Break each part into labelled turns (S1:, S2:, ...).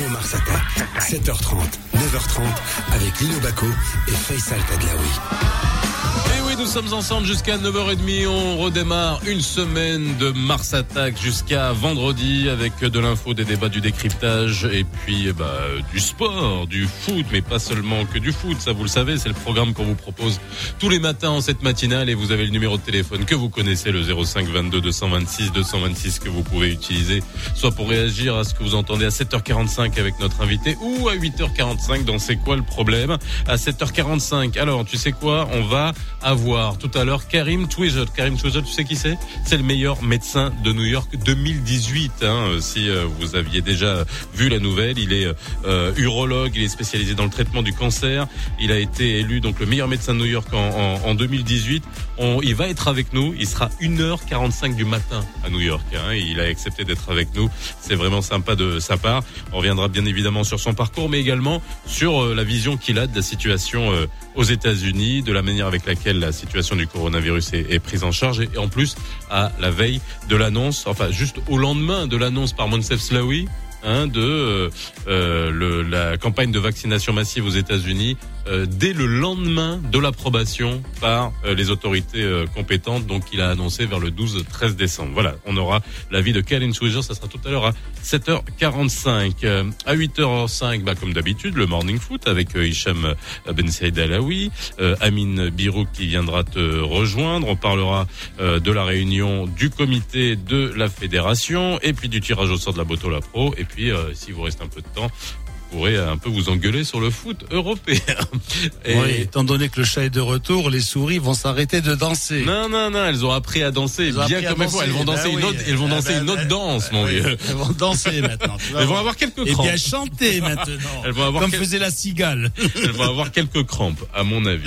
S1: nouveau Mars Attack. 7h30, 9h30 avec Lino Baco et Faisal Tadlaoui.
S2: Et oui, nous sommes ensemble jusqu'à 9h30. On redémarre une semaine de Mars Attack jusqu'à vendredi avec de l'info, des débats, du décryptage et puis du sport, du foot, mais pas seulement que du foot. Ça, vous le savez, c'est le programme qu'on vous propose tous les matins en cette matinale. Et vous avez le numéro de téléphone que vous connaissez, le 05 22 226 226 que vous pouvez utiliser, soit pour réagir à ce que vous entendez à 7h45 avec notre invité ou à 8h45 dans C'est quoi le problème. À 7h45, alors tu sais quoi, on va avoir tout à l'heure Karim Twizel. Karim Twizel, tu sais qui c'est ? C'est le meilleur médecin de New York 2018. Si vous aviez déjà vu la nouvelle, il est urologue, il est spécialisé dans le traitement du cancer. Il a été élu donc le meilleur médecin de New York en 2018. Il va être avec nous. Il sera 1h45 du matin à New York. Il a accepté d'être avec nous. C'est vraiment sympa de sa part. On reviendra bien évidemment sur son parcours, mais également sur la vision qu'il a de la situation aux États-Unis, de la manière avec laquelle la situation du coronavirus est prise en charge et en plus à la veille de l'annonce, enfin juste au lendemain de l'annonce par Moncef Slaoui de la campagne de vaccination massive aux États-Unis dès le lendemain de l'approbation par les autorités compétentes. Donc il a annoncé vers le 12-13 décembre. Voilà, on aura l'avis de Karim Twizel, ça sera tout à l'heure à 7h45. À 8h05, comme d'habitude, le Morning Foot avec Hicham Ben Saïd Alaoui, Amine Birouk qui viendra te rejoindre. On parlera de la réunion du comité de la fédération et puis du tirage au sort de la Botola Pro. Et puis, s'il vous reste un peu de temps, vous pourrez un peu vous engueuler sur le foot européen.
S3: Et oui, étant donné que le chat est de retour, les souris vont s'arrêter de danser.
S2: Non, elles ont appris à danser bien comme il faut. Elles vont danser une autre danse, mon vieux.
S3: Elles vont danser maintenant.
S2: Elles vont avoir quelques crampes.
S3: Et bien chanter maintenant.
S2: Elles vont avoir
S3: faisait la cigale.
S2: Elles vont avoir quelques crampes, à mon avis.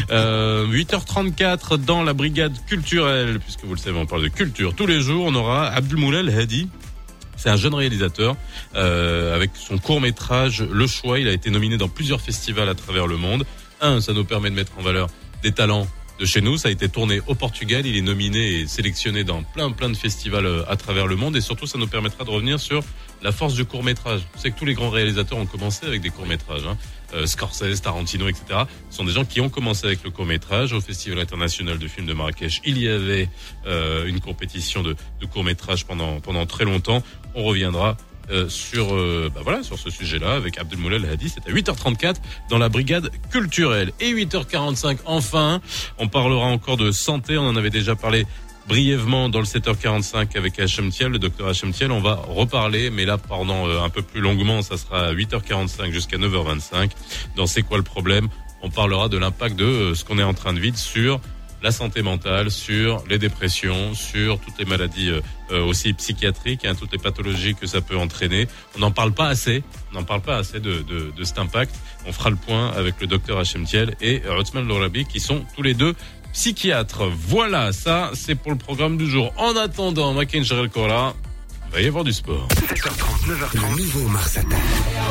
S2: 8h34 dans la brigade culturelle, puisque vous le savez, on parle de culture tous les jours. On aura Abdelmoulal Hadi. C'est un jeune réalisateur avec son court-métrage Le Choix. Il a été nominé dans plusieurs festivals à travers le monde. Ça nous permet de mettre en valeur des talents de chez nous. Ça a été tourné au Portugal. Il est nominé et sélectionné dans plein de festivals à travers le monde. Et surtout, ça nous permettra de revenir sur la force du court-métrage. Vous savez que tous les grands réalisateurs ont commencé avec des courts-métrages. Scorsese, Tarantino, etc. Ce sont des gens qui ont commencé avec le court-métrage. Au Festival international de films de Marrakech, il y avait une compétition de court-métrage pendant très longtemps. On reviendra sur ce sujet-là avec Abdelmoulal Hadi. C'est à 8h34 dans la brigade culturelle. Et 8h45, enfin, on parlera encore de santé. On en avait déjà parlé brièvement dans le 7h45 avec Hachem Thiel, le docteur Hachem Thiel. On va reparler, mais là, pendant un peu plus longuement, ça sera à 8h45 jusqu'à 9h25. Dans C'est quoi le problème ? On parlera de l'impact de ce qu'on est en train de vivre sur la santé mentale, sur les dépressions, sur toutes les maladies aussi psychiatriques, toutes les pathologies que ça peut entraîner. On n'en parle pas assez. De cet impact. On fera le point avec le docteur Hachem Thiel et Othman Lorabi qui sont tous les deux psychiatres. Voilà, ça c'est pour le programme du jour. En attendant, Makin Jarel Kora, il va y avoir du sport.
S1: 7h30, 9h30, le nouveau Mars Attack.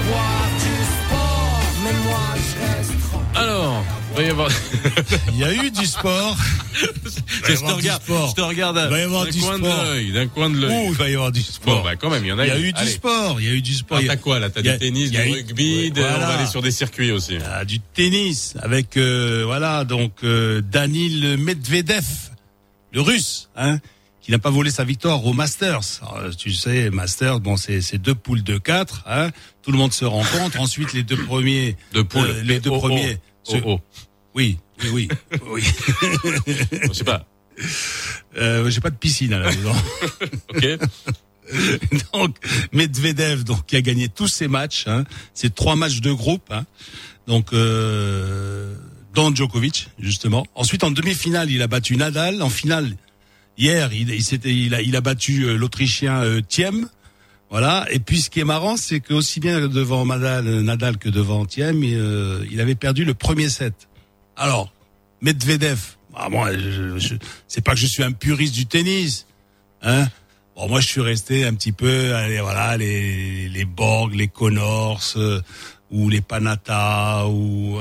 S2: Alors, il va y avoir...
S3: Il y a eu du sport.
S2: Je te regarde d'un coin de l'œil.
S3: Il va y avoir du sport.
S2: Bon, quand même, il y en a.
S3: Il y a eu du sport.
S2: T'as quoi, là? T'as du tennis, du rugby, on va aller sur des circuits aussi.
S3: Du tennis avec, Danil Medvedev, le russe, qui n'a pas volé sa victoire au Masters. Alors, tu sais, Masters, c'est 2 poules de 4, Tout le monde se rencontre. Ensuite, les deux premiers. Premiers. Oui.
S2: Je sais pas.
S3: J'ai pas de piscine à la maison.
S2: Ok.
S3: Donc, Medvedev, qui a gagné tous ses matchs, C'est 3 matchs de groupe, Donc, dans Djokovic, justement. Ensuite, en demi-finale, il a battu Nadal. En finale, hier, il a battu l'Autrichien Thiem. Voilà. Et puis, ce qui est marrant, c'est que aussi bien devant Nadal que devant Thiem, il avait perdu le premier set. Alors, Medvedev, moi, c'est pas que je suis un puriste du tennis, Bon, moi, je suis resté un petit peu, les Borg, les Connors, ou les Panatta, où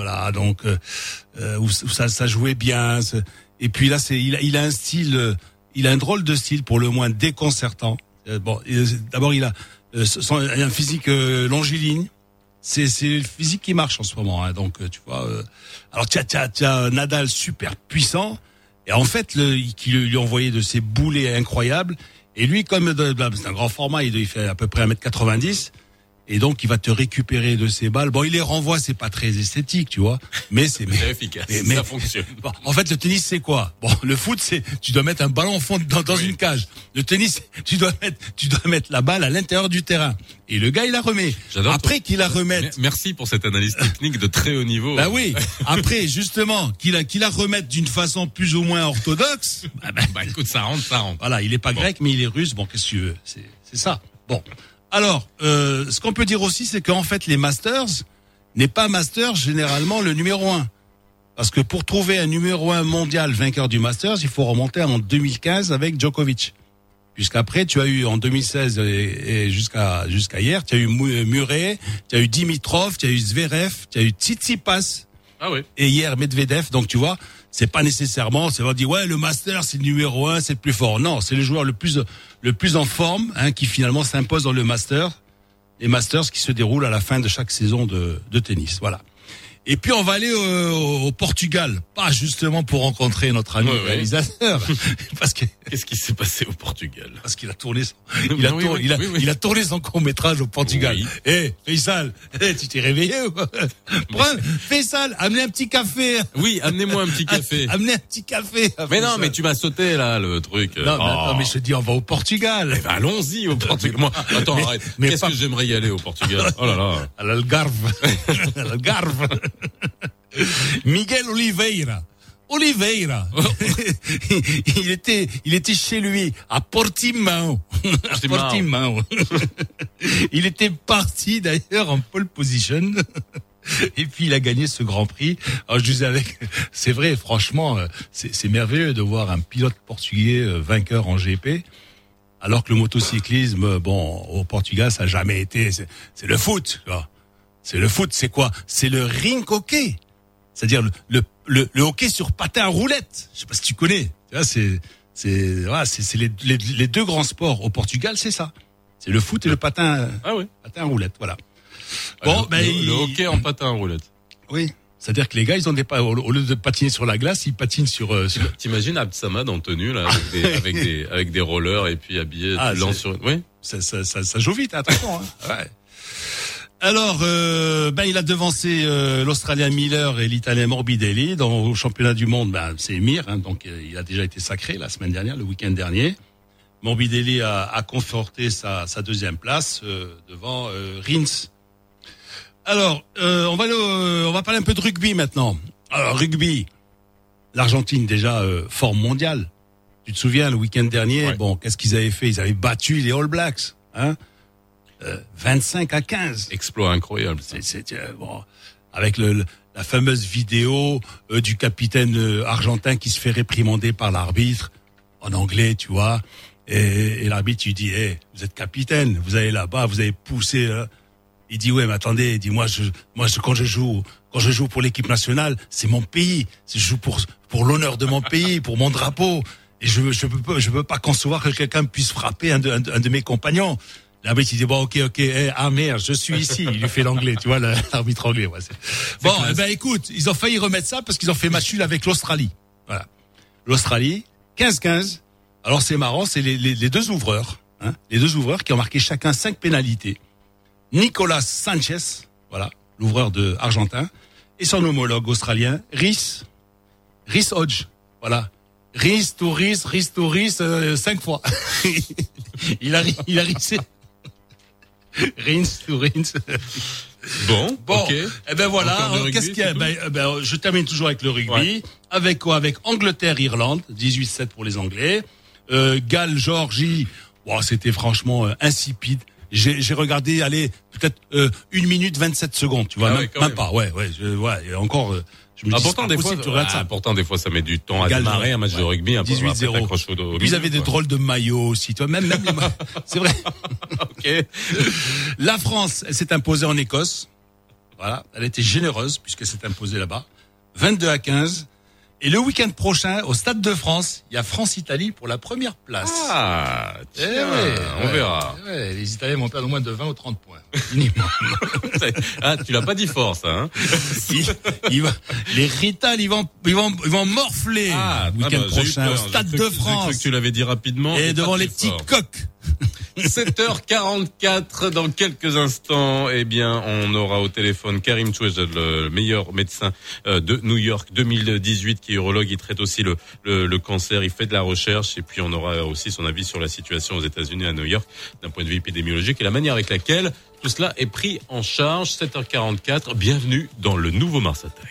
S3: ça jouait bien. Et puis là, il a un style, il a un drôle de style, pour le moins déconcertant. D'abord, il un physique longiligne. C'est le physique qui marche en ce moment, hein. Donc tu vois. Alors t'as Nadal super puissant et en fait qui lui envoyait de ces boulets incroyables. Et lui, comme c'est un grand format, il fait à peu près 1m90. Et donc, il va te récupérer de ses balles. Bon, il les renvoie, c'est pas très esthétique, tu vois. Mais c'est
S2: efficace. Mais ça fonctionne.
S3: Bon, en fait, le tennis, c'est quoi? Bon, le foot, tu dois mettre un ballon au fond dans une cage. Le tennis, tu dois mettre la balle à l'intérieur du terrain. Et le gars, il la remet. Après qu'il la remette.
S2: Merci pour cette analyse technique de très haut niveau.
S3: Bah oui. Après, justement, qu'il la remette d'une façon plus ou moins orthodoxe.
S2: Bah écoute, ça rentre.
S3: Voilà, il est pas grec, mais il est russe. Bon, qu'est-ce que tu veux? C'est ça. Bon. Alors, ce qu'on peut dire aussi, c'est qu'en fait, les Masters n'est pas Masters généralement le numéro 1. Parce que pour trouver un numéro 1 mondial vainqueur du Masters, il faut remonter en 2015 avec Djokovic. Puisqu'après, tu as eu en 2016 et jusqu'à hier, tu as eu Murray, tu as eu Dimitrov, tu as eu Zverev, tu as eu Tsitsipas.
S2: Ah oui.
S3: Et hier Medvedev. Donc tu vois, c'est pas nécessairement, c'est pas dire ouais le Master c'est le numéro 1, c'est le plus fort. Non, c'est le joueur le plus en forme, hein, qui finalement s'impose dans le Master. Les Masters qui se déroulent à la fin de chaque saison de tennis. Voilà. Et puis on va aller au Portugal, pas justement pour rencontrer notre ami réalisateur, parce que
S2: qu'est-ce qui s'est passé au Portugal?
S3: Parce qu'il a tourné il a tourné son court-métrage au Portugal.
S2: Oui.
S3: Faisal, tu t'es réveillé ou quoi? Faisal, amenez un petit café.
S2: Oui, amenez-moi un petit café.
S3: Amenez un petit café.
S2: Mais non, mais tu m'as sauté là le truc.
S3: Non, mais je te dis on va au Portugal.
S2: Eh ben, allons-y au Portugal. Moi, attends, arrête. Mais qu'est-ce que j'aimerais y aller au Portugal? Oh là là.
S3: À l'Algarve. Miguel Oliveira. il était chez lui à Portimão. Il était parti d'ailleurs en pole position. Et puis il a gagné ce Grand Prix. Alors je disais c'est vrai, franchement, c'est merveilleux de voir un pilote portugais vainqueur en GP. Alors que le motocyclisme, au Portugal, ça a jamais été. C'est le foot, tu vois. C'est le foot, c'est quoi? C'est le rink hockey. C'est-à-dire le hockey sur patin à roulette. Je sais pas si tu connais. Tu vois, c'est les deux grands sports au Portugal, c'est ça. C'est le foot et le patin.
S2: Ah oui.
S3: Patin à roulette, voilà.
S2: Bon, le hockey en patin à roulette.
S3: Oui. C'est-à-dire que les gars, ils ont au lieu de patiner sur la glace, ils patinent sur.
S2: T'imagines Abd-Samad en tenue là, avec des rollers et puis habillé sur. Oui.
S3: Ça joue vite, attention. Hein. Ouais. Alors, il a devancé l'Australien Miller et l'Italien Morbidelli au championnat du monde. C'est Mir, hein, donc il a déjà été sacré la semaine dernière, le week-end dernier. Morbidelli a conforté sa deuxième place devant Rins. Alors, on va parler un peu de rugby maintenant. Alors, rugby, l'Argentine déjà forme mondiale. Tu te souviens le week-end dernier, qu'est-ce qu'ils avaient fait? Ils avaient battu les All Blacks, hein. 25-15.
S2: Exploit incroyable.
S3: Avec la fameuse vidéo du capitaine argentin qui se fait réprimander par l'arbitre en anglais, tu vois. Et l'arbitre lui dit vous êtes capitaine, vous allez là-bas, vous avez poussé. Il dit ouais, mais attendez, il dit moi quand je joue pour l'équipe nationale, c'est mon pays, je joue pour l'honneur de mon pays, pour mon drapeau. Et je peux pas concevoir que quelqu'un puisse frapper un de mes compagnons. L'arbitre il dit ok, merde, je suis ici. Il lui fait l'anglais, tu vois, l'arbitre anglais. Ouais, écoute, ils ont failli remettre ça parce qu'ils ont fait match nul avec l'Australie. Voilà, l'Australie 15-15. Alors c'est marrant, c'est les deux ouvreurs, hein, les deux ouvreurs qui ont marqué chacun 5 pénalités. Nicolas Sanchez, voilà, l'ouvreur argentin, et son homologue australien Rhys Hodge, voilà. Rhys to Rhys, 5 fois. il a rissé. Rhys to Rhys.
S2: Bon, ok.
S3: Voilà. Qu'est-ce qu'il y a? Je termine toujours avec le rugby. Ouais. Avec quoi? Avec Angleterre-Irlande, 18-7 pour les Anglais. Galles-Géorgie. C'était franchement insipide. J'ai regardé, peut-être 1 minute 27 secondes, tu vois, même pas. Et encore. Je me dis,
S2: pourtant, des fois, ça met du temps à démarrer un match de rugby.
S3: 18-0. Puis ils avaient des drôles de maillots aussi, tu vois, même les maillots. C'est vrai.
S2: Ok.
S3: La France, elle s'est imposée en Écosse. Voilà. Elle était généreuse, puisqu'elle s'est imposée là-bas. 22-15. Et le week-end prochain, au Stade de France, il y a France-Italie pour la première place.
S2: Ah, tiens, on verra.
S3: Ouais, les Italiens vont perdre au moins de 20 ou 30 points. Minimum.
S2: Ah, tu l'as pas dit fort, ça, hein?
S3: Les Rital, ils vont morfler le week-end prochain au Stade de France.
S2: J'ai cru que tu l'avais dit rapidement.
S3: Et devant les petits coqs.
S2: 7h44, dans quelques instants, eh bien, on aura au téléphone Karim Touejad, le meilleur médecin de New York 2018, qui est urologue. Il traite aussi le cancer, il fait de la recherche, et puis on aura aussi son avis sur la situation aux États-Unis, à New York, d'un point de vue épidémiologique et la manière avec laquelle tout cela est pris en charge. 7h44, bienvenue dans le nouveau Mars Attack.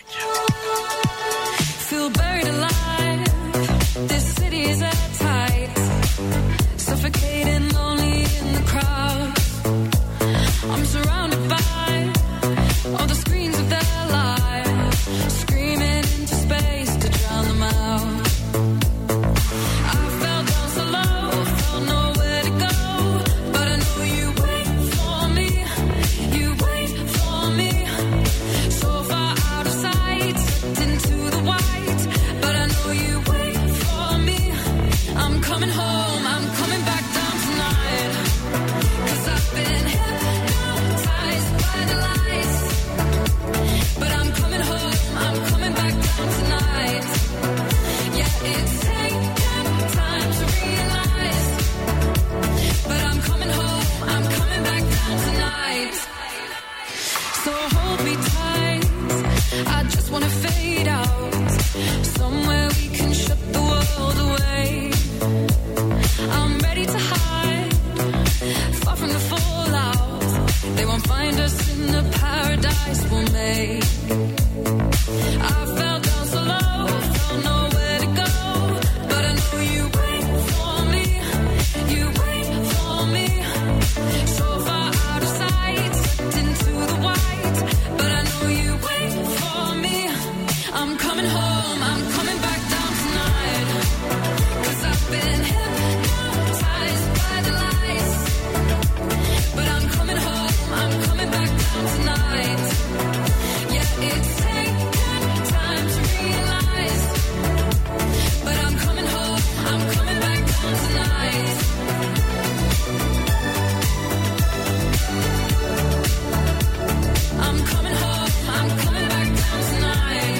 S4: Feel buried alive. This city is at tight. Suffocating, lonely in the crowd. I'm surrounded by all the screens of their lives, screaming into space to drown them out. I fell down so low, felt nowhere to go, but I know you wait for me. You wait for me. So far out of sight, into the white, but I know you wait for me. I'm coming home, I'm coming back down tonight, 'cause I've been hypnotized by the lights, but I'm coming home, I'm coming back down tonight. Yeah, it's taken time to realize, but I'm coming home, I'm coming back down tonight. So hold me tight, I just wanna fade out, somewhere we can shut the world away. I'm ready to hide, far from the fallout. They won't find us in the paradise we'll make. I fell down so low, felt nowhere to go, but I know you wait for me. You wait for me. So far out of sight, into the white, but I know you wait for me. I'm coming home, I'm coming back down tonight, 'cause I've been hypnotized by the lights, but I'm coming home, I'm coming back down tonight. Yeah, it's taken time to realize, but I'm coming home, I'm coming back down tonight. I'm coming home, I'm coming back down tonight.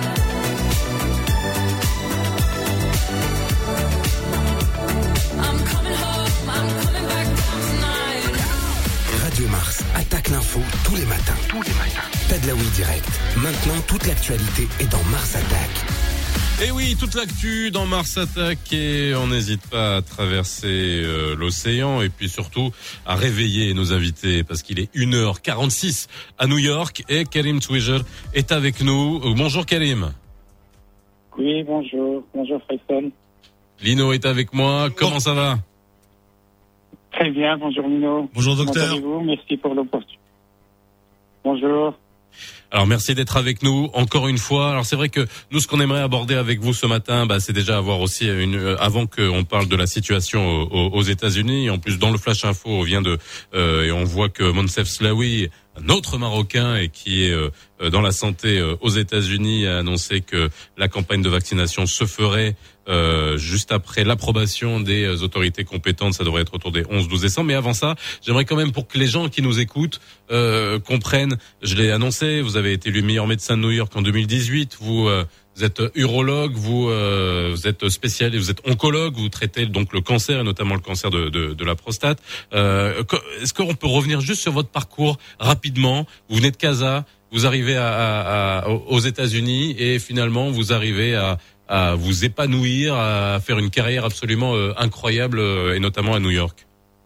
S4: I'm coming home, I'm coming back down tonight.
S1: Radio Mars attaque l'info tous les matins. Tadlaoui direct. Maintenant, toute l'actualité est dans Mars Attack.
S2: Et oui, toute l'actu dans Mars Attack, et on n'hésite pas à traverser l'océan et puis surtout à réveiller nos invités parce qu'il est 1h46 à New York et Karim Touejad est avec nous. Bonjour Karim.
S5: Oui, bonjour. Bonjour Faisal.
S2: Lino est avec moi. Comment ça va?
S5: Très bien, bonjour Lino.
S3: Bonjour
S5: Comment
S3: docteur.
S5: allez-vous? Merci pour l'opportunité. Bonjour.
S2: Alors merci d'être avec nous encore une fois. Alors c'est vrai que nous ce qu'on aimerait aborder avec vous ce matin, c'est déjà avoir aussi avant qu'on parle de la situation aux États-Unis. En plus dans le Flash Info on vient et on voit que Moncef Slaoui, un autre Marocain et qui est dans la santé aux États-Unis, a annoncé que la campagne de vaccination se ferait juste après l'approbation des autorités compétentes. Ça devrait être autour des 11-12 décembre. Mais avant ça, j'aimerais quand même pour que les gens qui nous écoutent comprennent, je l'ai annoncé, vous avez été élu meilleur médecin de New York en 2018, vous êtes urologue, vous êtes spécialiste, vous êtes oncologue, vous traitez donc le cancer et notamment le cancer de la prostate. Est-ce qu'on peut revenir juste sur votre parcours rapidement? Vous venez de Casa, vous arrivez aux États-Unis et finalement vous arrivez à vous épanouir, à faire une carrière absolument incroyable et notamment à New York.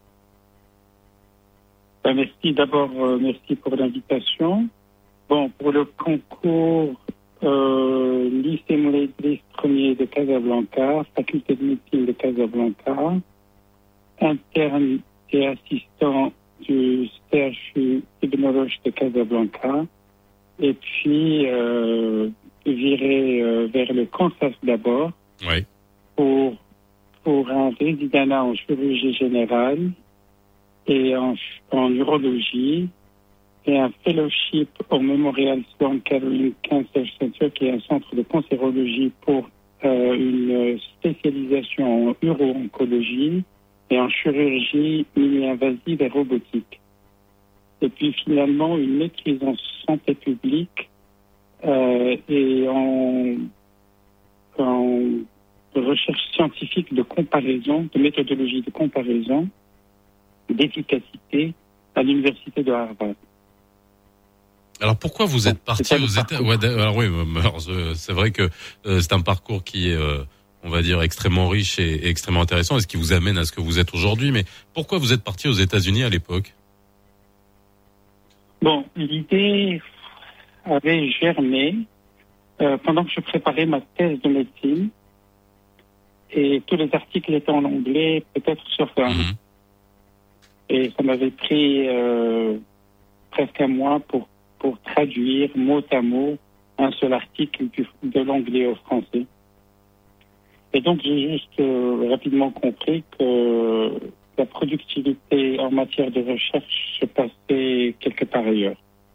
S5: Merci d'abord, merci pour l'invitation. Bon, pour le concours lycée Moulay-Idriss premier de Casablanca, faculté de médecine de Casablanca, interne et assistant du CHU Ibn Roch de Casablanca, et puis viré vers le cancer d'abord,
S2: Oui.
S5: pour un résidenat en chirurgie générale et en urologie. et un fellowship au Memorial Sloan Kettering Cancer Center, qui est un centre de cancérologie pour une spécialisation en uro-oncologie et en chirurgie mini-invasive et robotique. Et puis finalement une maîtrise en santé publique et en recherche scientifique de comparaison, de méthodologie de comparaison, d'efficacité à l'université de Harvard.
S2: Alors pourquoi vous êtes parti aux États-Unis? Alors oui, c'est vrai que c'est un parcours qui est, on va dire, extrêmement riche et extrêmement intéressant, et ce qui vous amène à ce que vous êtes aujourd'hui. Mais pourquoi vous êtes parti aux États-Unis à l'époque?
S5: Bon, l'idée avait germé pendant que je préparais ma thèse de médecine, et tous les articles étaient en anglais, peut-être sur
S2: Mhm.
S5: Et ça m'avait pris presque un mois pour traduire mot à mot un seul article de l'anglais au français. Et donc j'ai juste rapidement compris que la productivité en matière de recherche se passait quelque part ailleurs.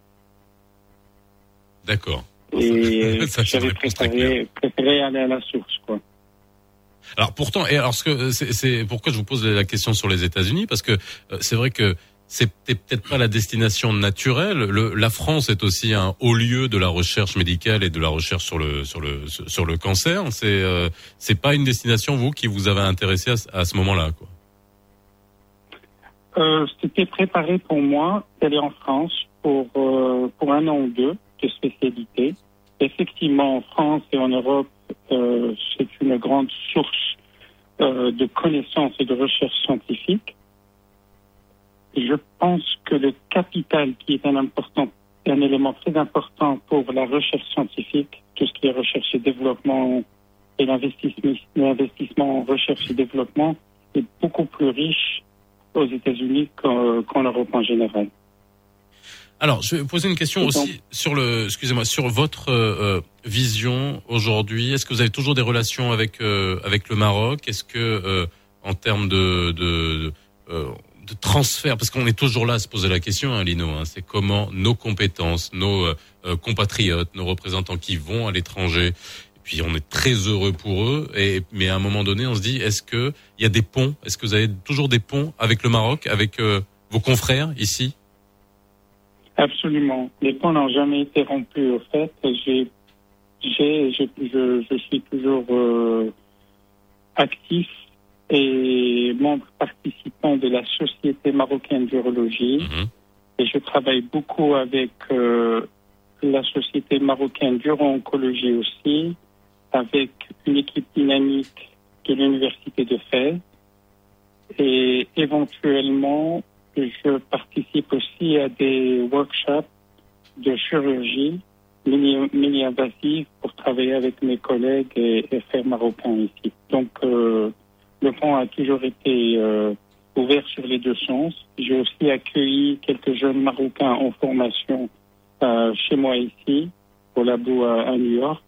S2: D'accord.
S5: Et
S2: Ça, c'est une
S5: j'avais
S2: réponse très claire.
S5: préféré aller à la source, quoi.
S2: Alors pourtant, et alors c'est pourquoi je vous pose la question sur les États-Unis, parce que c'est vrai que c'était peut-être pas la destination naturelle. La France est aussi un haut lieu de la recherche médicale et de la recherche sur le cancer. C'est pas une destination, vous, qui vous avez intéressé à ce moment-là, quoi.
S5: C'était préparé pour moi d'aller en France pour un an ou deux de spécialité. Effectivement, en France et en Europe, c'est une grande source de connaissances et de recherche scientifique. Je pense que le capital, qui est un élément très important pour la recherche scientifique, tout ce qui est recherche et développement et l'investissement en recherche et développement, est beaucoup plus riche aux États-Unis qu'en Europe en général.
S2: Alors, je vais vous poser une question aussi sur votre vision aujourd'hui. Est-ce que vous avez toujours des relations avec le Maroc? Est-ce que en termes de transfert, parce qu'on est toujours là à se poser la question, hein, Lino, hein, c'est comment nos compétences, nos compatriotes, nos représentants qui vont à l'étranger, et puis on est très heureux pour eux, mais à un moment donné, on se dit, est-ce que il y a des ponts? Est-ce que vous avez toujours des ponts avec le Maroc, avec vos confrères ici?
S5: Absolument. Les ponts n'ont jamais été rompus, au fait. Je suis toujours actif et membre participant de la Société marocaine d'urologie.
S2: Mhm.
S5: Et je travaille beaucoup avec la Société marocaine d'uro-oncologie aussi, avec une équipe dynamique de l'Université de Fès. Et éventuellement, je participe aussi à des workshops de chirurgie mini-invasive pour travailler avec mes collègues et frères marocains ici. Donc, le pont a toujours été ouvert sur les deux sens. J'ai aussi accueilli quelques jeunes Marocains en formation chez moi ici, au labo à New York.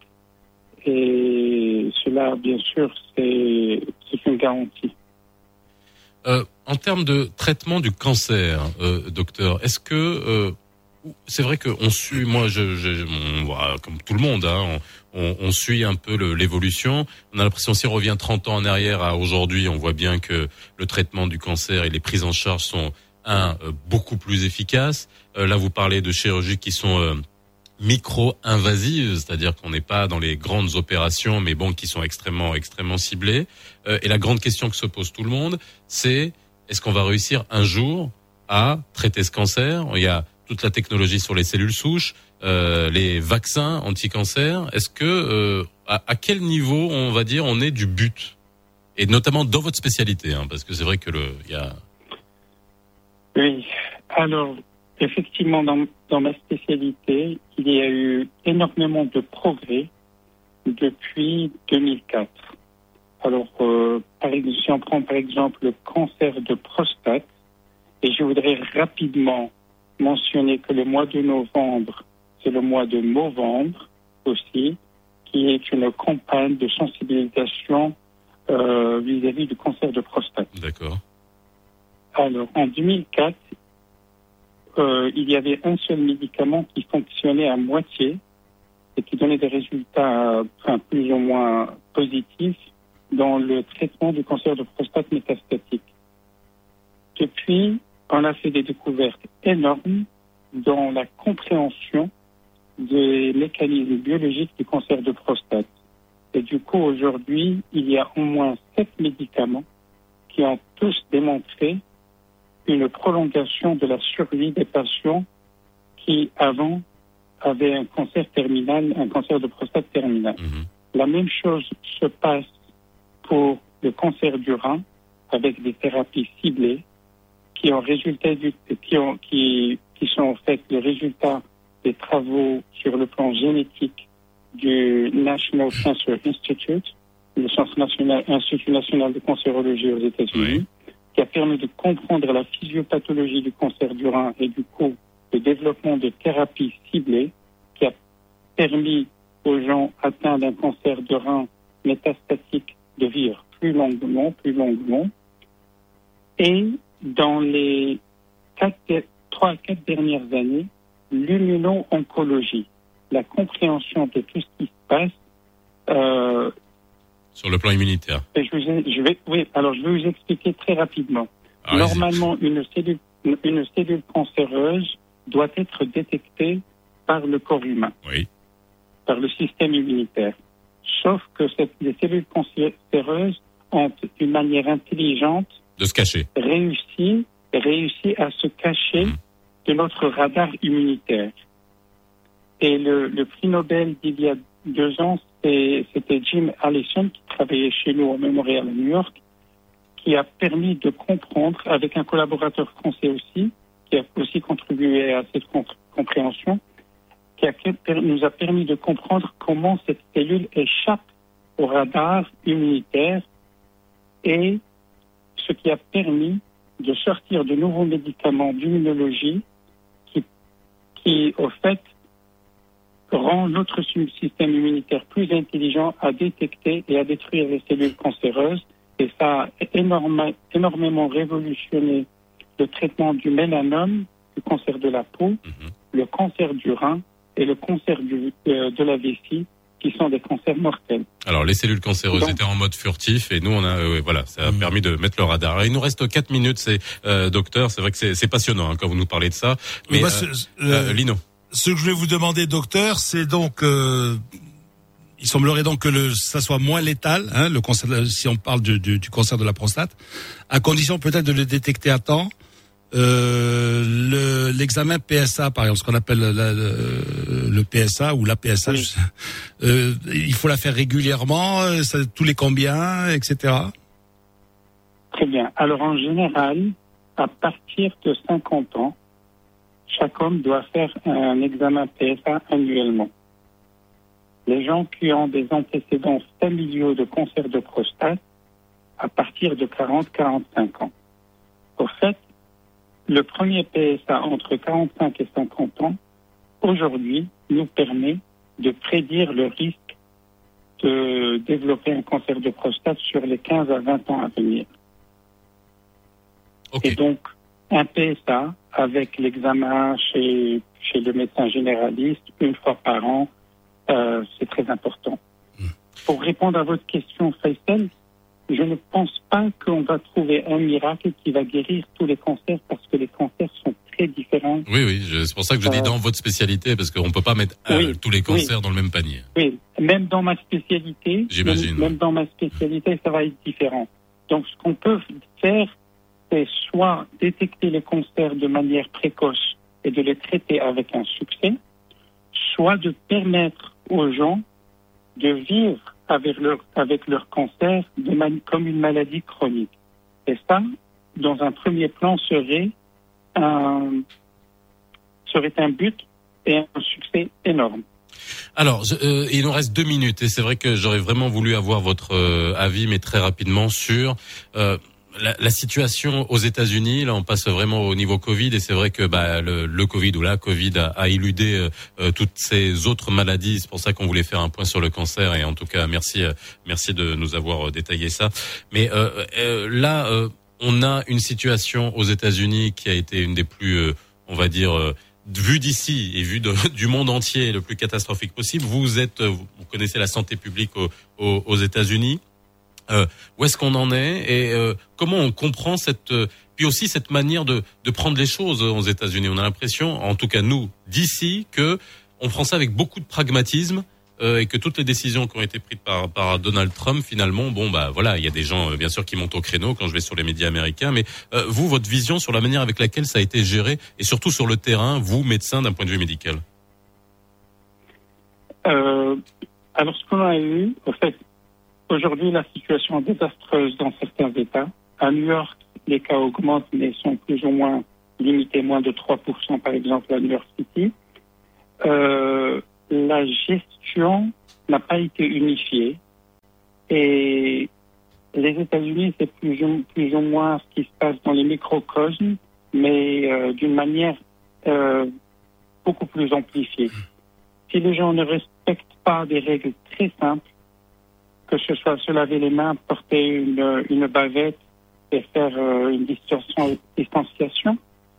S5: Et cela, bien sûr, c'est une garantie.
S2: En termes de traitement du cancer, docteur, est-ce que c'est vrai qu'on suit, moi, comme tout le monde, hein, on suit un peu l'évolution. On a l'impression, si on revient 30 ans en arrière à aujourd'hui, on voit bien que le traitement du cancer et les prises en charge sont beaucoup plus efficaces. Là, vous parlez de chirurgies qui sont micro-invasives, c'est-à-dire qu'on n'est pas dans les grandes opérations, mais bon, qui sont extrêmement ciblées. Et la grande question que se pose tout le monde, c'est est-ce qu'on va réussir un jour à traiter ce cancer? Il y a toute la technologie sur les cellules souches, les vaccins anti-cancer. Est-ce que à quel niveau, on va dire, on est du but? Et notamment dans votre spécialité, hein, parce que c'est vrai que il y a...
S5: Oui, alors effectivement, dans ma spécialité, il y a eu énormément de depuis 2004. Alors, si on prend par exemple le cancer de prostate, et je voudrais rapidement mentionner que le mois de novembre, c'est le mois de Movembre aussi, qui est une campagne de sensibilisation vis-à-vis du cancer de prostate.
S2: D'accord.
S5: Alors, en 2004, il y avait un seul médicament qui fonctionnait à moitié et qui donnait des résultats plus ou moins positifs dans le traitement du cancer de prostate métastatique. Depuis, on a fait des découvertes énormes dans la compréhension des mécanismes biologiques du cancer de prostate. Et du coup, aujourd'hui, il y a au moins 7 médicaments qui ont tous démontré une prolongation de la survie des patients qui, avant, avaient un cancer terminal, un cancer de prostate terminal. La même chose se passe pour le cancer du rein, avec des thérapies ciblées qui sont en fait le résultat des travaux sur le plan génétique du National Cancer Institute, le Institut national de cancérologie aux États-Unis, qui a permis de comprendre la physiopathologie du cancer du rein et du coup le développement de thérapies ciblées, qui a permis aux gens atteints d'un cancer de rein métastatique de vivre plus longuement. Et dans les 3 à 4 dernières années, l'immuno-oncologie, la compréhension de tout ce qui se passe
S2: sur le plan immunitaire.
S5: Je vais vous expliquer très rapidement. Normalement, une cellule cancéreuse doit être détectée par le corps humain, par le système immunitaire. Sauf que les cellules cancéreuses ont une manière intelligente
S2: de se cacher,
S5: réussi à se cacher de notre radar immunitaire. Et le prix Nobel d'il y a 2 ans, c'était Jim Allison, qui travaillait chez nous au Memorial à New York, qui a permis de comprendre, avec un collaborateur français aussi, qui a aussi contribué à cette compréhension, nous a permis de comprendre comment cette cellule échappe au radar immunitaire, et ce qui a permis de sortir de nouveaux médicaments d'immunologie qui au fait, rend notre système immunitaire plus intelligent à détecter et à détruire les cellules cancéreuses. Et ça a énormément révolutionné le traitement du mélanome, du cancer de la peau, le cancer du rein et le cancer de la vessie, qui sont des cancers mortels.
S2: Alors, les cellules cancéreuses étaient en mode furtif et nous, on a, ça a permis de mettre le radar. Alors, il nous reste 4 minutes, docteur, c'est vrai que c'est passionnant quand vous nous parlez de ça. Mais, Lino.
S3: Ce que je vais vous demander, docteur, c'est donc, il semblerait donc que ça soit moins létal, le cancer, si on parle du cancer de la prostate, à condition peut-être de le détecter à temps. L'examen PSA, par exemple, ce qu'on appelle le PSA ou la PSA, il faut la faire régulièrement, tous les combien, etc.
S5: Très bien. Alors en général, à partir de 50 ans, chaque homme doit faire un examen PSA annuellement. Les gens qui ont des antécédents familiaux de cancer de prostate, à partir de 40-45 ans. Au fait, le premier PSA entre 45 et 50 ans, aujourd'hui, nous permet de prédire le risque de développer un cancer de prostate sur les 15 à 20 ans à venir. Et donc, un PSA avec l'examen chez le médecin généraliste, 1 fois par an, c'est très important. Pour répondre à votre question, Faisal, je ne pense pas qu'on va trouver un miracle qui va guérir tous les cancers, parce que les cancers sont très différents.
S2: Oui, c'est pour ça que je dis dans votre spécialité, parce qu'on ne peut pas mettre tous les cancers dans le même panier.
S5: Oui, même dans ma spécialité, même dans ma spécialité, ça va être différent. Donc, ce qu'on peut faire, c'est soit détecter les cancers de manière précoce et de les traiter avec un succès, soit de permettre aux gens de vivre avec leur cancer comme une maladie chronique. Et ça, dans un premier plan, serait un but et un succès énorme.
S2: Alors, il nous reste 2 minutes et c'est vrai que j'aurais vraiment voulu avoir votre avis, mais très rapidement, sur la situation aux États-Unis. Là, on passe vraiment au niveau Covid et c'est vrai que le Covid ou la Covid a éludé toutes ces autres maladies. C'est pour ça qu'on voulait faire un point sur le cancer et en tout cas merci de nous avoir détaillé ça. Mais là, on a une situation aux États-Unis qui a été une des plus on va dire, vu d'ici et vu du monde entier le plus catastrophique possible. Vous connaissez la santé publique aux États-Unis. Où est-ce qu'on en est et comment on comprend puis aussi cette manière de prendre les choses aux États-Unis. On a l'impression, en tout cas nous, d'ici, que on prend ça avec beaucoup de pragmatisme et que toutes les décisions qui ont été prises par Donald Trump, finalement, voilà, il y a des gens, bien sûr, qui montent au créneau quand je vais sur les médias américains, mais vous, votre vision sur la manière avec laquelle ça a été géré et surtout sur le terrain, vous, médecin, d'un point de vue médical.
S5: Alors, ce qu'on a eu, en fait, aujourd'hui, la situation est désastreuse dans certains États. À New York, les cas augmentent, mais sont plus ou moins limités, moins de 3%, par exemple, à New York City. La gestion n'a pas été unifiée. Et les États-Unis, c'est plus ou moins ce qui se passe dans les microcosmes, mais d'une manière beaucoup plus amplifiée. Si les gens ne respectent pas des règles très simples, que ce soit se laver les mains, porter une bavette et faire une distanciation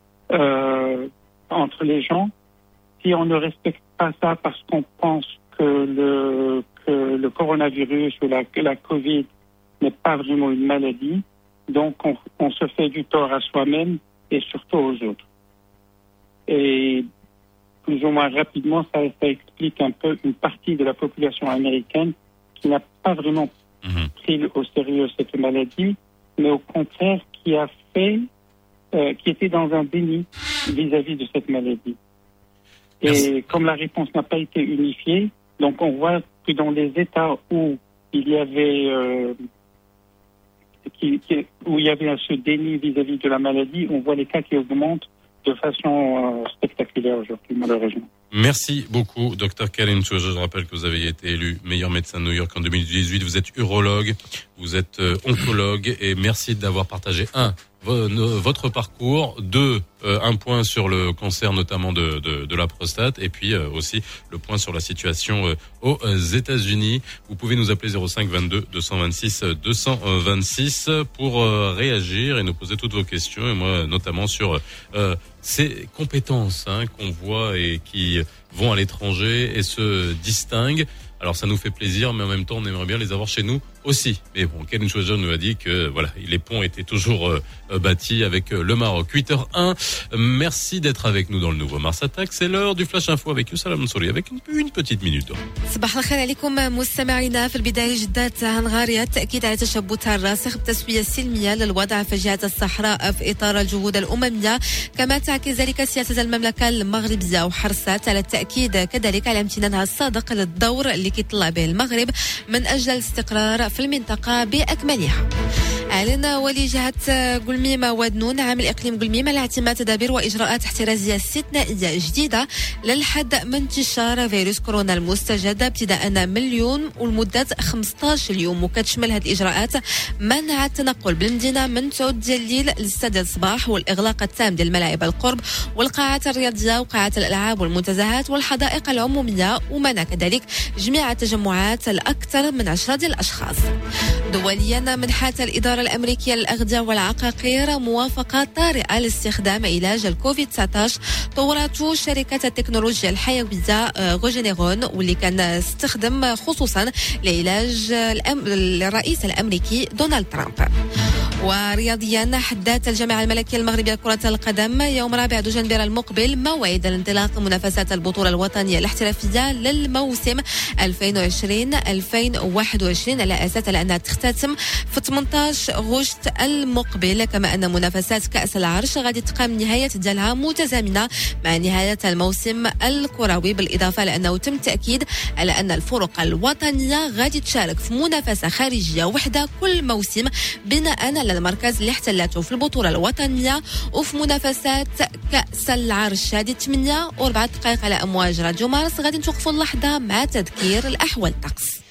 S5: entre les gens, si on ne respecte pas ça parce qu'on pense que le coronavirus ou la Covid n'est pas vraiment une maladie, donc on se fait du tort à soi-même et surtout aux autres. Et plus ou moins rapidement, ça explique un peu une partie de la population américaine qui n'a pas vraiment pris au sérieux cette maladie, mais au contraire qui était dans un déni vis-à-vis de cette maladie. Et comme la réponse n'a pas été unifiée, donc on voit que dans les États où il y avait ce déni vis-à-vis de la maladie, on voit les cas qui augmentent de façon spectaculaire aujourd'hui, malheureusement.
S2: Merci beaucoup, Dr Khalil Chouaja. Je rappelle que vous avez été élu meilleur médecin de New York en 2018. Vous êtes urologue, vous êtes oncologue et merci d'avoir partagé votre parcours, un point sur le cancer notamment de la prostate et puis aussi le point sur la situation aux États-Unis. Vous pouvez nous appeler 05 22 226 226 pour réagir et nous poser toutes vos questions et moi notamment sur ces compétences qu'on voit et qui vont à l'étranger et se distinguent. Alors ça nous fait plaisir, mais en même temps on aimerait bien les avoir chez nous aussi. Mais bon, Khalil Chouaja nous a dit que voilà, les ponts étaient toujours bâtis avec le Maroc. 8h01, merci d'être avec nous dans le nouveau Mars Attack. C'est l'heure du Flash Info avec Youssef Mansouri avec une petite minute.
S6: صباح الخير عليكم مستمعينا. في البداية جدات هنغاريا التأكيد على تشبثها الراسخ بتسوية سلمية للوضع في جهة الصحراء في إطار الجهود الأممية، كما تعكس ذلك سياسة المملكة المغربية وحرصت على التأكيد كذلك على امتنانها الصادق للدور اللي كيطلع به المغرب من أجل الاستقرار في المنطقة بأكملها. أعلن ولي جهة قلميمة ودنون عامل إقليم قلميمة على اعتماد تدابير وإجراءات احترازية استثنائية جديدة للحد من انتشار فيروس كورونا المستجد ابتداء من اليوم ولمدة 15 يوم، وكتشمل هذه الإجراءات منع التنقل بالمدينة من 9 ديال الليل ل6 ديال الصباح والإغلاق التام ديال الملاعب القرب والقاعات الرياضية وقاعات الألعاب والمنتزهات والحدائق العمومية، ومنع كذلك جميع التجمعات الأكثر من 10 ديال الأشخاص. دوليا منحت الإدارة الأمريكية للأغذية والعقاقير موافقة طارئة لاستخدام علاج الكوفيد-19 طورته شركة التكنولوجيا الحيوية غوجينيرون واللي كان استخدم خصوصا لعلاج الرئيس الأمريكي دونالد ترامب. ورياضيا حددت الجامعة الملكية المغربية لكرة القدم يوم 4 دجنبر المقبل موعد انطلاق منافسات البطولة الوطنية الاحترافية للموسم 2020-2021 على أساس أنها تختتم في 18 غشت المقبل، كما أن منافسات كأس العرش غادي تقام نهاية ديالها متزامنة مع نهاية الموسم الكروي، بالإضافة لأنه تم التأكيد على أن الفرق الوطنية غادي تشارك في منافسة خارجية وحدة كل موسم بناء على المركز اللي احتلته في البطولة الوطنية. وفي منافسات كأس العرش هذه 8 و4 دقائق على أمواج راديو مارس غادي نتوقفوا اللحظة مع تذكير الأحوال الطقس.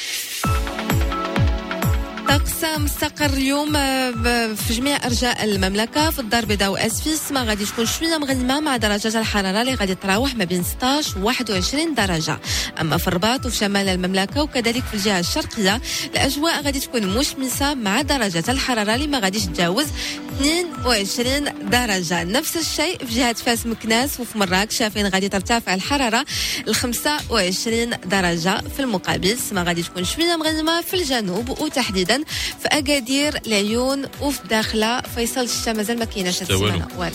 S6: طقس مستقر اليوم في جميع أرجاء المملكة. في الدار البيضاء وأسفيس ما غادي تكون شوية مغيمة مع درجات الحرارة اللي غادي تراوح ما بين 16 و 21 درجة. أما في الرباط وفي شمال المملكة وكذلك في الجهة الشرقية الأجواء غادي تكون مشمسة مع درجات الحرارة اللي ما غاديش تتجاوز 22 درجة. نفس الشيء في جهة فاس مكناس وفي مراكش شايفين غادي ترتفع الحرارة ل 25 درجة. في المقابل السماء غادي تكون شوية مغيمة في الجنوب وتحديدا في أكادير العيون وفي داخلة فيصل. الشتا مازال ما كايناش هاد السيمانة والو.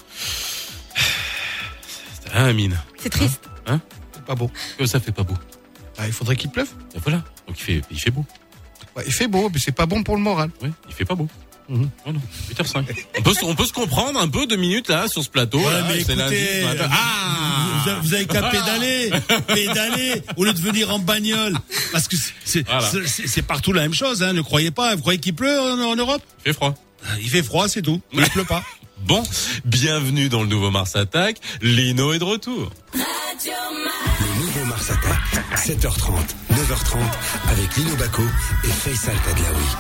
S2: Amine.
S6: C'est triste.
S2: Hein?
S7: C'est pas beau.
S2: Ça fait pas beau.
S7: Ah, il faudrait qu'il pleuve.
S2: Et voilà. Donc il fait beau.
S7: Ouais, il fait beau, mais c'est pas bon pour le moral.
S2: Oui, il fait pas beau.
S7: Mhm.
S2: Voilà. 8h05. On peut se comprendre un peu 2 minutes là sur ce plateau.
S3: Ouais,
S2: là,
S3: mais
S2: c'est
S3: écoutez,
S2: lundi matin.
S3: vous avez qu'à pédaler au lieu de venir en bagnole, parce que c'est partout la même chose. Hein, ne croyez pas. Vous croyez qu'il pleut en Europe?
S2: Il fait froid.
S3: Il fait froid, c'est tout. Il pleut pas.
S2: Bon, bienvenue dans le nouveau Mars Attack. Lino est de retour.
S1: Le nouveau Mars Attack, 7h30, 9h30, avec Lino Bacco et Faisal Tadlaoui.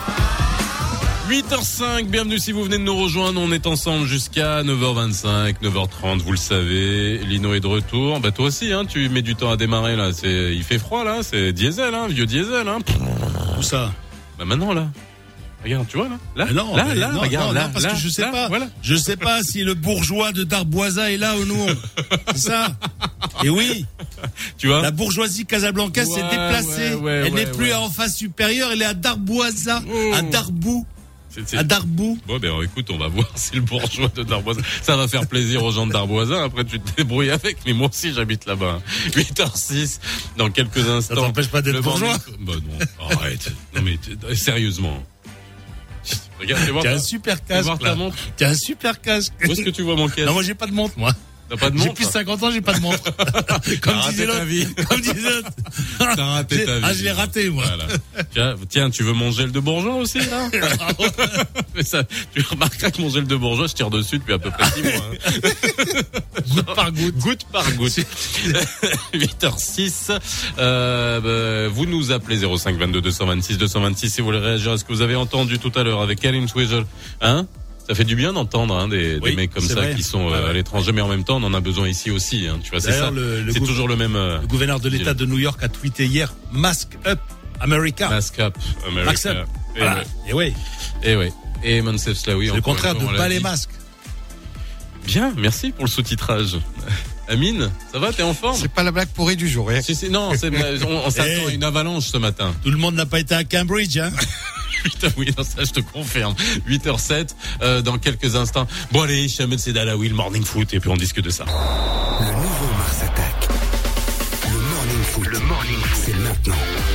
S2: 8h05, bienvenue si vous venez de nous rejoindre, on est ensemble jusqu'à 9h25, 9h30, vous le savez, Lino est de retour. Bah toi aussi, hein, tu mets du temps à démarrer là, il fait froid là, c'est diesel, hein, vieux diesel, hein.
S3: Où ça?
S2: Bah maintenant là. Regarde, tu vois là,
S3: non,
S2: regarde, là,
S3: parce que je sais pas.
S2: Voilà.
S3: Je sais pas si le bourgeois de Darboisa est là ou non. C'est ça. Et oui.
S2: Tu vois.
S3: La bourgeoisie casablancaise s'est déplacée. Elle n'est plus en face supérieure, elle est à Darboisa, à Darbou. À Darbou.
S2: Bon, ben écoute, on va voir si le bourgeois de Darboisa, ça va faire plaisir aux gens de Darboisa. Après, tu te débrouilles avec. Mais moi aussi, j'habite là-bas. 8h06, dans quelques instants.
S3: Ça t'empêche pas d'être bourgeois?
S2: Bah non, arrête. Non mais sérieusement. Regarde,
S3: t'as un super casque. T'as un super casque.
S2: Où est-ce que tu vois mon casque?
S3: Non, moi j'ai pas de montre, moi.
S2: T'as pas de montre?
S3: J'ai plus de 50 ans, j'ai pas de montre. Comme disait l'autre.
S2: T'as raté ta vie.
S3: Ah, je l'ai raté, moi.
S2: Voilà. Tiens, tu veux mon gel de bourgeois aussi, là? Mais ça, tu remarqueras que mon gel de bourgeois, je tire dessus depuis à peu près 6 mois. Hein.
S3: Goutte par goutte.
S2: Goutte par goutte. 8h06. Vous nous appelez 05 22 226 226 si vous voulez réagir à ce que vous avez entendu tout à l'heure avec Karim Twizel. Hein? Ça fait du bien d'entendre des mecs comme ça vrai. Qui sont à l'étranger, mais en même temps, on en a besoin ici aussi. Hein, tu vois, c'est ça. C'est toujours le même. Le
S3: gouverneur de l'État de New York a tweeté hier "Mask up, America".
S2: Mask up, America.
S3: Mask up. Voilà. Et oui.
S2: Et Mansef Slaoui.
S3: C'est le contraire de pas les masques.
S2: Bien, merci pour le sous-titrage. Amine, ça va, t'es en forme?
S7: C'est pas la blague pourrie du jour, hein.
S2: Non, on s'attend à une avalanche ce matin.
S3: Tout le monde n'a pas été à Cambridge, hein.
S2: Oui, non, ça je te confirme. 8h07, dans quelques instants. Bon allez, Chamel Sedalaoui, le Morning Foot, et puis on discute de ça.
S1: Le nouveau Mars Attack. Le Morning Foot, c'est maintenant.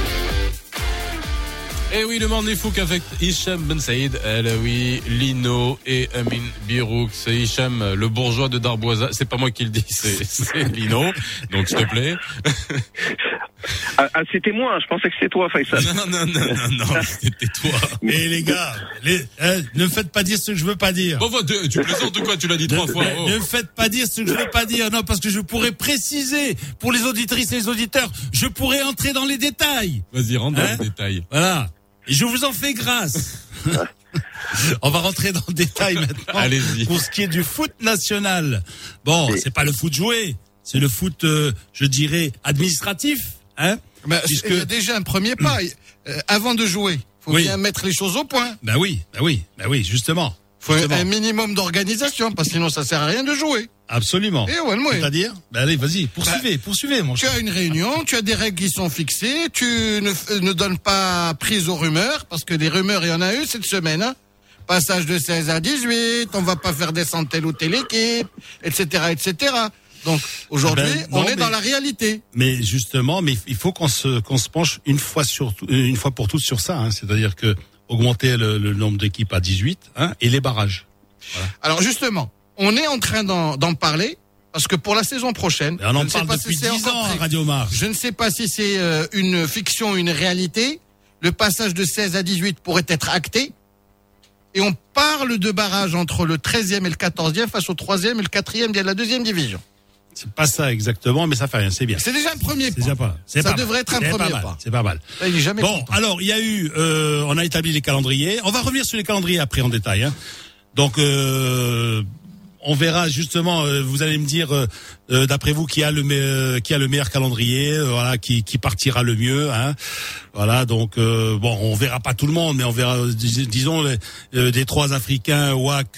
S2: Eh oui, le Morning Foot avec Hicham Ben Saïd, Alaoui, Lino et Amine Birouk. C'est Hicham, le bourgeois de Darboisa. C'est pas moi qui le dis, c'est Lino. Donc s'il te plaît.
S8: Ah, c'était moi, je pensais que c'était toi, Faisal.
S2: Non, c'était toi.
S3: Mais les gars, ne me faites pas dire ce que je veux pas dire.
S2: Bon, tu plaisantes ou quoi? Tu l'as dit 3 fois.
S3: Ne me faites pas dire ce que je veux pas dire. Non, parce que je pourrais préciser pour les auditrices et les auditeurs. Je pourrais entrer dans les détails.
S2: Vas-y, rentre dans les détails.
S3: Voilà. Et je vous en fais grâce. On va rentrer dans le détail maintenant.
S2: Allez-y.
S3: Pour ce qui est du foot national. Bon, c'est pas le foot joué. C'est le foot, je dirais, administratif. Hein?
S7: Puisque... Il y a déjà un premier pas. Avant de jouer, faut bien mettre les choses au point.
S3: Bah oui, justement.
S7: Faut un minimum d'organisation, parce que sinon ça sert à rien de jouer.
S3: Absolument. C'est-à-dire? Bah allez, vas-y, poursuivez, mon cher.
S7: Tu as une réunion, tu as des règles qui sont fixées, tu ne donnes pas prise aux rumeurs, parce que les rumeurs, il y en a eu cette semaine, hein. Passage de 16 à 18, on va pas faire descendre telle ou telle équipe, etc., etc. Donc aujourd'hui, on est dans la réalité.
S3: Mais justement, il faut qu'on se penche une fois pour toutes sur ça. Hein, c'est-à-dire que augmenter le nombre d'équipes à 18, hein, et les barrages. Voilà.
S7: Alors justement, on est en train d'en parler parce que pour la saison prochaine,
S3: on en parle depuis 10 ans à Radio Mars.
S7: Je ne sais pas si c'est une fiction ou une réalité. Le passage de 16 à 18 pourrait être acté. Et on parle de barrage entre le 13e et le 14e face au 3e et le 4e de la 2e division.
S3: C'est pas ça exactement, mais ça fait rien, c'est bien.
S7: C'est déjà un premier pas.
S3: Ça
S7: devrait être un premier pas.
S3: C'est pas mal.
S7: Il est jamais content.
S3: Alors il y a eu, on a établi les calendriers. On va revenir sur les calendriers après en détail. Hein. Donc on verra justement. Vous allez me dire, d'après vous, qui a le meilleur calendrier, voilà, qui partira le mieux. Hein. Voilà, donc bon, on verra pas tout le monde, mais on verra, disons, des 3 Africains, Wak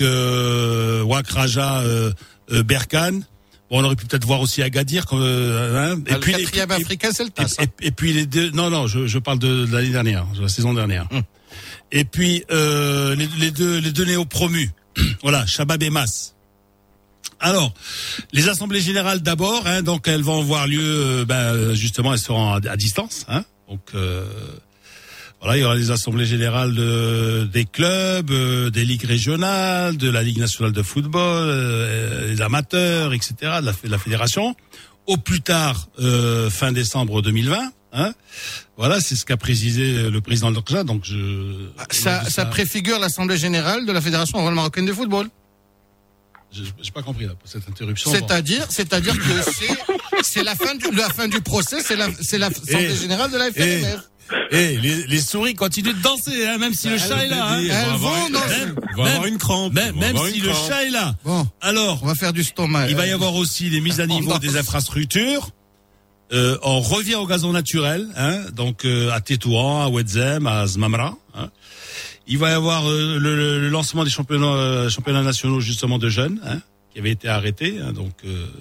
S3: Raja, Berkane. Bon, on aurait pu peut-être voir aussi Agadir. Hein.
S7: Et puis le 4e africain, c'est le TAS.
S3: Et puis les 2. Non, je parle de l'année dernière, de la saison dernière. Et puis les deux néo-promus. Voilà, Shabab et Mas. Alors, les assemblées générales d'abord, hein, donc elles vont avoir lieu, justement, elles seront à distance. Hein. Donc voilà, il y aura les assemblées générales des clubs, des ligues régionales, de la Ligue nationale de football, des amateurs, etc., de la fédération. Au plus tard, fin décembre 2020. Hein, voilà, c'est ce qu'a précisé le président de l'ORJA. Donc
S7: ça préfigure l'assemblée générale de la Fédération marocaine de football.
S3: J'ai pas compris là, pour cette interruption.
S7: C'est-à-dire que c'est la fin du procès, c'est l'assemblée générale de la FNF.
S3: Les souris continuent de danser, hein, même si le chat est là. Hein.
S7: Elles vont danser.
S2: On va avoir une crampe.
S3: Même si le chat est là.
S7: Bon.
S3: Alors,
S7: on va faire du stomac.
S3: Il va y avoir aussi les mises à niveau des infrastructures. On revient au gazon naturel, hein, donc à Tétouan, à Ouedzem, à Zmamra. Hein. Il va y avoir le lancement des championnats nationaux justement de jeunes, hein, qui avait été arrêté. Hein, donc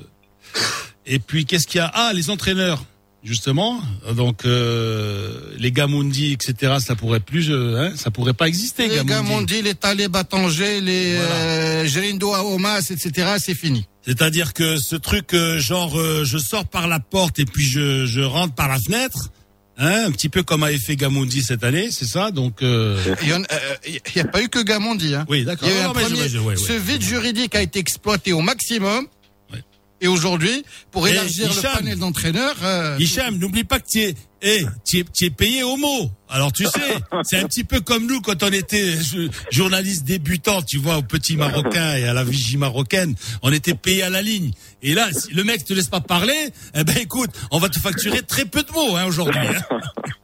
S3: et puis qu'est-ce qu'il y a ? Ah, les entraîneurs. Justement, donc les Gamondi, etc. Ça pourrait ça pourrait pas exister.
S7: Les Gamondi, les Taleb à Tanger, les Gerindo à Omas, etc. C'est fini.
S3: C'est-à-dire que ce truc genre je sors par la porte et puis je rentre par la fenêtre, hein, un petit peu comme avait fait Gamondi cette année, c'est ça. Donc
S7: il y a pas eu que Gamondi. Hein.
S3: Oui, d'accord.
S7: Il y a eu ce vide juridique a été exploité au maximum. Et aujourd'hui, pour élargir le panel d'entraîneurs...
S3: Hicham, n'oublie pas que tu es payé au mot. Alors tu sais, c'est un petit peu comme nous quand on était journaliste débutant, tu vois, au Petit Marocain et à la Vigie marocaine, on était payé à la ligne. Et là, si le mec te laisse pas parler, eh ben écoute, on va te facturer très peu de mots aujourd'hui. Hein.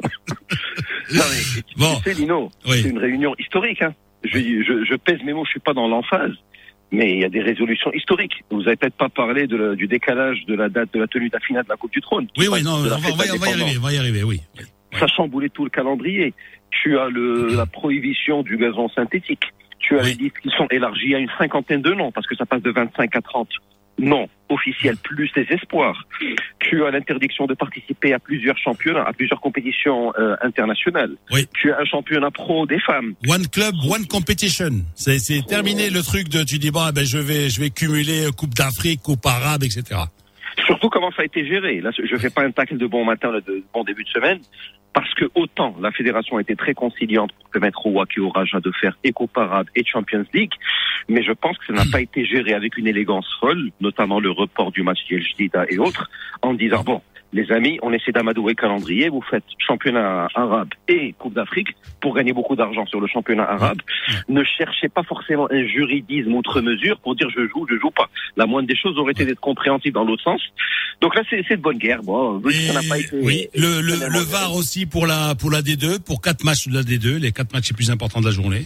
S8: Non mais,
S3: bon.
S8: Tu sais, Lino, c'est une réunion historique. Hein. Je pèse mes mots, je suis pas dans l'emphase. Mais il y a des résolutions historiques. Vous n'avez peut-être pas parlé du décalage de la date de la tenue de la finale de la Coupe du Trône.
S3: Oui, non, on va y arriver, oui.
S8: Ça chamboulait tout le calendrier. Tu as la prohibition du gazon synthétique. Tu as les listes qui sont élargies à une 50aine de noms, parce que ça passe de 25 à 30 noms officiels, plus les espoirs. Tu as l'interdiction de participer à plusieurs championnats, à plusieurs compétitions internationales.
S3: Oui.
S8: Tu as un championnat pro des femmes.
S3: One club, one competition. C'est terminé le truc de tu dis je vais cumuler Coupe d'Afrique, Coupe arabe, etc.
S8: Surtout comment ça a été géré. Là, je fais pas un tacle de bon matin, de bon début de semaine, parce que autant la fédération a été très conciliante pour permettre au Wak et au Raja de faire et Coupe arabe et Champions League, mais je pense que ça n'a pas été géré avec une élégance folle, notamment le report du match d'El Jdida et autres, en disant les amis, on essaie d'amadouer le calendrier, vous faites championnat arabe et Coupe d'Afrique pour gagner beaucoup d'argent sur le championnat arabe. Ne cherchez pas forcément un juridisme outre mesure pour dire je joue pas. La moindre des choses aurait été d'être compréhensible dans l'autre sens. Donc là, c'est de bonne guerre. Bon, ça n'a pas été.
S3: Oui, le VAR aussi pour la D2, pour 4 matchs de la D2, les 4 matchs les plus importants de la journée.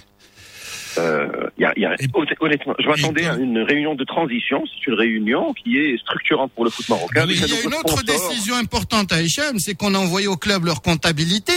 S8: Honnêtement, je m'attendais à une réunion de transition. C'est une réunion qui est structurante pour le foot marocain.
S7: Il y a une autre décision importante à Hicham, c'est qu'on a envoyé au club leur comptabilité,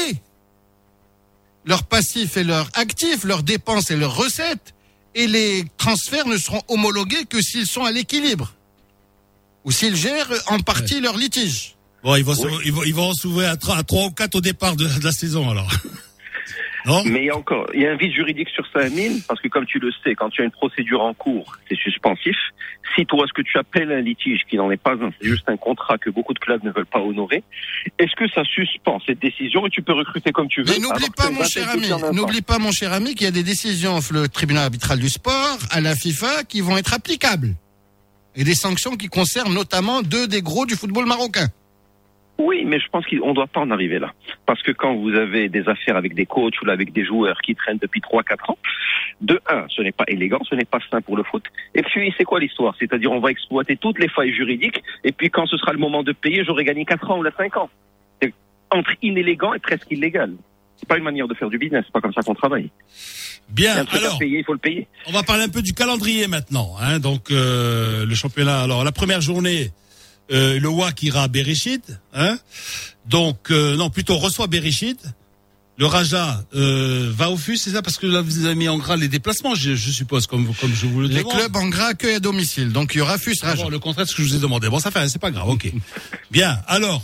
S7: leur passif et leur actif, leurs dépenses et leurs recettes, et les transferts ne seront homologués que s'ils sont à l'équilibre ou s'ils gèrent en partie leur litige.
S3: Bon, ils vont s'ouvrir à 3 ou 4 au départ de la saison alors. Non.
S8: Mais il y a un vide juridique sur ça, Amine, parce que comme tu le sais, quand tu as une procédure en cours, c'est suspensif. Si toi, ce que tu appelles un litige, qui n'en est pas un, c'est juste un contrat que beaucoup de clubs ne veulent pas honorer, est-ce que ça suspend cette décision et tu peux recruter comme tu veux?
S7: Mais n'oublie pas, mon cher ami, qu'il y a des décisions le tribunal arbitral du sport, à la FIFA, qui vont être applicables. Et des sanctions qui concernent notamment 2 des gros du football marocain.
S8: Oui, mais je pense qu'on ne doit pas en arriver là. Parce que quand vous avez des affaires avec des coachs ou avec des joueurs qui traînent depuis 3-4 ans, de un, ce n'est pas élégant, ce n'est pas sain pour le foot. Et puis, c'est quoi l'histoire? C'est-à-dire, on va exploiter toutes les failles juridiques, et puis quand ce sera le moment de payer, j'aurai gagné 4 ans ou 5 ans. C'est entre inélégant et presque illégal. C'est pas une manière de faire du business, c'est pas comme ça qu'on travaille.
S3: Bien,
S8: Un truc à payer, il faut le payer.
S3: On va parler un peu du calendrier maintenant. Hein. Donc, le championnat. Alors, la première journée, le WAC ira à Bereshit. Hein. Donc, non, plutôt reçoit Bereshit. Le Raja va au FUS, c'est ça? Parce que là, vous avez mis en gras les déplacements, je suppose, comme je vous le demande.
S7: Les clubs en gras accueillent à domicile. Donc, il y aura FUS Raja.
S3: Bon, le contraire de ce que je vous ai demandé. Bon, ça fait, c'est pas grave, ok. Bien. Alors,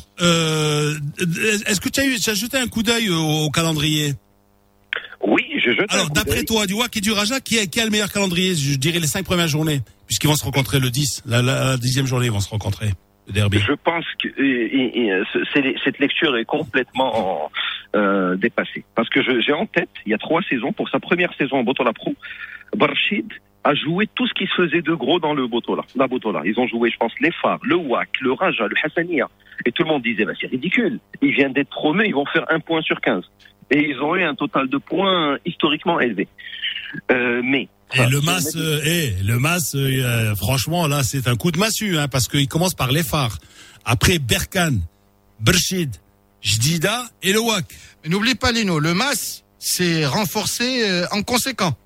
S3: est-ce que tu as jeté un coup d'œil au calendrier?
S8: Oui, je jette.
S3: Alors, d'après toi, du WAC et du Raja, qui a le meilleur calendrier? Je dirais les 5 premières journées, puisqu'ils vont se rencontrer le 10. La 10e journée, ils vont se rencontrer. Le derby.
S8: Je pense que cette lecture est complètement dépassée. Parce que j'ai en tête, il y a 3 saisons, pour sa première saison en Botola Pro, Barchid a joué tout ce qui se faisait de gros dans la Botola. Ils ont joué, je pense, les Phares, le WAC, le Raja, le Hassania. Et tout le monde disait, c'est ridicule. Ils viennent d'être promus, ils vont faire 1 point sur 15. Et ils ont eu un total de points historiquement élevé. Mais
S3: et le MAS, franchement, là, c'est un coup de massue, hein, parce qu'il commence par les Phares. Après, Berkane, Berchid, Jdida et le WAC.
S7: Mais n'oublie pas, Lino, le MAS s'est renforcé en conséquent.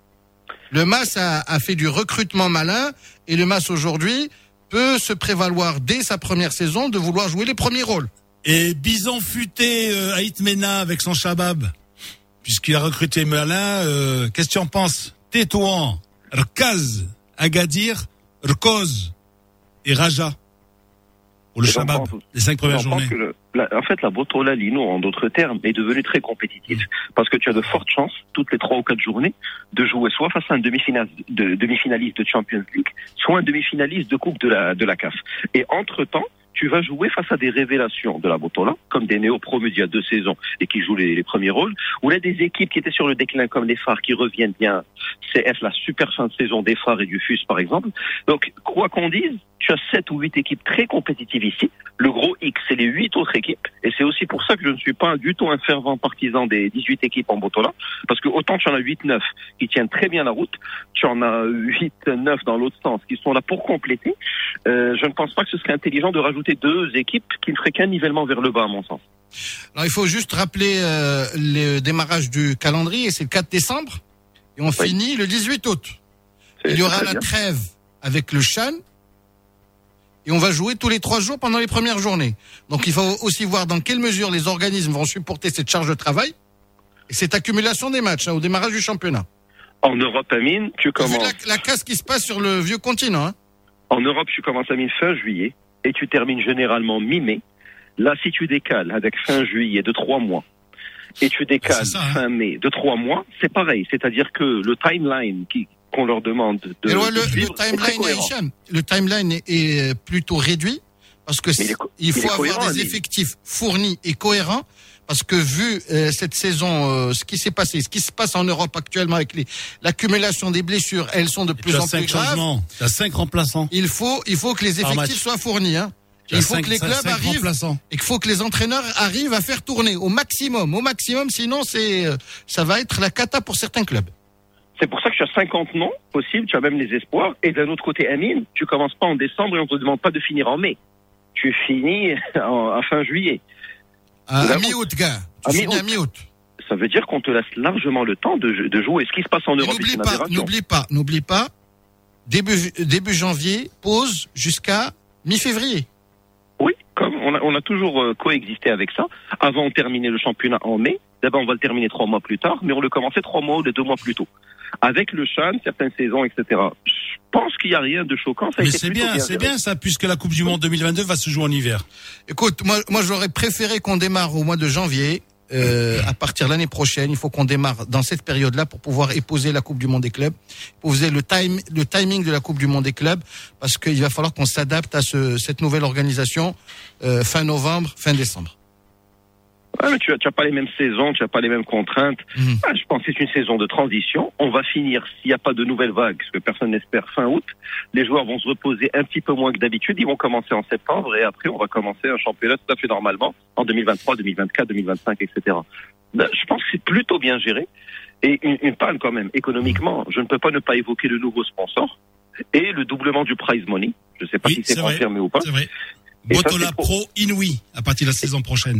S7: Le MAS a fait du recrutement malin et le MAS aujourd'hui peut se prévaloir dès sa première saison de vouloir jouer les premiers rôles.
S3: Et Bison futé Haït Mena avec son Shabab, puisqu'il a recruté malin, qu'est-ce que tu en penses? Tétouan, Rkaz, Agadir, Rkoz et Raja. Pour le Shabab, les 5 premières journées.
S8: En fait, la Botola Lino, en d'autres termes, est devenue très compétitive. Parce que tu as de fortes chances, toutes les 3 ou 4 journées, de jouer soit face à un demi-finaliste de Champions League, soit un demi-finaliste de Coupe de la CAF. Et entre-temps, tu vas jouer face à des révélations de la Botola, comme des néo-promus d'il y a 2 saisons et qui jouent les premiers rôles, ou là des équipes qui étaient sur le déclin comme les Phares qui reviennent bien, CF, la super fin de saison des Phares et du FUS par exemple. Donc, quoi qu'on dise, tu as 7 ou 8 équipes très compétitives ici. Le gros X, c'est les 8 autres équipes. Et c'est aussi pour ça que je ne suis pas du tout un fervent partisan des 18 équipes en Botola. Parce que autant tu en as 8-9 qui tiennent très bien la route, tu en as 8-9 dans l'autre sens qui sont là pour compléter. Je ne pense pas que ce serait intelligent de rajouter 2 équipes qui ne feraient qu'un nivellement vers le bas, à mon sens.
S7: Alors, il faut juste rappeler le démarrage du calendrier, c'est le 4 décembre. Et on finit le 18 août. Il y aura la trêve avec le Chan. Et on va jouer tous les 3 jours pendant les premières journées. Donc il faut aussi voir dans quelle mesure les organismes vont supporter cette charge de travail et cette accumulation des matchs au démarrage du championnat.
S8: En Europe, Amine, tu commences...
S7: Vu la casse qui se passe sur le vieux continent. Hein.
S8: En Europe, tu commences, Amine, fin juillet et tu termines généralement mi-mai. Là, si tu décales avec fin juillet de 3 mois et tu décales fin mai de 3 mois, c'est pareil. C'est-à-dire que le timeline qu'on leur demande de le
S7: timeline est plutôt réduit parce que il faut avoir des effectifs fournis et cohérents parce que vu cette saison ce qui s'est passé, ce qui se passe en Europe actuellement avec l'accumulation des blessures, elles sont de plus en plus graves.
S3: Il y a 5 remplaçants.
S7: Il faut que les effectifs soient fournis, hein. Il faut que les clubs arrivent et qu'il faut que les entraîneurs arrivent à faire tourner au maximum, sinon ça va être la cata pour certains clubs.
S8: C'est pour ça que tu as 50 noms possibles, tu as même les espoirs. Et d'un autre côté, Amine, tu commences pas en décembre et on te demande pas de finir en mai. Tu finis à fin juillet.
S7: À mi-août, gars. Tu finis à mi-août.
S8: Ça veut dire qu'on te laisse largement le temps de jouer. Ce qui se passe en Europe,
S7: N'oublie pas, début janvier, pause jusqu'à mi-février.
S8: Oui, comme on a toujours coexisté avec ça. Avant, on terminait le championnat en mai. D'abord, on va le terminer 3 mois plus tard, mais on le commençait 3 mois ou 2 mois plus tôt. Avec le Chan, certaines saisons, etc. Je pense qu'il n'y a rien de choquant.
S3: Mais c'est bien ça, puisque la Coupe du Monde 2022 va se jouer en hiver.
S7: Écoute, moi j'aurais préféré qu'on démarre au mois de janvier. À partir de l'année prochaine, il faut qu'on démarre dans cette période-là pour pouvoir épouser la Coupe du Monde des clubs, épouser le timing de la Coupe du Monde des clubs, parce qu'il va falloir qu'on s'adapte à cette nouvelle organisation fin novembre, fin décembre.
S8: Ouais, mais tu as pas les mêmes saisons, tu as pas les mêmes contraintes. Je pense que c'est une saison de transition. On va finir, s'il n'y a pas de nouvelles vagues, ce que personne n'espère, fin août. Les joueurs vont se reposer un petit peu moins que d'habitude. Ils vont commencer en septembre et après, on va commencer un championnat tout à fait normalement en 2023, 2024, 2025, etc. Je pense que c'est plutôt bien géré. Et une panne quand même, économiquement, je ne peux pas ne pas évoquer le nouveau sponsor et le doublement du prize money. Je ne sais pas si c'est confirmé ou pas.
S3: C'est vrai. Botola Pro Inouï à partir de la saison prochaine.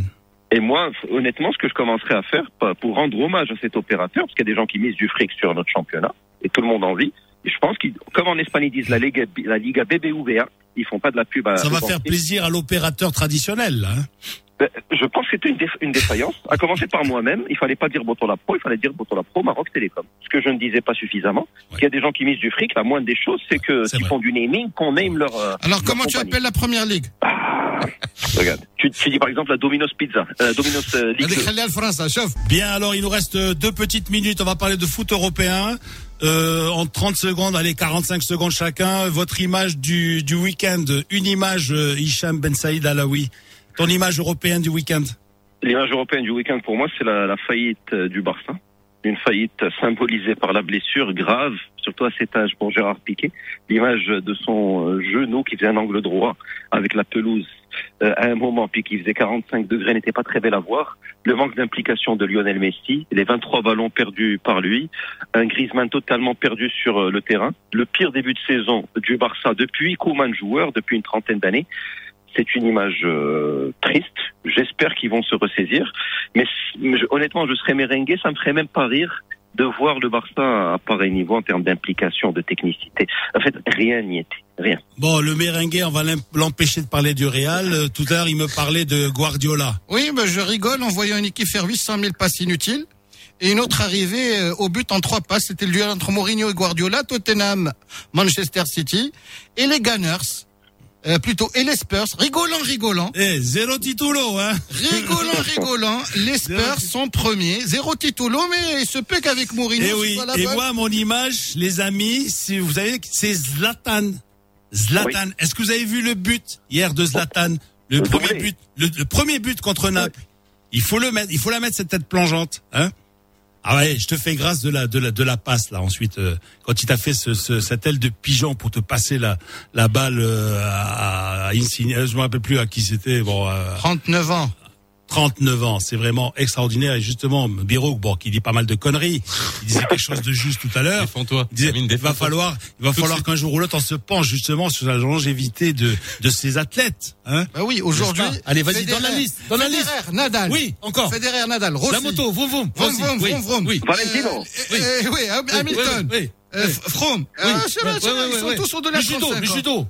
S8: Et moi, honnêtement, ce que je commencerai à faire pour rendre hommage à cet opérateur, parce qu'il y a des gens qui misent du fric sur notre championnat, et tout le monde en vit, et je pense qu'ils, comme en Espagne ils disent la Liga BBVA, ils font pas de la pub à...
S3: Ça va faire plaisir à l'opérateur traditionnel, là, hein.
S8: Je pense que c'était une défaillance. À commencer par moi-même, il fallait pas dire Botola Pro, il fallait dire Botola Pro Maroc Télécom. Ce que je ne disais pas suffisamment. Il y a des gens qui misent du fric, la moindre des choses, c'est que s'ils font du naming, qu'on name leur...
S7: Alors comment tu appelles la première ligue?
S8: Regarde, tu dis par exemple la Domino's Pizza, Domino's Ligue.
S3: Bien, alors il nous reste 2 petites minutes, on va parler de foot européen. En 30 secondes, allez, 45 secondes chacun, votre image du week-end, une image, Hicham Ben Saïd Alaoui. Ton image européenne du week-end?
S8: L'image européenne du week-end pour moi, c'est la faillite du Barça. Une faillite symbolisée par la blessure grave, surtout à cet âge pour Gérard Piqué. L'image de son genou qui faisait un angle droit avec la pelouse à un moment, puis qui faisait 45 degrés, n'était pas très belle à voir. Le manque d'implication de Lionel Messi, les 23 ballons perdus par lui, un Griezmann totalement perdu sur le terrain. Le pire début de saison du Barça depuis Koeman joueur, depuis une trentaine d'années. C'est une image triste. J'espère qu'ils vont se ressaisir. Mais honnêtement, je serais merengue, ça me ferait même pas rire de voir le Barça à pareil niveau en termes d'implication, de technicité. En fait, rien n'y était. Rien.
S3: Bon, le merengue, on va l'empêcher de parler du Real. Tout à l'heure, il me parlait de Guardiola.
S7: Oui, je rigole en voyant une équipe faire 800 000 passes inutiles. Et une autre arrivée au but en 3 passes. C'était le duel entre Mourinho et Guardiola, Tottenham, Manchester City. Et les Gunners. Et les Spurs, rigolant.
S3: Zéro titulo, hein.
S7: Rigolant. Les Spurs sont premiers, 0 titulo, mais il se peut qu'avec Mourinho,
S3: et oui. Et moi, mon image, les amis, si vous savez, c'est Zlatan. Oui. Est-ce que vous avez vu le but hier de Zlatan? Le premier but contre Naples. Il faut la mettre cette tête plongeante, hein. Ah ouais, je te fais grâce de la passe là. Ensuite, quand il t'a fait cette aile de pigeon pour te passer la balle à Insigne, je me rappelle plus à qui c'était. Bon,
S7: 39 ans.
S3: 39 ans, c'est vraiment extraordinaire. Et justement, Birouk, qui dit pas mal de conneries, il disait quelque chose de juste tout à l'heure.
S2: Défends-toi.
S3: Il disait, il va falloir qu'un jour ou l'autre on se penche justement sur la longévité de ces athlètes, hein.
S7: Bah oui, aujourd'hui.
S3: Allez, vas-y, dans la liste.
S7: Federer, Nadal.
S3: Oui, encore.
S7: Federer, Nadal, Rossi.
S3: La moto, vroom.
S7: Oui.
S8: Valentino.
S7: Oui, Hamilton.
S3: Oui.
S7: Froome. Ils sont tous au-delà de 35 ans.
S3: Le judo.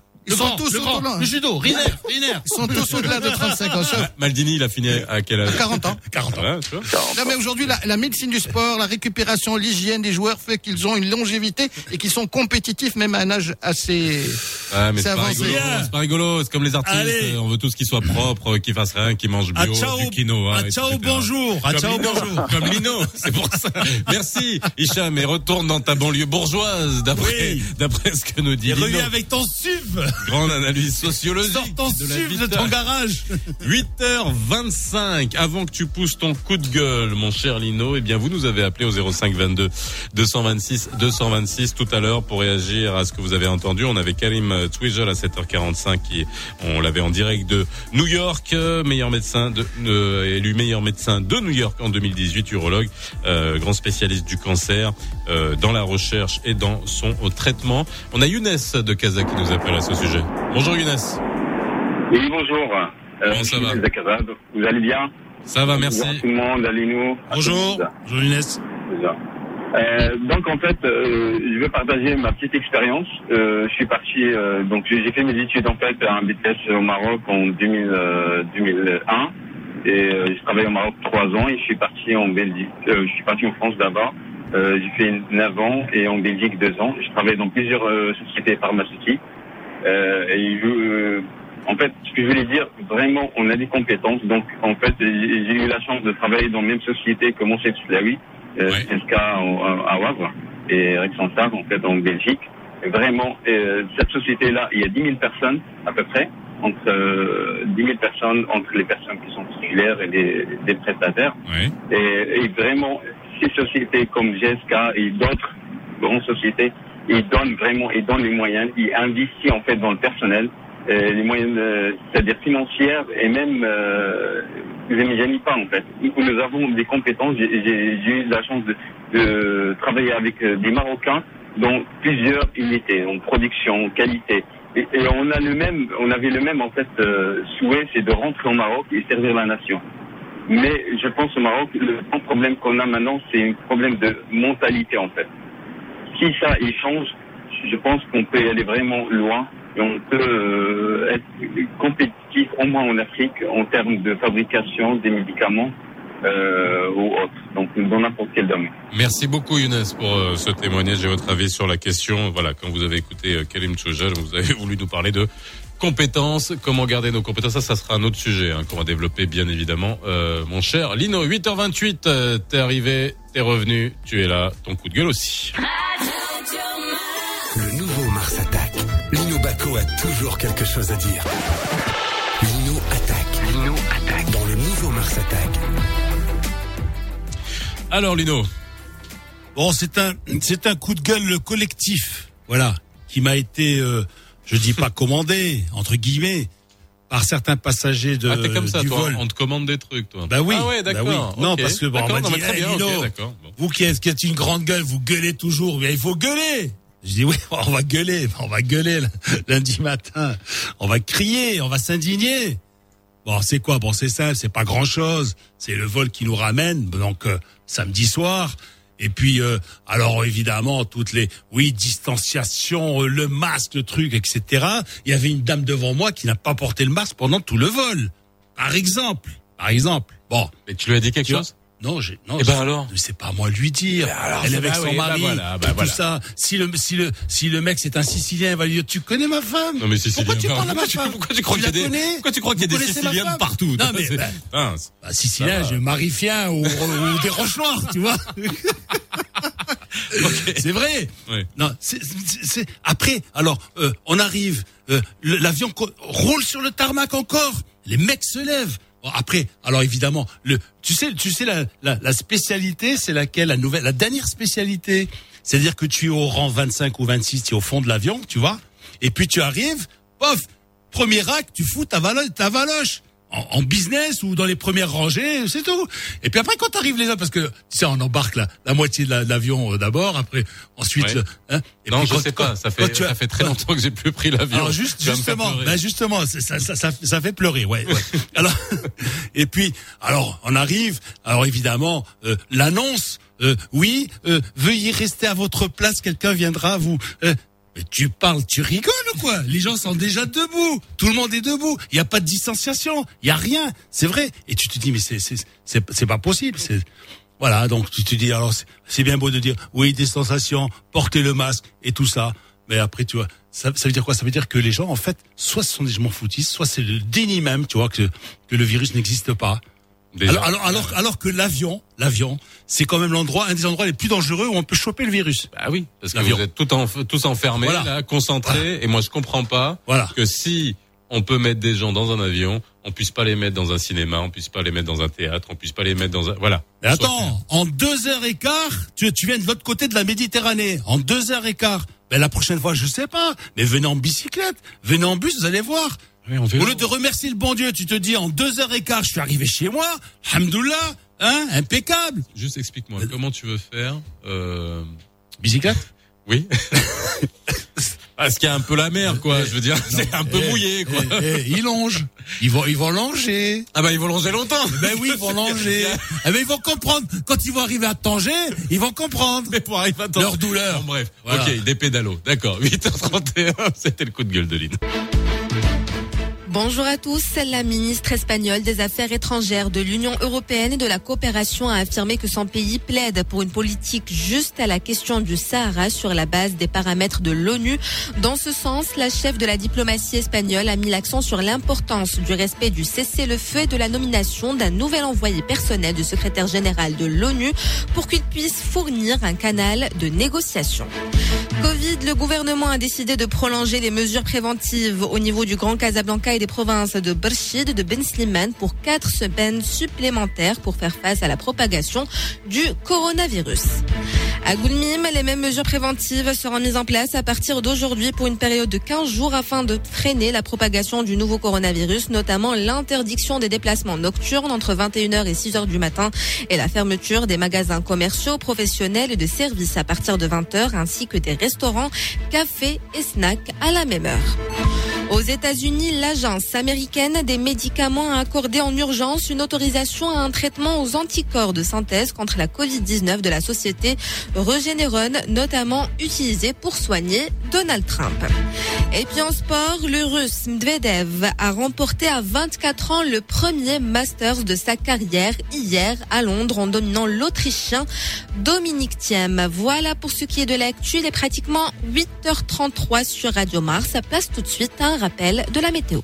S7: Le judo, Riner. Ils sont tous au-delà de 35 ans.
S2: Maldini, il a fini à quel âge?
S7: 40 ans.
S3: 40 ans.
S2: Ouais, tu vois.
S7: Non, mais aujourd'hui, la médecine du sport, la récupération, l'hygiène des joueurs fait qu'ils ont une longévité et qu'ils sont compétitifs même à un âge assez
S2: mais c'est pas rigolo. C'est comme les artistes. Allez. On veut tous qu'ils soient propres, qu'ils fassent rien, qu'ils mangent bio, du quinoa.
S3: Ciao, bonjour.
S2: Comme Lino. C'est pour ça. Merci, Hicham. Et retourne dans ta banlieue bourgeoise, d'après ce que nous dit Lino.
S3: Et reviens avec ton SUV.
S2: Grande analyse sociologique.
S3: Sors ton SUV de ton garage.
S2: 8h25. Avant que tu pousses ton coup de gueule, mon cher Lino, eh bien, vous nous avez appelé au 05 22 226 226 tout à l'heure pour réagir à ce que vous avez entendu. On avait Karim Twijel à 7h45 on l'avait en direct de New York, meilleur médecin élu meilleur médecin de New York en 2018, urologue, grand spécialiste du cancer, dans la recherche et dans son traitement. On a Younes de Casa qui nous appelle à ce sujet. Bonjour Younes.
S9: Oui, bonjour.
S2: Comment ça va?
S9: Vous allez bien?
S2: Ça va, merci.
S9: Bonjour tout le monde, allez-nous.
S3: Bonjour Younes.
S9: Donc en fait, je vais partager ma petite expérience. Je suis parti, donc j'ai fait mes études en fait à un BTS au Maroc en 2001 et j'ai travaillé au Maroc 3 ans et je suis parti en Belgique. Je suis parti en France d'abord. J'ai fait 9 ans et en Belgique 2 ans. Je travaille dans plusieurs sociétés pharmaceutiques. En fait, ce que je voulais dire, vraiment, on a des compétences. Donc, en fait, j'ai eu la chance de travailler dans la même société que mon chef Slaoui, SK à Wavre et Rexenstar, en fait, en Belgique. Et vraiment, cette société-là, il y a 10 000 personnes, à peu près, entre 10 000 personnes, entre les personnes qui sont titulaires et des prestataires.
S2: Oui.
S9: Et vraiment, ces sociétés comme GSK et d'autres grandes sociétés, ils donnent les moyens, ils investissent en fait dans le personnel, les moyens, c'est-à-dire financières et même, vous n'imaginez pas en fait. Nous avons des compétences. J'ai eu la chance de travailler avec des Marocains dans plusieurs unités, en production, qualité. Et on avait le même en fait souhait, c'est de rentrer au Maroc et servir la nation. Mais je pense au Maroc, le grand problème qu'on a maintenant, c'est un problème de mentalité en fait. Si ça il change, je pense qu'on peut y aller vraiment loin et on peut être compétitif au moins en Afrique en termes de fabrication des médicaments ou autres, donc dans n'importe quel domaine.
S2: Merci beaucoup Younes pour ce témoignage et votre avis sur la question. Voilà, quand vous avez écouté Karim Tchouja, vous avez voulu nous parler de compétences, comment garder nos compétences, ça sera un autre sujet qu'on va développer bien évidemment. Mon cher Lino, 8h28, t'es arrivé, t'es revenu, tu es là, ton coup de gueule aussi.
S1: Le nouveau Mars Attack. Lino Bacco a toujours quelque chose à dire. Lino attaque. Dans le nouveau Mars Attack.
S2: Alors Lino.
S3: Bon, c'est un coup de gueule collectif, voilà, qui m'a été, je dis pas commandé, entre guillemets, par certains passagers de
S2: t'es comme ça,
S3: du
S2: toi,
S3: vol.
S2: on te commande des trucs, toi.
S3: Bah oui.
S2: Ah ouais, d'accord.
S3: Bah oui. Non,
S2: okay.
S3: parce que bon, on m'a dit,
S2: très bien,
S3: Lino,
S2: d'accord. Bon.
S3: vous qui êtes une grande gueule, vous gueulez toujours. Mais il faut gueuler. Je dis oui, on va gueuler lundi matin. On va crier, on va s'indigner. Bon, c'est quoi? Bon, c'est simple, c'est pas grand-chose. C'est le vol qui nous ramène, donc samedi soir. Et puis, alors évidemment, toutes les, distanciation, le masque, le truc, etc. Il y avait une dame devant moi qui n'a pas porté le masque pendant tout le vol. Par exemple. Bon.
S2: Mais tu lui as dit quelque chose?
S3: Non,
S2: et ben alors?
S3: C'est pas à moi de lui dire.
S2: Alors,
S3: elle est avec son mari. Tout ça. Si le mec c'est un Sicilien, il va lui dire, tu connais ma femme?
S2: Non, mais Sicilien.
S3: Pourquoi tu parles à ma femme?
S2: Pourquoi tu crois qu'il y a des Siciliens partout?
S3: Non, mais, Sicilien, je marifien ou des roches noires, tu vois. Okay. C'est vrai. Oui. Non, c'est après. Alors, on arrive. L'avion roule sur le tarmac encore. Les mecs se lèvent. Bon, après, alors évidemment, tu sais la spécialité, c'est laquelle? La dernière spécialité, c'est-à-dire que tu es au rang 25 ou 26, tu es au fond de l'avion, tu vois. Et puis tu arrives, pof, premier rack, tu fous ta valoche. En business ou dans les premières rangées, c'est tout. Et puis après, quand t'arrives les autres, parce que tu sais, on embarque la moitié de l'avion d'abord, après, ensuite.
S2: Ouais. Et non, puis je sais pas. Ça fait très longtemps que j'ai plus pris l'avion.
S3: Alors justement, ça fait pleurer, ouais. Alors, et puis, alors on arrive. Alors évidemment, l'annonce. Veuillez rester à votre place. Quelqu'un viendra vous. Mais tu parles, tu rigoles ou quoi? Les gens sont déjà debout. Tout le monde est debout. Il y a pas de distanciation. Il y a rien. C'est vrai. Et tu te dis, mais c'est pas possible. Voilà. Donc, tu te dis, alors, c'est bien beau de dire, distanciation, portez le masque et tout ça. Mais après, tu vois, ça veut dire quoi? Ça veut dire que les gens, en fait, soit ce sont des gens foutistes, soit c'est le déni même, tu vois, que le virus n'existe pas. Alors que l'avion, c'est quand même un des endroits les plus dangereux où on peut choper le virus.
S2: Bah oui, parce que vous êtes tous enfermés, là, concentrés, voilà. Et moi je comprends pas que si on peut mettre des gens dans un avion, on puisse pas les mettre dans un cinéma, on puisse pas les mettre dans un théâtre, on puisse pas les mettre dans un, voilà.
S3: Mais attends, en 2h15, tu viens de l'autre côté de la Méditerranée, en 2h15. Ben la prochaine fois, je sais pas, mais venez en bicyclette, venez en bus, vous allez voir. Oui, au lieu de remercier le bon Dieu, tu te dis en 2h15, je suis arrivé chez moi, alhamdoulilah, impeccable.
S2: Juste explique-moi, comment tu veux faire
S3: bicyclette?
S2: Oui. Parce qu'il y a un peu la mer, quoi. Je veux dire, c'est un peu mouillé, quoi.
S3: Ils longent. Ils vont longer.
S2: Ah bah ils vont longer longtemps.
S3: Ben oui, ils vont longer. Ben ils vont comprendre. Quand ils vont arriver à Tanger, ils vont comprendre.
S2: Mais pour arriver à Tanger,
S3: leur douleur.
S2: Bon, bref. Voilà. Ok, des pédalos. D'accord. 8h31, c'était le coup de gueule de Lynn.
S6: Bonjour à tous. La ministre espagnole des Affaires étrangères de l'Union européenne et de la coopération a affirmé que son pays plaide pour une politique juste à la question du Sahara sur la base des paramètres de l'ONU. Dans ce sens, la chef de la diplomatie espagnole a mis l'accent sur l'importance du respect du cessez-le-feu et de la nomination d'un nouvel envoyé personnel du secrétaire général de l'ONU pour qu'il puisse fournir un canal de négociation. Covid, le gouvernement a décidé de prolonger les mesures préventives au niveau du Grand Casablanca et des provinces de Berchid et de Ben Slimane pour 4 semaines supplémentaires pour faire face à la propagation du coronavirus. À Goulmim, les mêmes mesures préventives seront mises en place à partir d'aujourd'hui pour une période de 15 jours afin de freiner la propagation du nouveau coronavirus, notamment l'interdiction des déplacements nocturnes entre 21h et 6h du matin et la fermeture des magasins commerciaux, professionnels et de services à partir de 20h ainsi que des restaurants, cafés et snacks à la même heure. Aux États-Unis, l'agence américaine des médicaments a accordé en urgence une autorisation à un traitement aux anticorps de synthèse contre la Covid-19 de la société Regeneron, notamment utilisé pour soigner Donald Trump. Et puis en sport, le Russe Medvedev a remporté à 24 ans le premier Masters de sa carrière hier à Londres en dominant l'Autrichien Dominic Thiem. Voilà pour ce qui est de l'actu. Il est pratiquement 8h33 sur Radio Mars. Ça place tout de suite à un rappel de la météo.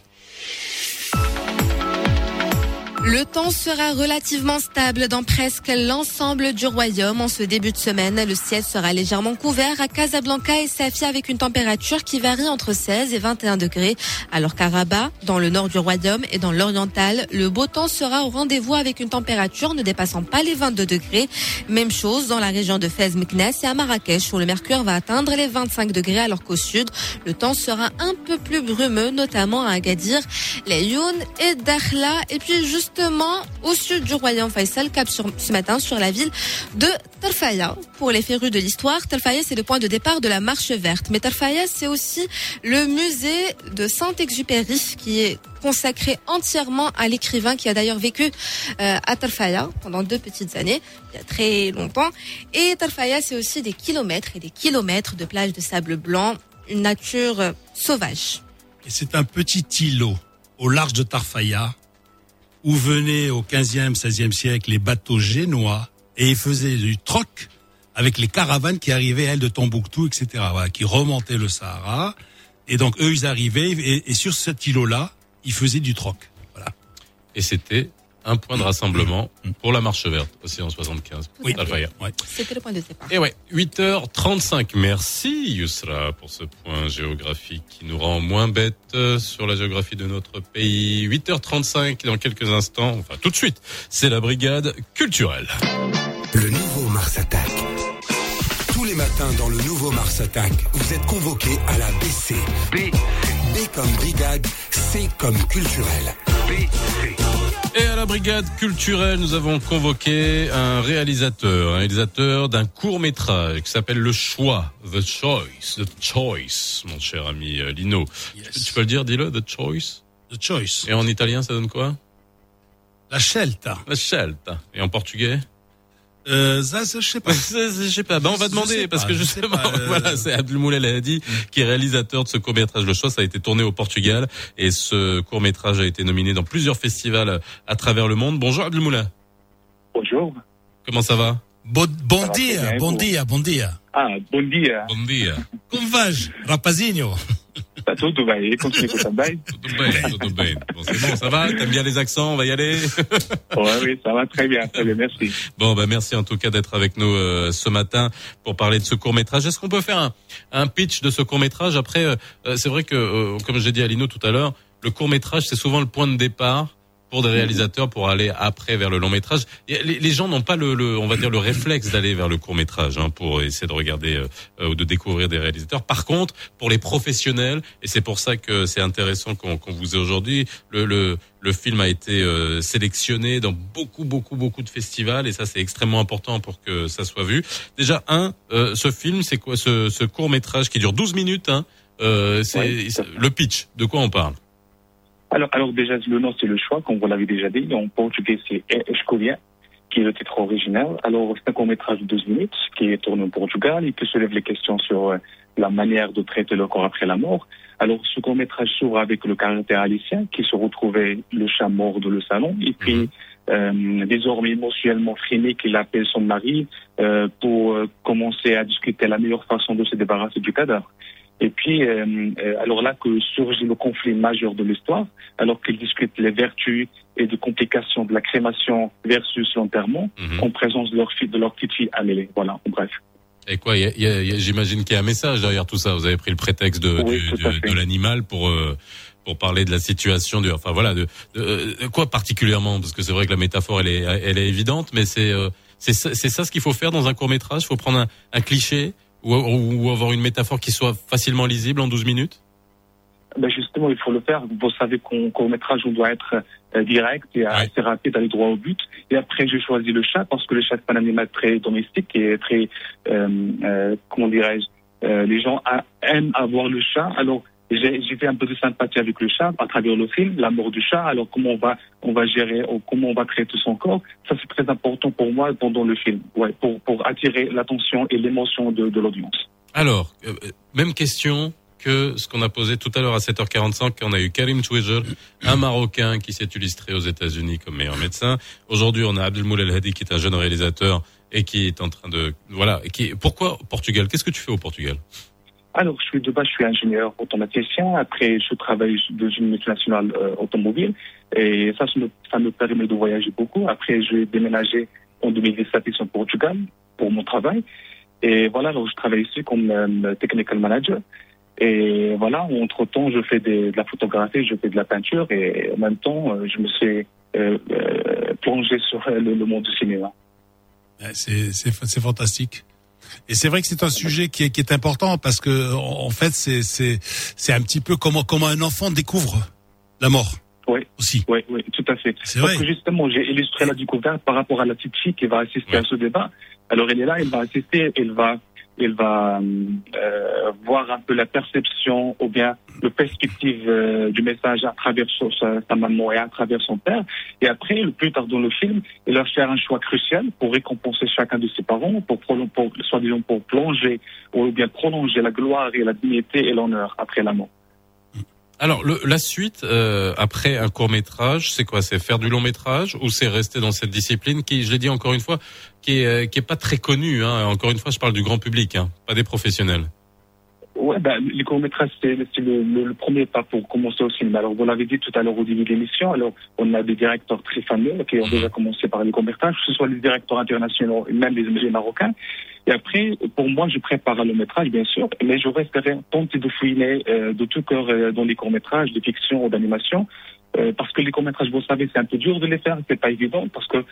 S6: Le temps sera relativement stable dans presque l'ensemble du royaume en ce début de semaine. Le ciel sera légèrement couvert à Casablanca et Safia avec une température qui varie entre 16 et 21 degrés. Alors qu'à Rabat, dans le nord du royaume et dans l'oriental, le beau temps sera au rendez-vous avec une température ne dépassant pas les 22 degrés. Même chose dans la région de Fès, Meknès et à Marrakech où le mercure va atteindre les 25 degrés alors qu'au sud, le temps sera un peu plus brumeux, notamment à Agadir, les Youn et Dakhla. Et puis justement au sud du royaume Faisal, cap ce matin sur la ville de Tarfaya. Pour les férus de l'histoire, Tarfaya c'est le point de départ de la marche verte. Mais Tarfaya c'est aussi le musée de Saint-Exupéry qui est consacré entièrement à l'écrivain qui a d'ailleurs vécu à Tarfaya pendant 2 petites années, il y a très longtemps. Et Tarfaya c'est aussi des kilomètres et des kilomètres de plages de sable blanc, une nature sauvage.
S3: Et c'est un petit îlot au large de Tarfaya où venaient au 15e, 16e siècle les bateaux génois et ils faisaient du troc avec les caravanes qui arrivaient, elles, de Tombouctou, etc., voilà, qui remontaient le Sahara. Et donc, eux, ils arrivaient et sur cet îlot-là, ils faisaient du troc. Voilà.
S2: Et c'était un point de rassemblement pour la marche verte, aussi en 75.
S6: Oui.
S2: Ouais.
S6: C'était le point de départ.
S2: Et ouais, 8h35. Merci Yousra pour ce point géographique qui nous rend moins bêtes sur la géographie de notre pays. 8h35 dans quelques instants, enfin tout de suite, c'est la brigade culturelle.
S1: Le nouveau Mars Attack. Tous les matins dans le nouveau Mars Attack, vous êtes convoqués à la BC. B comme brigade, C comme culturel. BC.
S2: Et à la brigade culturelle, nous avons convoqué un réalisateur d'un court-métrage qui s'appelle Le Choix, The Choice, mon cher ami Lino. Yes. Tu peux le dire, dis-le, The Choice.
S3: The Choice.
S2: Et en italien, ça donne quoi?
S3: La scelta.
S2: La scelta. Et en portugais?
S3: Ça, je sais pas.
S2: Je sais pas. Ben, on va demander parce que justement, voilà, c'est Abdelmoulel Hadi qui est réalisateur de ce court-métrage Le Choix. Ça a été tourné au Portugal et ce court-métrage a été nominé dans plusieurs festivals à travers le monde. Bonjour Abdelmoulel.
S10: Bonjour.
S2: Comment ça va?
S3: Bon dia.
S10: Ah, bon dia.
S2: Bom dia.
S3: Como vais, rapazinho?
S10: Tá tudo bem, continue também.
S2: Tudo bem. Bon, c'est bon, ça va? T'aimes bien les accents? On va y aller?
S10: Oui, ça va très bien, merci.
S2: Bon, merci en tout cas d'être avec nous ce matin pour parler de ce court-métrage. Est-ce qu'on peut faire un pitch de ce court-métrage? Après, c'est vrai que, comme j'ai dit à Lino tout à l'heure, le court-métrage, c'est souvent le point de départ pour des réalisateurs pour aller après vers le long métrage. Les gens n'ont pas on va dire le réflexe d'aller vers le court métrage pour essayer de regarder ou de découvrir des réalisateurs. Par contre, pour les professionnels, et c'est pour ça que c'est intéressant qu'on vous ait aujourd'hui, le film a été sélectionné dans beaucoup de festivals et ça c'est extrêmement important pour que ça soit vu. Déjà ce film, c'est quoi ce court métrage qui dure 12 minutes le pitch, de quoi on parle?
S10: Alors déjà, le nom, c'est Le Choix, comme vous l'avez déjà dit. En portugais, c'est Escolha, qui est le titre original. Alors, c'est un court-métrage de 12 minutes qui est tourné au Portugal et qui soulève les questions sur la manière de traiter le corps après la mort. Alors, ce court-métrage s'ouvre avec le caractère Alicien, qui se retrouvait le chat mort dans le salon. Et puis, désormais émotionnellement freiné, qu'il appelle son mari pour commencer à discuter la meilleure façon de se débarrasser du cadavre. Et puis, alors là que surgit le conflit majeur de l'histoire, alors qu'ils discutent les vertus et les complications de la crémation versus l'enterrement, en présence de leur petite fille Amélie. Voilà, en bref.
S2: Et quoi, j'imagine qu'il y a un message derrière tout ça. Vous avez pris le prétexte de l'animal pour parler de la situation de quoi particulièrement, parce que c'est vrai que la métaphore elle est évidente, mais c'est ça ce qu'il faut faire dans un court-métrage. Il faut prendre un cliché ou avoir une métaphore qui soit facilement lisible en 12 minutes?
S10: Justement, il faut le faire. Vous savez qu'en court-métrage, on doit être direct et assez rapide, aller droit au but. Et après, j'ai choisi le chat parce que le chat, c'est un animal très domestique et très, comment dirais-je, les gens aiment avoir le chat. Alors, j'ai fait un peu de sympathie avec le chat à travers le film, la mort du chat. Alors comment on va gérer, comment on va traiter son corps, ça c'est très important pour moi pendant le film, ouais, pour attirer l'attention et l'émotion de l'audience.
S2: Alors, même question que ce qu'on a posé tout à l'heure à 7h45, quand on a eu Karim Twijer, un Marocain qui s'est illustré aux États-Unis comme meilleur médecin. Aujourd'hui, on a Abdelmoula El Hadi qui est un jeune réalisateur et qui est en train de, voilà, pourquoi au Portugal? Qu'est-ce que tu fais au Portugal?
S10: Alors, je suis ingénieur automaticien. Après, je travaille dans une multinationale automobile. Et ça me permet de voyager beaucoup. Après, je vais déménager en 2017 ici au Portugal pour mon travail. Et voilà, alors je travaille ici comme technical manager. Et voilà, entre-temps, je fais de la photographie, je fais de la peinture. Et en même temps, je me suis plongé sur le monde du cinéma.
S3: C'est fantastique. Et c'est vrai que c'est un sujet qui est important parce que en fait c'est un petit peu comment un enfant découvre la mort.
S10: Oui,
S3: aussi.
S10: Oui, tout à fait.
S3: C'est
S10: parce
S3: vrai.
S10: Que justement, j'ai illustré la découverte par rapport à la petite fille qui va assister à ce débat. Alors elle est là, elle va assister, elle va voir un peu la perception ou bien le perspective du message à travers sa maman et à travers son père. Et après, plus tard dans le film, il va faire un choix crucial pour récompenser chacun de ses parents, pour plonger ou bien prolonger la gloire et la dignité et l'honneur après la mort.
S2: Alors, la suite, après un court-métrage, c'est quoi? C'est faire du long-métrage ou c'est rester dans cette discipline qui, je l'ai dit encore une fois, qui est pas très connue, hein. Encore une fois, je parle du grand public, hein, pas des professionnels.
S10: Ouais, les courts-métrages, c'est le premier pas pour commencer au cinéma. Alors, vous l'avez dit tout à l'heure au début de l'émission, alors, on a des directeurs très fameux qui ont déjà commencé par les courts-métrages, que ce soit les directeurs internationaux et même les marocains. Et après, pour moi, je prépare le métrage, bien sûr, mais je resterai tenté de fouiner de tout cœur dans les courts-métrages, de fiction ou d'animation, parce que les courts-métrages, vous savez, c'est un peu dur de les faire, c'est pas évident, parce que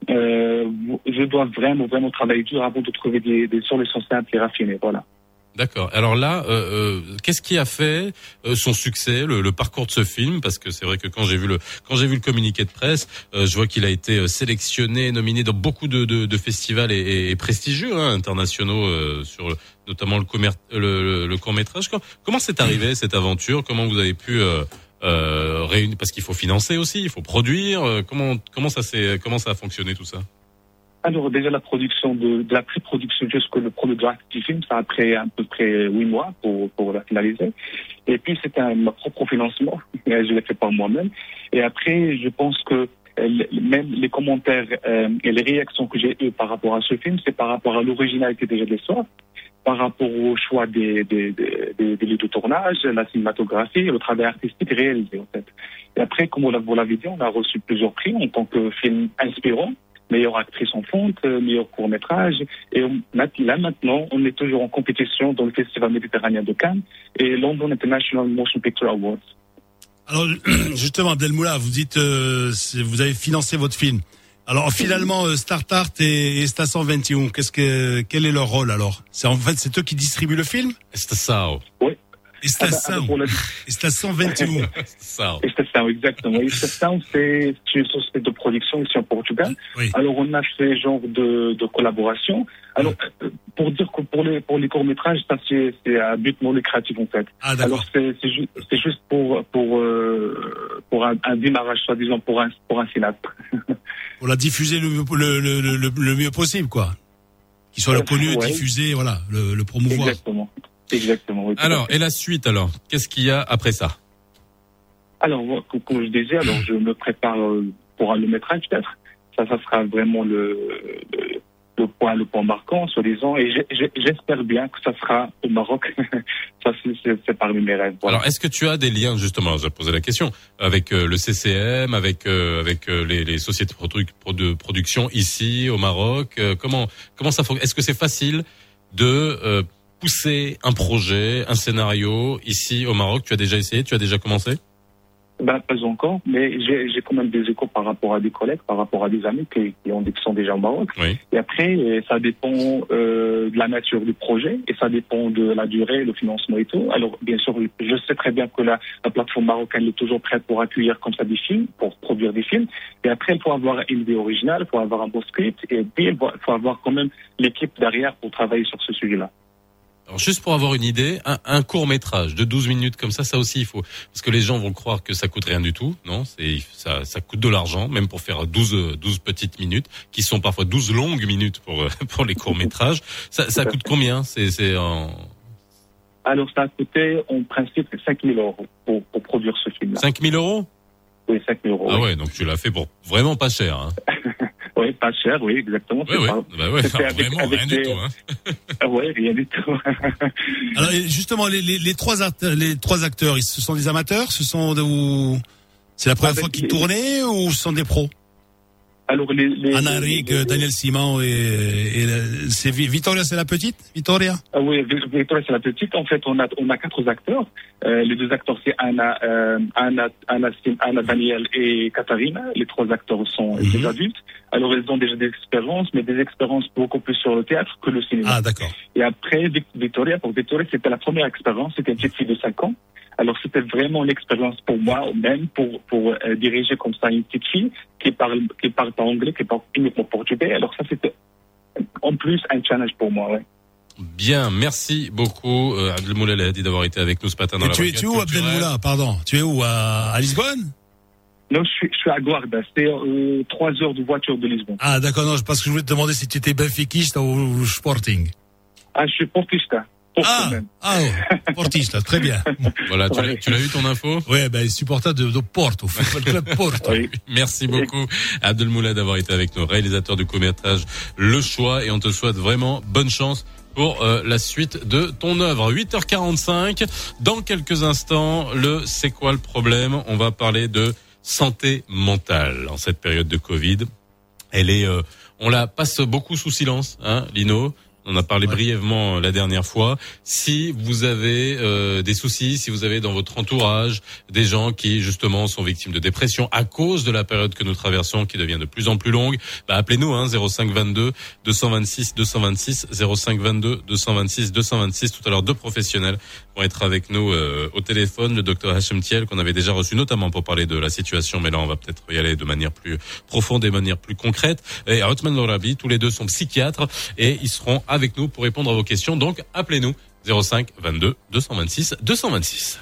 S10: je dois vraiment travailler dur avant de trouver des solutions simples et raffinées, voilà.
S2: D'accord. Alors là, qu'est-ce qui a fait son succès, le parcours de ce film? Parce que c'est vrai que quand j'ai vu le communiqué de presse, je vois qu'il a été sélectionné, nominé dans beaucoup de festivals et prestigieux, hein, internationaux, sur notamment le court-métrage. Comment c'est arrivé cette aventure? Comment vous avez pu réunir? Parce qu'il faut financer aussi, il faut produire. Comment ça a fonctionné tout ça?
S10: Alors déjà la production de la pré-production jusqu'au le premier draft du film, ça a pris à peu près 8 mois pour la finaliser. Et puis c'était mon propre financement, je l'ai fait par moi-même. Et après je pense que même les commentaires et les réactions que j'ai eues par rapport à ce film, c'est par rapport à l'originalité déjà de l'histoire, par rapport au choix des lieux de tournage, la cinématographie, le travail artistique réalisé en fait. Et après, comme vous l'avez dit, on a reçu plusieurs prix en tant que film inspirant. Meilleure actrice en fonte, meilleur court-métrage. Et là, maintenant, on est toujours en compétition dans le Festival méditerranéen de Cannes et London International Motion Picture Awards.
S3: Alors, justement, Abdelmoula, vous dites, vous avez financé votre film. Alors, finalement, Startart et Estação 21, quel est leur rôle, alors? C'est eux qui distribuent le film?
S2: Estação.
S10: Oui.
S3: Estação 21.
S10: Estação, exactement. Estação, c'est une société de production ici en Portugal.
S3: Oui.
S10: Alors, on a fait genre de collaboration. Alors, pour dire que pour les courts-métrages, ça, c'est à but non lucratif, en fait.
S3: Ah, d'accord.
S10: Alors, c'est juste pour un démarrage, soi-disant, pour un cinéma.
S3: Pour la diffuser le mieux possible, quoi. Qu'il soit connu, diffusé, voilà, le promouvoir.
S10: Exactement. Oui,
S2: alors, et la suite, alors? Qu'est-ce qu'il y a après ça?
S10: Alors, comme je disais, je me prépare pour le métrage, peut-être. Ça sera vraiment le point marquant, soi-disant. Et j'espère bien que ça sera au Maroc. Ça, c'est parmi mes rêves. Voilà.
S2: Alors, est-ce que tu as des liens, justement, j'ai posé la question, avec le CCM, avec les sociétés de production ici, au Maroc? Comment ça fonctionne? Est-ce que c'est facile de pousser un projet, un scénario ici au Maroc? Tu as déjà essayé? Tu as déjà commencé?
S10: Pas encore, mais j'ai quand même des échos par rapport à des collègues, par rapport à des amis qui sont déjà au Maroc.
S2: Oui.
S10: Et après, ça dépend de la nature du projet et ça dépend de la durée, le financement et tout. Alors, bien sûr, je sais très bien que la plateforme marocaine est toujours prête pour accueillir comme ça des films, pour produire des films. Et après, il faut avoir une idée originale, il faut avoir un bon script et puis il faut avoir quand même l'équipe derrière pour travailler sur ce sujet-là.
S2: Alors juste pour avoir une idée, un court-métrage de 12 minutes comme ça aussi il faut, parce que les gens vont croire que ça coûte rien du tout. Non, ça coûte de l'argent, même pour faire 12 petites minutes, qui sont parfois 12 longues minutes pour les courts-métrages. Ça coûte combien?
S10: Alors, ça a coûté, en principe, 5 000 € pour produire ce film-là.
S2: 5 000 €?
S10: Oui, 5 000 €.
S2: Ah ouais, donc tu l'as fait pour vraiment pas cher, hein.
S10: Oui, pas cher, oui, exactement.
S2: Oui, vraiment rien du tout, hein.
S10: Oui, rien du tout.
S3: Alors, justement, les trois acteurs, ce sont des amateurs? C'est la première fois qu'ils tournaient ou ce sont des pros?
S10: Alors,
S3: Anna Rick, Daniel Simon et c'est Vittoria, c'est la petite? Vittoria?
S10: Oui, Vittoria, c'est la petite. En fait, on a 4 acteurs. Les 2 acteurs, c'est Anna, Daniel et Katharina. Les 3 acteurs sont des adultes. Alors, ils ont déjà des expériences, mais des expériences beaucoup plus sur le théâtre que le cinéma.
S3: Ah, d'accord.
S10: Et après, Vittoria, c'était la première expérience. C'était une petite fille de 5 ans. Alors, c'était vraiment l'expérience pour moi, même pour diriger comme ça une petite fille qui parle pas anglais, qui parle uniquement portugais. Alors, ça, c'était en plus un challenge pour moi, ouais.
S2: Bien, merci beaucoup, Abdelmoula Lahadi, d'avoir été avec nous ce matin dans la
S3: tu es où, Abdelmoula? Pardon. Tu es où? À Lisbonne?
S10: Non, je suis à Guarda. C'est 3 heures de voiture de Lisbonne.
S3: Ah, d'accord. Non, parce que je voulais te demander si tu étais benfiquista ou Sporting.
S10: Ah, je suis portista.
S3: Portista, très bien.
S2: Voilà, tu l'as eu ton info?
S3: Oui, supporter de Porto, Football Club Porto.
S2: Oui. Merci beaucoup, Abdelmoula, d'avoir été avec nous, réalisateur du court-métrage Le Choix, et on te souhaite vraiment bonne chance pour la suite de ton œuvre. 8h45, dans quelques instants, C'est quoi le problème? On va parler de santé mentale en cette période de Covid. On la passe beaucoup sous silence, hein, Lino? On a parlé brièvement la dernière fois. Si vous avez des soucis, si vous avez dans votre entourage des gens qui justement sont victimes de dépression à cause de la période que nous traversons, qui devient de plus en plus longue, appelez-nous 05 22 226 226 05 22 226 226. Tout à l'heure, 2 professionnels vont être avec nous au téléphone. Le docteur Hachem Thiel, qu'on avait déjà reçu notamment pour parler de la situation, mais là on va peut-être y aller de manière plus profonde et de manière plus concrète. Et Othman Lorabi, tous les 2 sont psychiatres et ils seront avec nous pour répondre à vos questions. Donc, appelez-nous 05 22 226 226.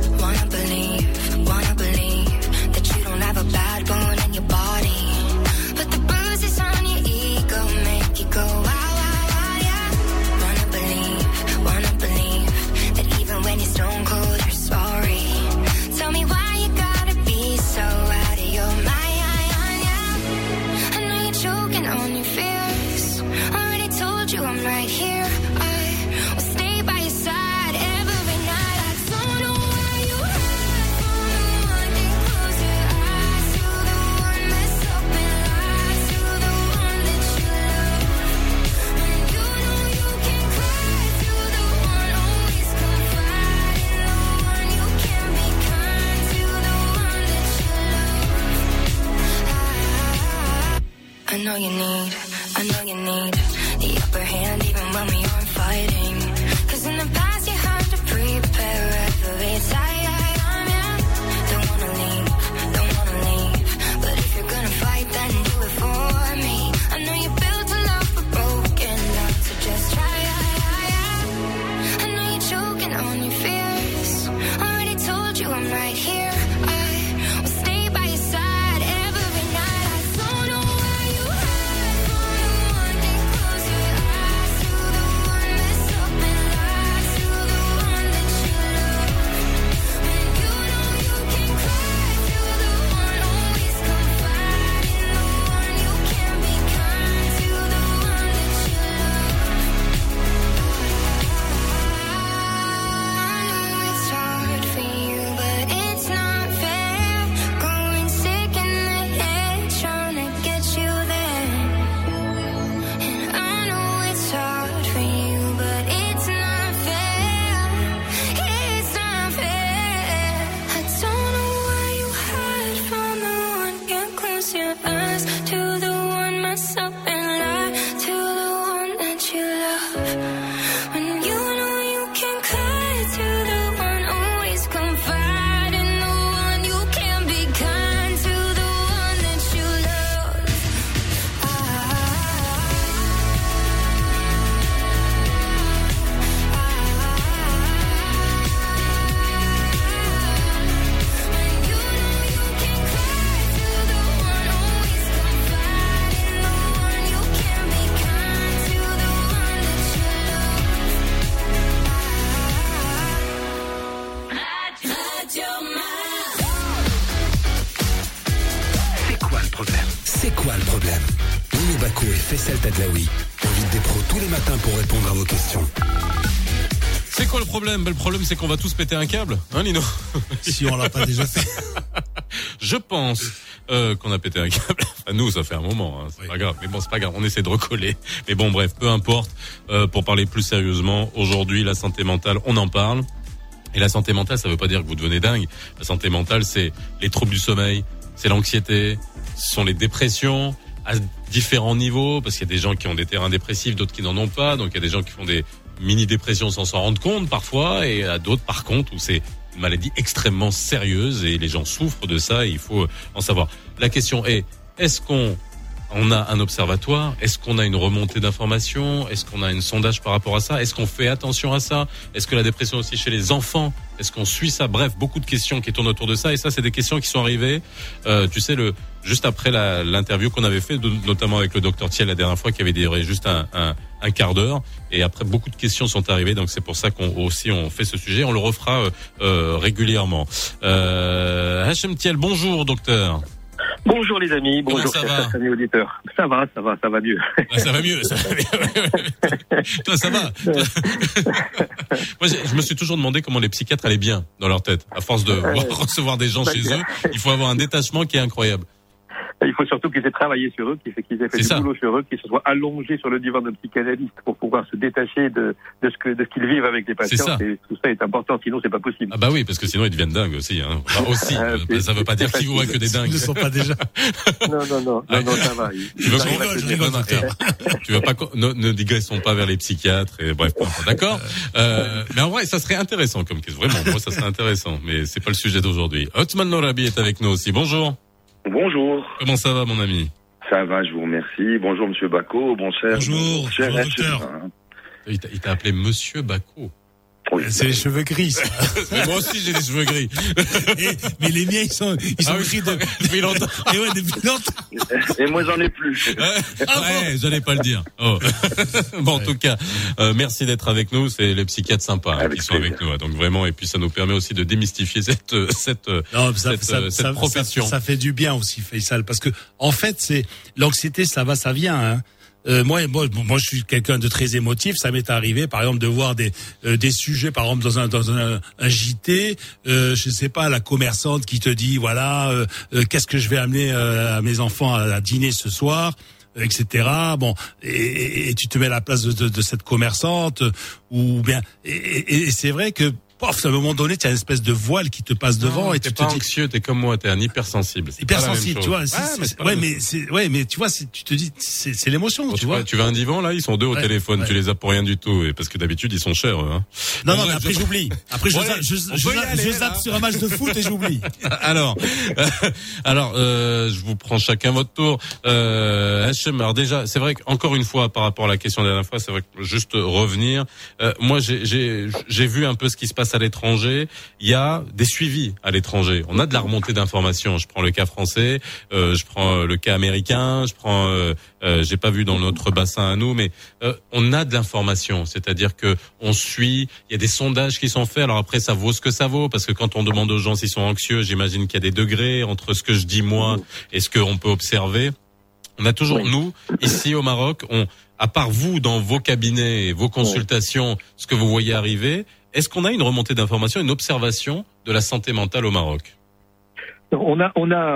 S11: I know you need the upper hand even when we aren't fighting. 'Cause in the past you had to prepare every time. Don't wanna leave. But if you're gonna fight, then do it for me. I know you built a love but broken love, so just try. I know you're choking on your fears. Already told you I'm right here. I will stay by your side every night. I don't know where you hide from the one. Get closer, eyes to the one that's up
S1: quoi le problème? Nino Bako et Faisal Tadlaoui invitent des pros tous les matins pour répondre à vos questions.
S2: C'est quoi le problème? Le problème, c'est qu'on va tous péter un câble, hein, Lino?
S3: Si on l'a pas déjà fait.
S2: Je pense qu'on a pété un câble. Enfin, nous, ça fait un moment, hein, c'est pas grave. Mais bon, c'est pas grave, on essaie de recoller. Mais bon, bref, peu importe. Pour parler plus sérieusement, aujourd'hui, la santé mentale, on en parle. Et la santé mentale, ça veut pas dire que vous devenez dingue. La santé mentale, c'est les troubles du sommeil, c'est l'anxiété, ce sont les dépressions à différents niveaux, parce qu'il y a des gens qui ont des terrains dépressifs, d'autres qui n'en ont pas. Donc, il y a des gens qui font des mini-dépression sans s'en rendre compte parfois, et à d'autres par contre où c'est une maladie extrêmement sérieuse et les gens souffrent de ça et il faut en savoir. La question est, est-ce qu'on a un observatoire? Est-ce qu'on a une remontée d'informations? Est-ce qu'on a un sondage par rapport à ça? Est-ce qu'on fait attention à ça? Est-ce que la dépression aussi chez les enfants? Est-ce qu'on suit ça? Bref, beaucoup de questions qui tournent autour de ça, et ça c'est des questions qui sont arrivées tu sais, juste après l'interview qu'on avait fait, notamment avec le docteur Thiel la dernière fois, qui avait duré juste un quart d'heure, et après beaucoup de questions sont arrivées, donc c'est pour ça qu'on fait ce sujet, on le refera régulièrement. Hachem Thiel, bonjour docteur.
S8: Bonjour les amis, bonjour
S2: chers
S8: amis auditeurs. Ça va mieux.
S2: Ah, ça va mieux, ça va mieux. Toi, ça va. Moi, je me suis toujours demandé comment les psychiatres allaient bien dans leur tête. À force de recevoir des gens chez eux, il faut avoir un détachement qui est incroyable.
S8: Il faut surtout qu'ils aient travaillé sur eux, qu'ils aient fait du boulot sur eux, qu'ils se soient allongés sur le divan d'un psychanalyste pour pouvoir se détacher de ce qu'ils vivent avec les patients. Et tout ça est important, sinon c'est pas possible.
S2: Ah bah oui, parce que sinon ils deviennent dingues aussi. Hein. Enfin, aussi, ça veut pas dire qu'ils voient que des dingues.
S3: Ils ne sont pas déjà.
S8: Non, ça va.
S2: Tu veux pas ne digressons pas vers les psychiatres et bref, d'accord. Mais en vrai, ça serait intéressant comme question. Vraiment, moi ça serait intéressant, mais c'est pas le sujet d'aujourd'hui. Othman Norabi est avec nous aussi. Bonjour.
S12: Bonjour.
S2: Comment ça va, mon ami?
S12: Ça va, je vous remercie. Bonjour, monsieur Bako. Bonjour,
S3: docteur.
S2: Il t'a appelé monsieur Bako.
S12: Oui.
S3: C'est les cheveux gris, ça.
S2: Mais moi aussi, j'ai des cheveux gris.
S3: Mais les miens, ils sont gris
S2: depuis longtemps.
S3: Et ouais, depuis longtemps.
S12: Et moi, j'en ai plus.
S2: Ouais, j'allais pas le dire. Oh. Bon, en tout cas, merci d'être avec nous. C'est les psychiatres sympas qui sont avec nous. Donc vraiment, et puis ça nous permet aussi de démystifier cette profession.
S3: Ça fait du bien aussi, Faisal, parce que en fait, c'est l'anxiété, ça va, ça vient. Hein. Moi, je suis quelqu'un de très émotif. Ça m'est arrivé, par exemple, de voir des sujets, par exemple, dans un JT. Je sais pas, la commerçante qui te dit, voilà, qu'est-ce que je vais amener à mes enfants à dîner ce soir, etc. Bon, et tu te mets à la place de cette commerçante, ou bien. Et c'est vrai que. À un moment donné, tu as une espèce de voile qui te passe devant, et tu te dis
S2: anxieux, t'es comme moi, t'es un hypersensible.
S3: Hypersensible, tu vois. Mais tu vois, tu te dis, c'est l'émotion, tu vois.
S2: Tu veux un divan, là, ils sont deux au téléphone, tu les as pour rien du tout, et parce que d'habitude, ils sont chers, hein.
S3: Non, mais après, j'oublie. Après, je zappe sur un match de foot et j'oublie.
S2: Alors, je vous prends chacun votre tour. Hachem, alors déjà, c'est vrai qu'encore une fois, par rapport à la question de la dernière fois, c'est vrai que juste revenir, moi, j'ai vu un peu ce qui se passe à l'étranger. Il y a des suivis à l'étranger. On a de la remontée d'informations. Je prends le cas français, je prends le cas américain, j'ai pas vu dans notre bassin à nous, mais on a de l'information. C'est-à-dire que on suit. Il y a des sondages qui sont faits. Alors après, ça vaut ce que ça vaut, parce que quand on demande aux gens s'ils sont anxieux, j'imagine qu'il y a des degrés entre ce que je dis moi et ce qu'on peut observer. On a toujours, nous, ici au Maroc, à part vous, dans vos cabinets et vos consultations, ce que vous voyez arriver, est-ce qu'on a une remontée d'informations, une observation de la santé mentale au Maroc?
S8: On a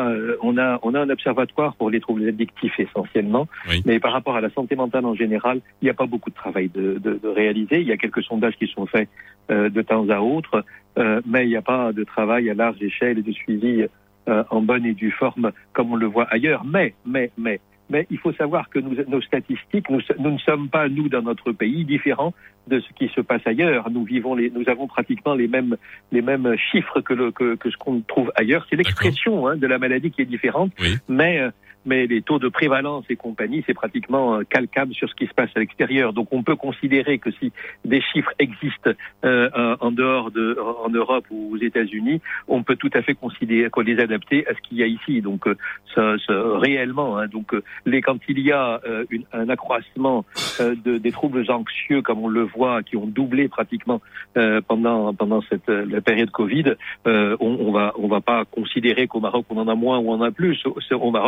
S8: un observatoire pour les troubles addictifs essentiellement, mais par rapport à la santé mentale en général, il n'y a pas beaucoup de travail de réaliser. Il y a quelques sondages qui sont faits de temps à autre, mais il n'y a pas de travail à large échelle et de suivi en bonne et due forme comme on le voit ailleurs. Mais il faut savoir que nos statistiques, nous ne sommes pas, nous, dans notre pays, différents de ce qui se passe ailleurs. Nous avons pratiquement les mêmes chiffres que ce qu'on trouve ailleurs. C'est l'expression de la maladie qui est différente, mais les taux de prévalence et compagnie, c'est pratiquement calcable sur ce qui se passe à l'extérieur. Donc on peut considérer que si des chiffres existent en Europe ou aux États-Unis, on peut tout à fait considérer qu'on les adapter à ce qu'il y a ici. Donc réellement, donc quand il y a un accroissement des troubles anxieux, comme on le voit, qui ont doublé pratiquement pendant la période Covid, on va pas considérer qu'au Maroc on en a moins ou on en a plus. Au Maroc, ça a doublé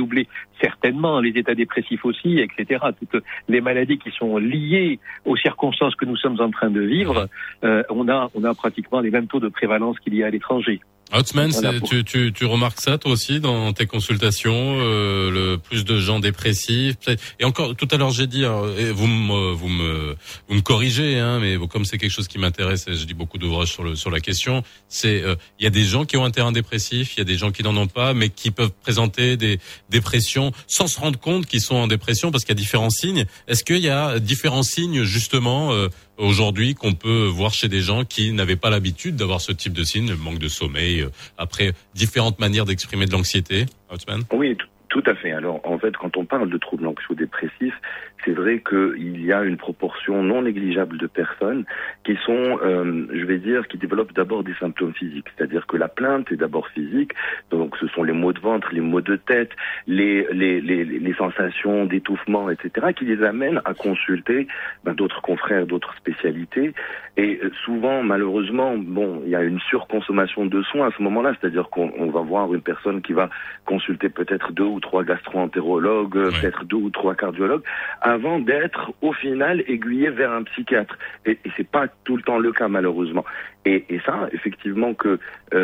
S13: troublés, certainement, les états dépressifs aussi, etc. Toutes les maladies qui sont liées aux circonstances que nous sommes en train de vivre, on a pratiquement les mêmes taux de prévalence qu'il y a à l'étranger.
S2: Outsman,
S13: Voilà,
S2: tu remarques ça toi aussi dans tes consultations, le plus de gens dépressifs. Et encore tout à l'heure j'ai dit, vous me corrigez, hein, mais comme c'est quelque chose qui m'intéresse, et je lis beaucoup d'ouvrages sur la question, c'est il y a des gens qui ont un terrain dépressif, il y a des gens qui n'en ont pas, mais qui peuvent présenter des dépressions sans se rendre compte qu'ils sont en dépression parce qu'il y a différents signes. Est-ce qu'il y a différents signes justement aujourd'hui qu'on peut voir chez des gens qui n'avaient pas l'habitude d'avoir ce type de signes, le manque de sommeil, après différentes manières d'exprimer de l'anxiété, Outsman?
S12: Oui, tout à fait. Alors, en fait, quand on parle de troubles anxio-dépressifs, c'est vrai qu'il y a une proportion non négligeable de personnes qui sont, je vais dire, qui développent d'abord des symptômes physiques. C'est-à-dire que la plainte est d'abord physique. Donc, ce sont les maux de ventre, les maux de tête, les sensations d'étouffement, etc., qui les amènent à consulter d'autres confrères, d'autres spécialités. Et souvent, malheureusement, bon, il y a une surconsommation de soins à ce moment-là. C'est-à-dire qu'on va voir une personne qui va consulter peut-être 2 ou 3 gastro-entérologues, peut-être 2 ou 3 cardiologues, avant d'être au final aiguillé vers un psychiatre. Et c'est pas tout le temps le cas malheureusement. Et ça, effectivement, que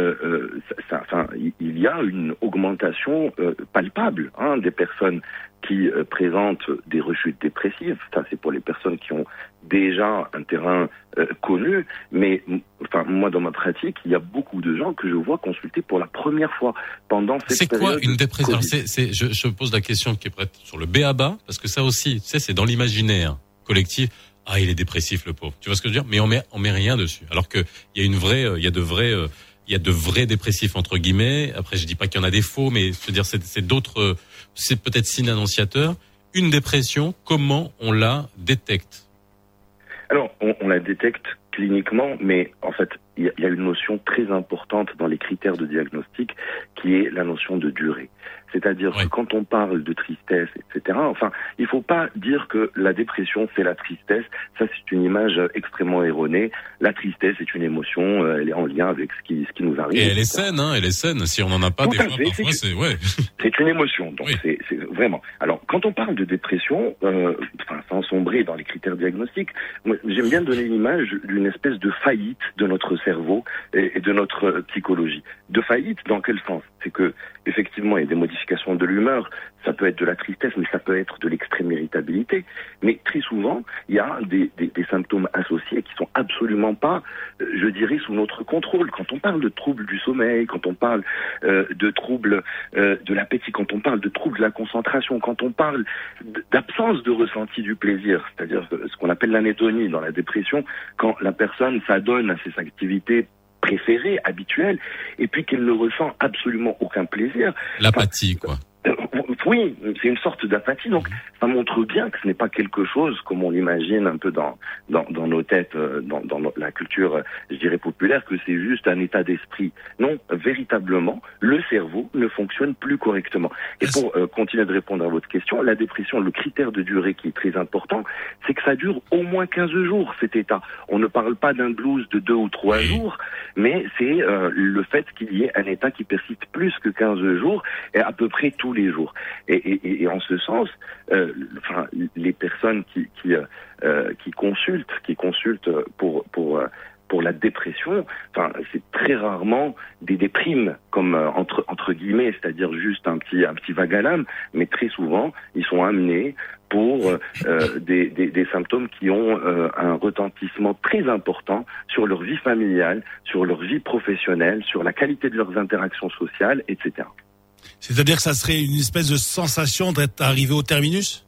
S12: il y a une augmentation palpable des personnes qui présentent des rechutes dépressives. Ça, c'est pour les personnes qui ont déjà un terrain connu. Mais moi, dans ma pratique, il y a beaucoup de gens que je vois consulter pour la première fois pendant cette période.
S2: C'est quoi une dépression? Alors, je pose la question qui est prête sur le B.A.B.A. parce que ça aussi, tu sais, c'est dans l'imaginaire collectif. Ah, il est dépressif, le pauvre. Tu vois ce que je veux dire? Mais on met rien dessus. Alors que il y a de vrais dépressifs entre guillemets. Après, je dis pas qu'il y en a des faux, mais je veux dire, c'est d'autres, c'est peut-être signe annonciateur. Une dépression, comment on la détecte?
S12: Alors, on la détecte cliniquement, mais en fait, il y a une notion très importante dans les critères de diagnostic qui est la notion de durée. C'est-à-dire que quand on parle de tristesse, etc., il faut pas dire que la dépression, c'est la tristesse. Ça, c'est une image extrêmement erronée. La tristesse est une émotion, elle est en lien avec ce qui nous arrive.
S2: Et elle est saine, elle est saine. Si on n'en a pas, des fois, parfois,
S12: c'est une émotion, donc c'est vraiment. Alors, quand on parle de dépression, sans sombrer dans les critères diagnostiques, moi, j'aime bien donner l'image d'une espèce de faillite de notre cerveau et de notre psychologie. De faillite, dans quel sens? C'est que, effectivement, il y a des modifications de l'humeur, ça peut être de la tristesse, mais ça peut être de l'extrême irritabilité. Mais très souvent, il y a des symptômes associés qui sont absolument pas, je dirais, sous notre contrôle. Quand on parle de troubles du sommeil, quand on parle de troubles de l'appétit, quand on parle de troubles de la concentration, quand on parle d'absence de ressenti du plaisir, c'est-à-dire ce qu'on appelle l'anédonie dans la dépression, quand la personne s'adonne à ses activités préférées, habituelles, et puis qu'elle ne ressent absolument aucun plaisir.
S2: L'apathie, quoi.
S12: Oui, c'est une sorte d'apathie, donc ça montre bien que ce n'est pas quelque chose comme on l'imagine un peu dans nos têtes, dans la culture, je dirais, populaire, que c'est juste un état d'esprit. Non, véritablement, le cerveau ne fonctionne plus correctement. Et pour continuer de répondre à votre question, la dépression, le critère de durée qui est très important, c'est que ça dure au moins 15 jours, cet état. On ne parle pas d'un blues de 2 ou 3 jours, mais c'est le fait qu'il y ait un état qui persiste plus que 15 jours, et à peu près tous les jours. Et en ce sens, les personnes qui consultent pour la dépression, c'est très rarement des déprimes comme entre guillemets, c'est-à-dire juste un petit vague à l'âme, mais très souvent ils sont amenés pour des symptômes qui ont un retentissement très important sur leur vie familiale, sur leur vie professionnelle, sur la qualité de leurs interactions sociales, etc.
S3: C'est-à-dire que ça serait une espèce de sensation d'être arrivé au terminus?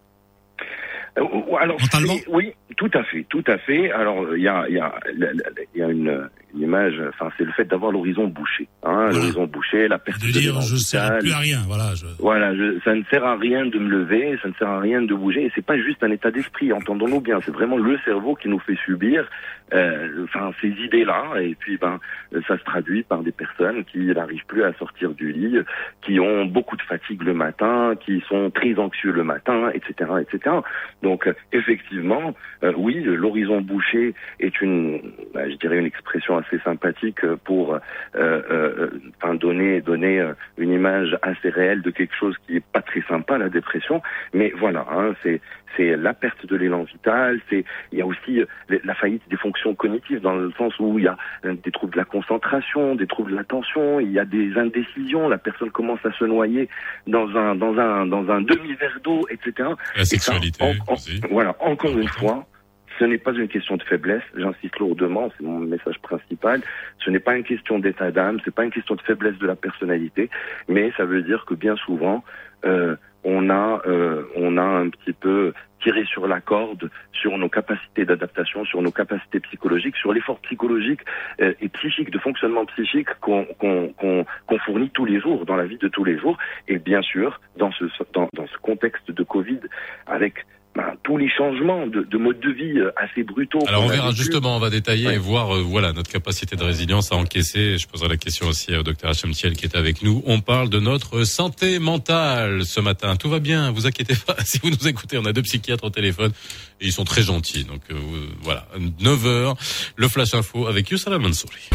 S12: Alors, oui, tout à fait. Alors, il y a une image, c'est le fait d'avoir l'horizon bouché. L'horizon bouché, la perte de
S3: dire, je ne sers plus à rien,
S12: ça ne sert à rien de me lever, ça ne sert à rien de bouger, et c'est pas juste un état d'esprit, entendons-nous bien, c'est vraiment le cerveau qui nous fait subir, ces idées-là, et puis, ça se traduit par des personnes qui n'arrivent plus à sortir du lit, qui ont beaucoup de fatigue le matin, qui sont très anxieux le matin, etc., etc. Donc, effectivement, oui, l'horizon bouché est je dirais une expression assez sympathique pour donner une image assez réelle de quelque chose qui est pas très sympa, la dépression. Mais voilà, c'est la perte de l'élan vital, il y a aussi la faillite des fonctions cognitives, dans le sens où il y a des troubles de la concentration, des troubles de l'attention, il y a des indécisions, la personne commence à se noyer dans un demi-verre d'eau, etc.
S2: La sexualité.
S12: Voilà, encore une fois, ce n'est pas une question de faiblesse, j'insiste lourdement, c'est mon message principal. Ce n'est pas une question d'état d'âme, c'est pas une question de faiblesse de la personnalité, mais ça veut dire que bien souvent, on a un petit peu tiré sur la corde sur nos capacités d'adaptation, sur nos capacités psychologiques, sur l'effort psychologique et psychique, de fonctionnement psychique qu'on fournit tous les jours, dans la vie de tous les jours. Et bien sûr, dans ce contexte de Covid, avec tous les changements de mode de vie assez brutaux.
S2: Alors on verra justement, on va détailler et voir notre capacité de résilience à encaisser. Je poserai la question aussi au docteur Hachem Thiel qui est avec nous. On parle de notre santé mentale ce matin. Tout va bien, vous inquiétez pas. Si vous nous écoutez, on a 2 psychiatres au téléphone et ils sont très gentils. Donc voilà, 9h, le Flash Info avec Youssala Mansouri.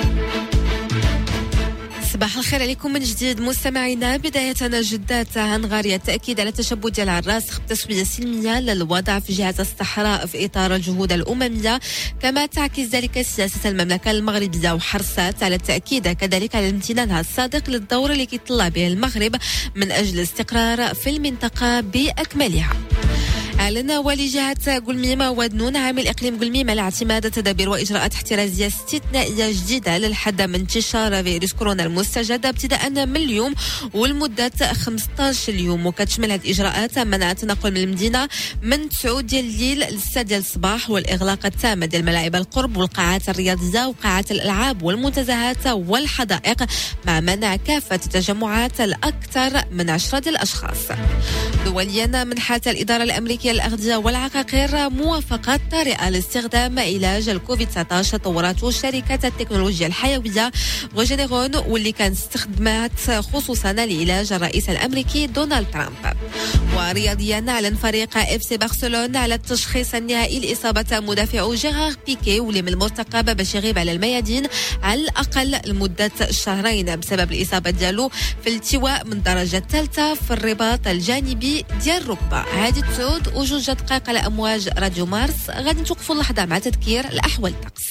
S6: صباح الخير عليكم من جديد مستمعينا. بداية جدات هنغاريا التأكيد على التشبث ديال الراسخ بتسوية سلمية للوضع في جهة الصحراء في إطار الجهود الأممية، كما تعكس ذلك سياسة المملكة المغربية وحرصت على التأكيد كذلك على امتنانها الصادق للدور اللي كيطلع به المغرب من أجل الاستقرار في المنطقة بأكملها. أعلن والي جهة قلميمة ودنون عامل إقليم قلميمة على اعتماد تدابير وإجراءات احترازية استثنائية جديدة للحد من انتشار فيروس كورونا المستجد ابتداء من اليوم والمدة 15 يوم، وكتشمل هذه الإجراءات منع التنقل من المدينة من 9 ديال الليل ل 6 ديال الصباح، والإغلاق التام ديال ملاعب القرب والقاعات الرياضية وقاعات الألعاب والمنتزهات والحدائق، مع منع كافة التجمعات الأكثر من 10 ديال الأشخاص. دوليا منحت الإدارة الأمريكية للأغذية والعقاقير موافقة طارئة لاستخدام علاج الكوفيد-19 طورته شركة التكنولوجيا الحيوية غوجينيرون، واللي كان استخدمت خصوصا لعلاج الرئيس الأمريكي دونالد ترامب. ورياضيا أعلن فريق اف سي برشلونة على التشخيص النهائي لإصابة مدافع جيرار بيكي، واللي من المرتقب باش يغيب على الميادين على الأقل لمدة شهرين بسبب الإصابة ديالو في التواء من الدرجة الثالثة في الرباط الجانبي ديال الركبة. هذه تسود وجوج دقائق على أمواج راديو مارس. غادي نتوقفوا اللحظة مع تذكير الأحوال الطقس.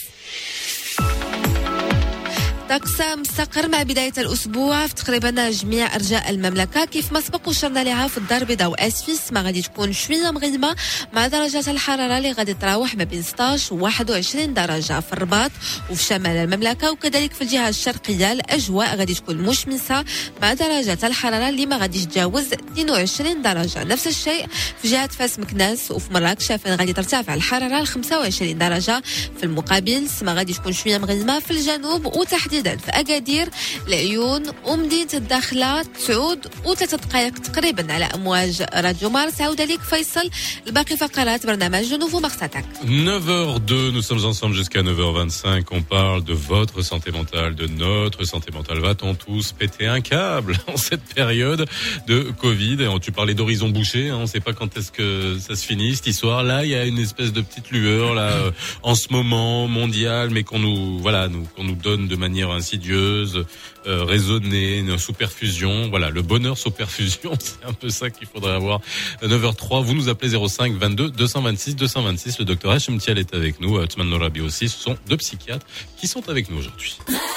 S6: طقس مستقر مع بداية الأسبوع في تقريبا جميع أرجاء المملكة، كيف ما سبق وشرنا لها في الدار البيضاء وأسفيس ما غادي تكون شوية مغيمة، مع درجات الحرارة اللي غادي تراوح ما بين 16 و 21 درجة في الرباط وفي شمال المملكة، وكذلك في الجهة الشرقية الأجواء غادي تكون مشمسة مع درجات الحرارة اللي ما غاديش تجاوز 22 درجة. نفس الشيء في جهة فاس مكناس وفي مراكش فين غادي ترتفع الحرارة ل 25 درجة. في المقابل ما غادي تكون شوية مغيمة في الجنوب وتحديدا في أكادير، العيون ومدينة الداخلة، 9 دقائق تقريبا على أمواج راديو مارس. عودة لك فيصل الباقي فقرات برنامج نوفو مارساتاك.
S2: 9h02, nous sommes ensemble jusqu'à 9h25. On parle de votre santé mentale, de notre santé mentale. Va-t-on tous péter un câble en cette période de Covid? Et tu parlais d'horizon bouché, on ne sait pas quand est-ce que ça se finit cette histoire. Là, il y a une espèce de petite lueur là en ce moment mondiale, mais qu'on nous donne de manière insidieuse, raisonnée, sous perfusion. Voilà, le bonheur sous perfusion, c'est un peu ça qu'il faudrait avoir. 9h03, vous nous appelez 05 22 226 226. Le docteur Hachem Thiel est avec nous, Othman Norabi aussi. Ce sont 2 psychiatres qui sont avec nous aujourd'hui.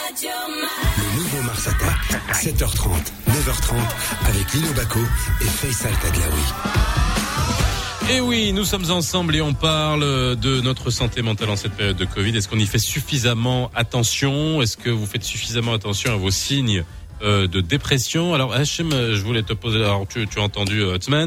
S1: Le nouveau Mars Attack, 7h30, 9h30, avec Lino Bacco et Faisal Taglaoui.
S2: Et oui, nous sommes ensemble et on parle de notre santé mentale en cette période de Covid. Est-ce qu'on y fait suffisamment attention? Est-ce que vous faites suffisamment attention à vos signes de dépression? Alors Hachem, je voulais te poser, alors tu as entendu Othman,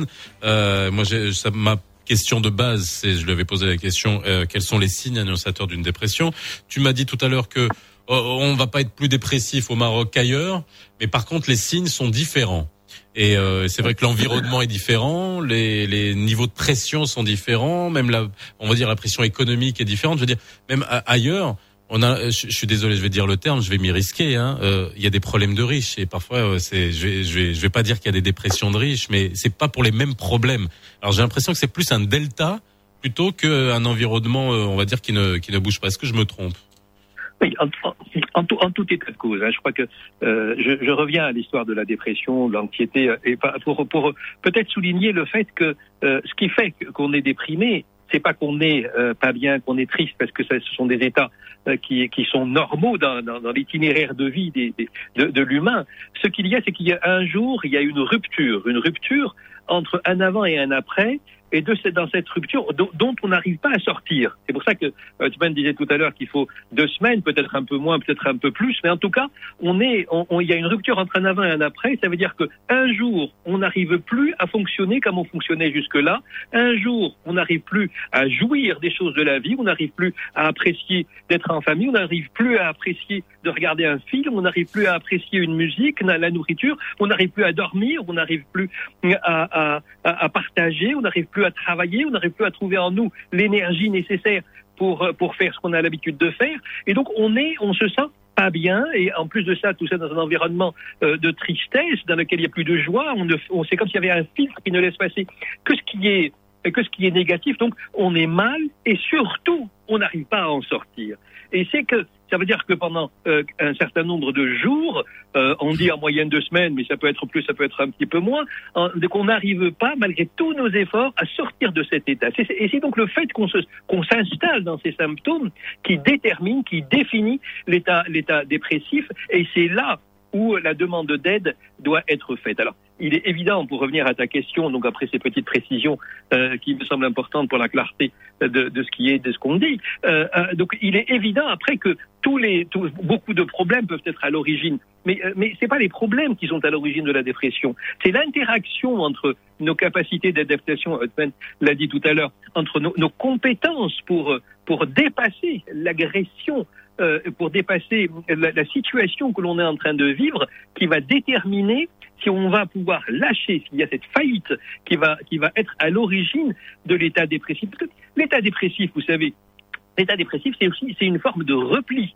S2: ma question de base, je lui avais posé la question, quels sont les signes annonciateurs d'une dépression? Tu m'as dit tout à l'heure que on va pas être plus dépressif au Maroc qu'ailleurs, mais par contre les signes sont différents. Et c'est vrai que l'environnement est différent, les niveaux de pression sont différents, même on va dire la pression économique est différente. Je veux dire, même ailleurs, je suis désolé, je vais dire le terme, je vais m'y risquer. Il y a des problèmes de riches et parfois, je vais pas dire qu'il y a des dépressions de riches, mais c'est pas pour les mêmes problèmes. Alors j'ai l'impression que c'est plus un delta plutôt qu'un environnement, on va dire, qui ne bouge pas. Est-ce que je me trompe?
S13: Oui, en tout état de cause. Je crois que je reviens à l'histoire de la dépression, de l'anxiété, et pour peut-être souligner le fait que ce qui fait qu'on est déprimé, c'est pas qu'on est pas bien, qu'on est triste, parce que ce sont des états qui sont normaux dans l'itinéraire de vie de l'humain. Ce qu'il y a, c'est qu'il y a un jour, il y a une rupture entre un avant et un après. Et dans cette rupture dont on n'arrive pas à sortir. C'est pour ça que Othman disait tout à l'heure qu'il faut 2 semaines, peut-être un peu moins, peut-être un peu plus, mais en tout cas, il y a une rupture entre un avant et un après. Ça veut dire que un jour, on n'arrive plus à fonctionner comme on fonctionnait jusque-là. Un jour, on n'arrive plus à jouir des choses de la vie. On n'arrive plus à apprécier d'être en famille. On n'arrive plus à apprécier de regarder un film. On n'arrive plus à apprécier une musique, la nourriture. On n'arrive plus à dormir. On n'arrive plus à partager. On n'arrive plus à travailler, on n'arrive plus à trouver en nous l'énergie nécessaire pour faire ce qu'on a l'habitude de faire. Et donc, on se sent pas bien, et en plus de ça, tout ça dans un environnement de tristesse, dans lequel il n'y a plus de joie. C'est comme s'il y avait un filtre qui ne laisse passer que ce qui est négatif. Donc, on est mal, et surtout, on n'arrive pas à en sortir. Et ça veut dire que pendant un certain nombre de jours, on dit en moyenne 2 semaines, mais ça peut être plus, ça peut être un petit peu moins, qu'on n'arrive pas, malgré tous nos efforts, à sortir de cet état. Et c'est donc le fait qu'on s'installe dans ces symptômes qui détermine, qui définit l'état dépressif, et c'est là où la demande d'aide doit être faite. Alors, il est évident, pour revenir à ta question, donc après ces petites précisions qui me semblent importantes pour la clarté de ce qu'on dit, donc il est évident après que beaucoup de problèmes peuvent être à l'origine, mais c'est pas les problèmes qui sont à l'origine de la dépression, c'est l'interaction entre nos capacités d'adaptation, Othman l'a dit tout à l'heure, entre nos compétences pour dépasser l'agression, pour dépasser la situation que l'on est en train de vivre, qui va déterminer si on va pouvoir lâcher, s'il y a cette faillite qui va être à l'origine de l'état dépressif. Parce que l'état dépressif, vous savez, l'état dépressif, c'est une forme de repli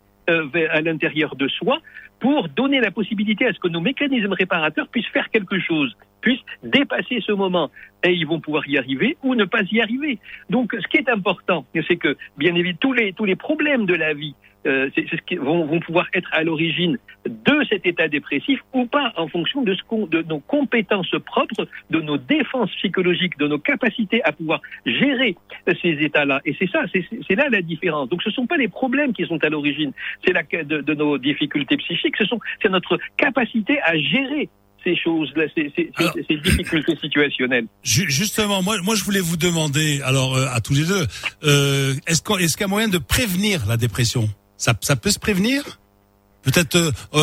S13: à l'intérieur de soi pour donner la possibilité à ce que nos mécanismes réparateurs puissent faire quelque chose, puissent dépasser ce moment. Et ils vont pouvoir y arriver ou ne pas y arriver. Donc, ce qui est important, c'est que, bien évidemment, tous les problèmes de la vie, c'est ce qui vont pouvoir être à l'origine de cet état dépressif ou pas, en fonction de nos compétences propres, de nos défenses psychologiques, de nos capacités à pouvoir gérer ces états-là. Et c'est là la différence. Donc ce sont pas les problèmes qui sont à l'origine, c'est de nos difficultés psychiques, c'est notre capacité à gérer ces choses-là, ces difficultés situationnelles.
S3: Justement, moi je voulais vous demander, alors à tous les deux, est-ce qu'il y a moyen de prévenir la dépression? Ça peut se prévenir? Peut-être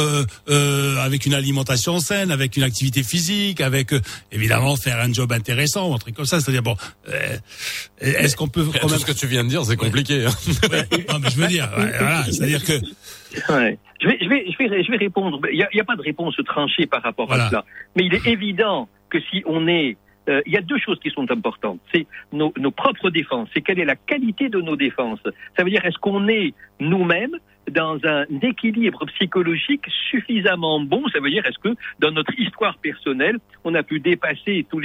S3: avec une alimentation saine, avec une activité physique, avec évidemment faire un job intéressant, un truc comme ça. C'est-à-dire est-ce qu'on peut quand même...
S2: Tout ce que tu viens de dire, c'est compliqué. Hein.
S3: Non, mais je veux dire, voilà, c'est-à-dire que...
S13: Ouais. Je vais répondre. Il y a pas de réponse tranchée par rapport à cela. Mais il est évident que si on est... il y a 2 choses qui sont importantes. C'est nos propres défenses. C'est quelle est la qualité de nos défenses. Ça veut dire, est-ce qu'on est nous-mêmes dans un équilibre psychologique suffisamment bon? Ça veut dire, est-ce que dans notre histoire personnelle, on a pu dépasser tout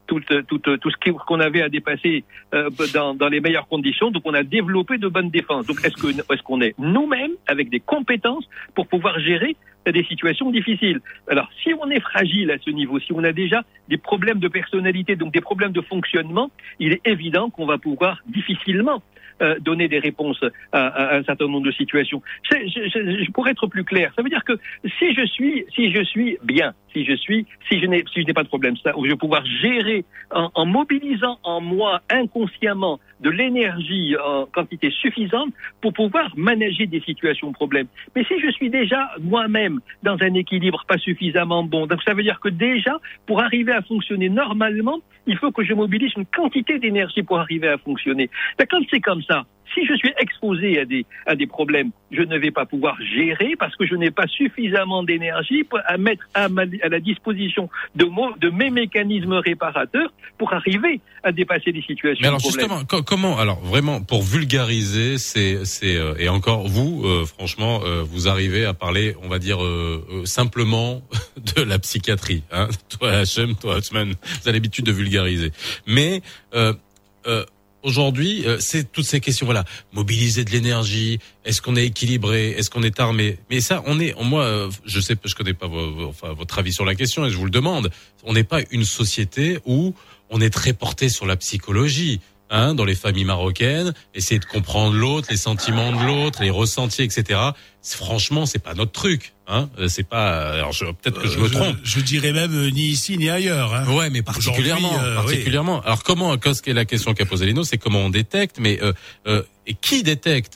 S13: ce qu'on avait à dépasser dans les meilleures conditions? Donc, on a développé de bonnes défenses. Donc, est-ce qu'on est nous-mêmes avec des compétences pour pouvoir gérer des situations difficiles? Alors, si on est fragile à ce niveau, si on a déjà des problèmes de personnalité, donc des problèmes de fonctionnement, il est évident qu'on va pouvoir difficilement donner des réponses à un certain nombre de situations. Pour être plus clair, ça veut dire que si je suis bien, si je n'ai pas de problème, ça, où je vais pouvoir gérer en mobilisant en moi inconsciemment de l'énergie en quantité suffisante pour pouvoir manager des situations de problème. Mais si je suis déjà moi-même dans un équilibre pas suffisamment bon, donc ça veut dire que déjà, pour arriver à fonctionner normalement, il faut que je mobilise une quantité d'énergie pour arriver à fonctionner. Quand c'est comme ça, si je suis exposé à des problèmes, je ne vais pas pouvoir gérer parce que je n'ai pas suffisamment d'énergie à mettre à la disposition de mes mécanismes réparateurs pour arriver à dépasser les situations.
S2: Mais alors
S13: de problème.
S2: justement, comment, alors vraiment pour vulgariser, et encore vous, franchement, vous arrivez à parler, on va dire simplement de la psychiatrie. Hein, toi Hachem, toi Othman, vous avez l'habitude de vulgariser. Mais aujourd'hui, c'est toutes ces questions. Voilà, mobiliser de l'énergie. Est-ce qu'on est équilibré? Est-ce qu'on est armé? Mais ça, moi, je connais pas votre avis sur la question et je vous le demande. On n'est pas une société où on est très porté sur la psychologie. Dans les familles marocaines, essayer de comprendre l'autre, les sentiments de l'autre, les ressentis, etc. Franchement, c'est pas notre truc. C'est pas. Alors, peut-être que je me trompe.
S3: Je dirais même ni ici ni ailleurs.
S2: Ouais, mais particulièrement.
S3: Oui.
S2: Alors, qu'est-ce qu'est la question qu'a posée Lino, c'est comment on détecte, mais et qui détecte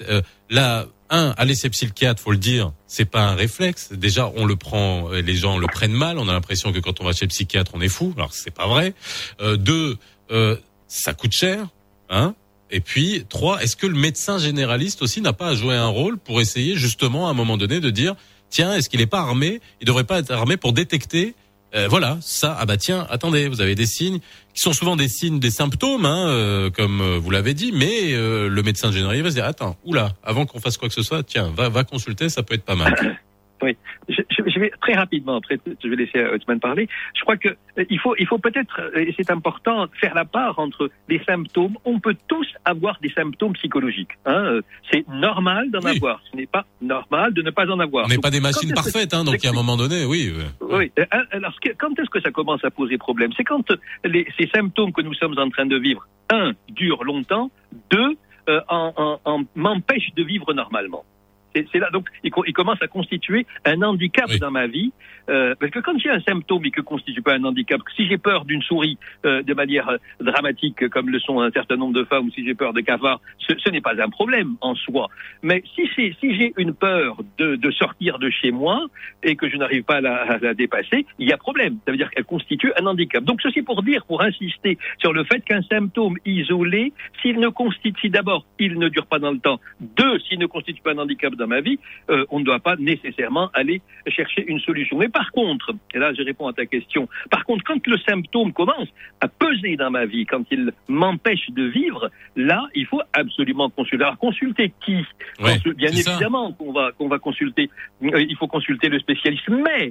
S2: aller chez le psychiatre, faut le dire, c'est pas un réflexe. Déjà, on le prend, les gens le prennent mal. On a l'impression que quand on va chez le psychiatre, on est fou. Alors, c'est pas vrai. 2, ça coûte cher. Et puis 3, est-ce que le médecin généraliste aussi n'a pas à jouer un rôle pour essayer justement à un moment donné de dire tiens, est-ce qu'il n'est pas armé? Il devrait pas être armé pour détecter ça. Tiens, attendez, vous avez des signes qui sont souvent des signes, des symptômes, comme vous l'avez dit, mais le médecin généraliste va se dire attends, avant qu'on fasse quoi que ce soit, tiens, va consulter, ça peut être pas mal.
S13: Oui, je vais très rapidement, après je vais laisser Othman parler. Je crois que il faut peut-être, et c'est important, faire la part entre les symptômes. On peut tous avoir des symptômes psychologiques. C'est normal d'en avoir. Ce n'est pas normal de ne pas en avoir.
S2: On n'est pas des machines parfaites, donc à un moment donné, oui.
S13: Oui. Alors, quand est-ce que ça commence à poser problème? C'est quand ces symptômes que nous sommes en train de vivre, 1, durent longtemps, 2, m'empêchent de vivre normalement. C'est là, donc, il commence à constituer un handicap dans ma vie, parce que quand j'ai un symptôme et que constitue pas un handicap, si j'ai peur d'une souris de manière dramatique, comme le sont un certain nombre de femmes, ou si j'ai peur de cafards, ce n'est pas un problème en soi. Mais si j'ai une peur de sortir de chez moi et que je n'arrive pas à la dépasser, il y a problème. Ça veut dire qu'elle constitue un handicap. Donc ceci pour insister sur le fait qu'un symptôme isolé, si d'abord il ne dure pas dans le temps, 2, s'il ne constitue pas un handicap dans ma vie, on ne doit pas nécessairement aller chercher une solution. Mais par contre, et là je réponds à ta question, quand le symptôme commence à peser dans ma vie, quand il m'empêche de vivre, là il faut absolument consulter. Alors consulter qui? Bien évidemment qu'on va consulter, il faut consulter le spécialiste, mais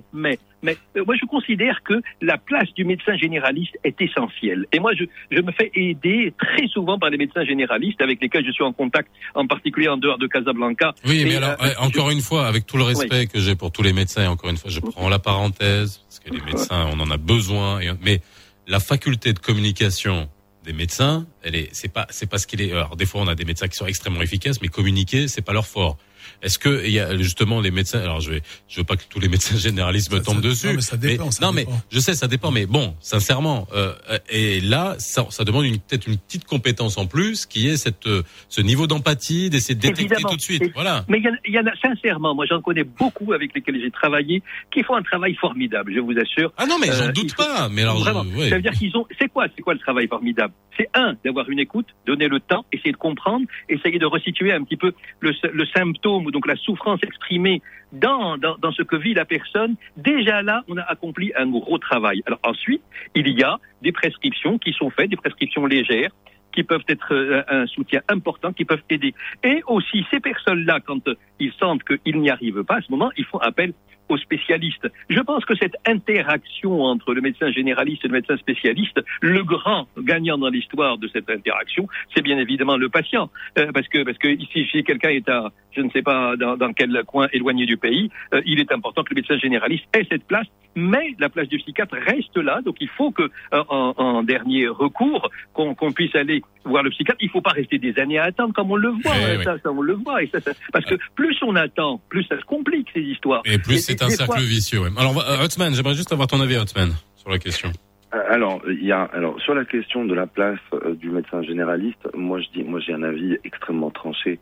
S13: moi je considère que la place du médecin généraliste est essentielle. Et moi je me fais aider très souvent par les médecins généralistes avec lesquels je suis en contact, en particulier en dehors de Casablanca.
S2: Oui, mais alors, encore une fois, avec tout le respect que j'ai pour tous les médecins, encore une fois, je prends la parenthèse, parce que les médecins, on en a besoin, mais la faculté de communication des médecins, c'est pas ce qu'il est. Alors, des fois, on a des médecins qui sont extrêmement efficaces, mais communiquer, c'est pas leur fort. Est-ce que il y a justement les médecins? Alors je veux pas que tous les médecins généralistes me tombent dessus.
S3: Non, mais ça dépend.
S2: Mais je sais, ça dépend. Mais bon, sincèrement, et là, ça demande peut-être une petite compétence en plus, qui est ce niveau d'empathie, d'essayer de détecter tout de suite. Voilà.
S13: Mais il y en a sincèrement, moi j'en connais beaucoup avec lesquels j'ai travaillé, qui font un travail formidable, je vous assure.
S2: Ah non, mais j'en doute pas. Mais alors,
S13: vraiment, ça veut dire c'est quoi le travail formidable? C'est d'avoir une écoute, donner le temps, essayer de comprendre, essayer de resituer un petit peu le symptôme, donc la souffrance exprimée dans ce que vit la personne. Déjà là, on a accompli un gros travail. Alors ensuite, il y a des prescriptions qui sont faites, des prescriptions légères, qui peuvent être un soutien important, qui peuvent aider. Et aussi, ces personnes-là, quand ils sentent qu'ils n'y arrivent pas, à ce moment, ils font appel aux spécialistes. Je pense que cette interaction entre le médecin généraliste et le médecin spécialiste, le grand gagnant dans l'histoire de cette interaction, c'est bien évidemment le patient. Parce que si quelqu'un est je ne sais pas dans quel coin éloigné du pays, il est important que le médecin généraliste ait cette place, mais la place du psychiatre reste là. Donc il faut que, en dernier recours, qu'on puisse aller voir le psychiatre. Il ne faut pas rester des années à attendre, comme on le voit. Ça, on le voit. Et ça, parce que plus on attend, plus ça se complique, ces histoires.
S2: Et plus c'est un cercle vicieux. Ouais. Alors, Othman, j'aimerais juste avoir ton avis, Othman, sur la question.
S12: Alors sur la question de la place du médecin généraliste, moi j'ai un avis extrêmement tranché.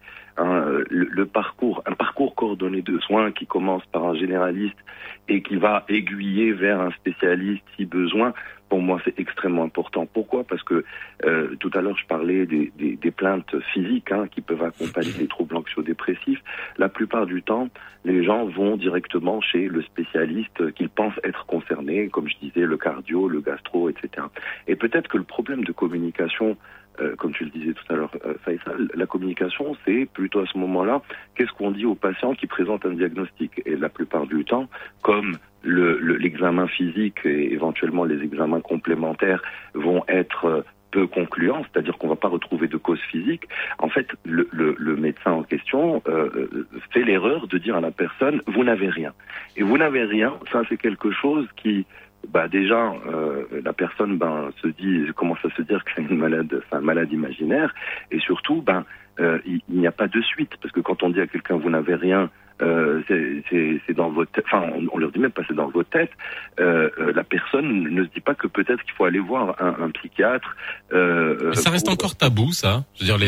S12: Un parcours coordonné de soins qui commence par un généraliste et qui va aiguiller vers un spécialiste si besoin, pour moi c'est extrêmement important. Pourquoi? Parce que tout à l'heure je parlais des plaintes physiques qui peuvent accompagner les troubles anxio-dépressifs. La plupart du temps, les gens vont directement chez le spécialiste qu'ils pensent être concerné, comme je disais, le cardio, le gastro, etc. Et peut-être que le problème de communication, comme tu le disais tout à l'heure, Faisal, la communication, c'est plutôt à ce moment-là, qu'est-ce qu'on dit aux patients qui présentent un diagnostic? Et la plupart du temps, comme l'examen physique et éventuellement les examens complémentaires vont être peu concluant, c'est-à-dire qu'on va pas retrouver de cause physique, en fait, le médecin en question fait l'erreur de dire à la personne « vous n'avez rien ». Et « vous n'avez rien », ça c'est quelque chose qui... déjà, la personne commence à se dire que c'est un malade imaginaire, et surtout, il n'y a pas de suite, parce que quand on dit à quelqu'un vous n'avez rien, c'est dans votre tête, enfin on leur dit même pas c'est dans votre tête, la personne ne se dit pas que peut-être qu'il faut aller voir un psychiatre.
S2: Mais ça reste encore tabou, ça. Je veux dire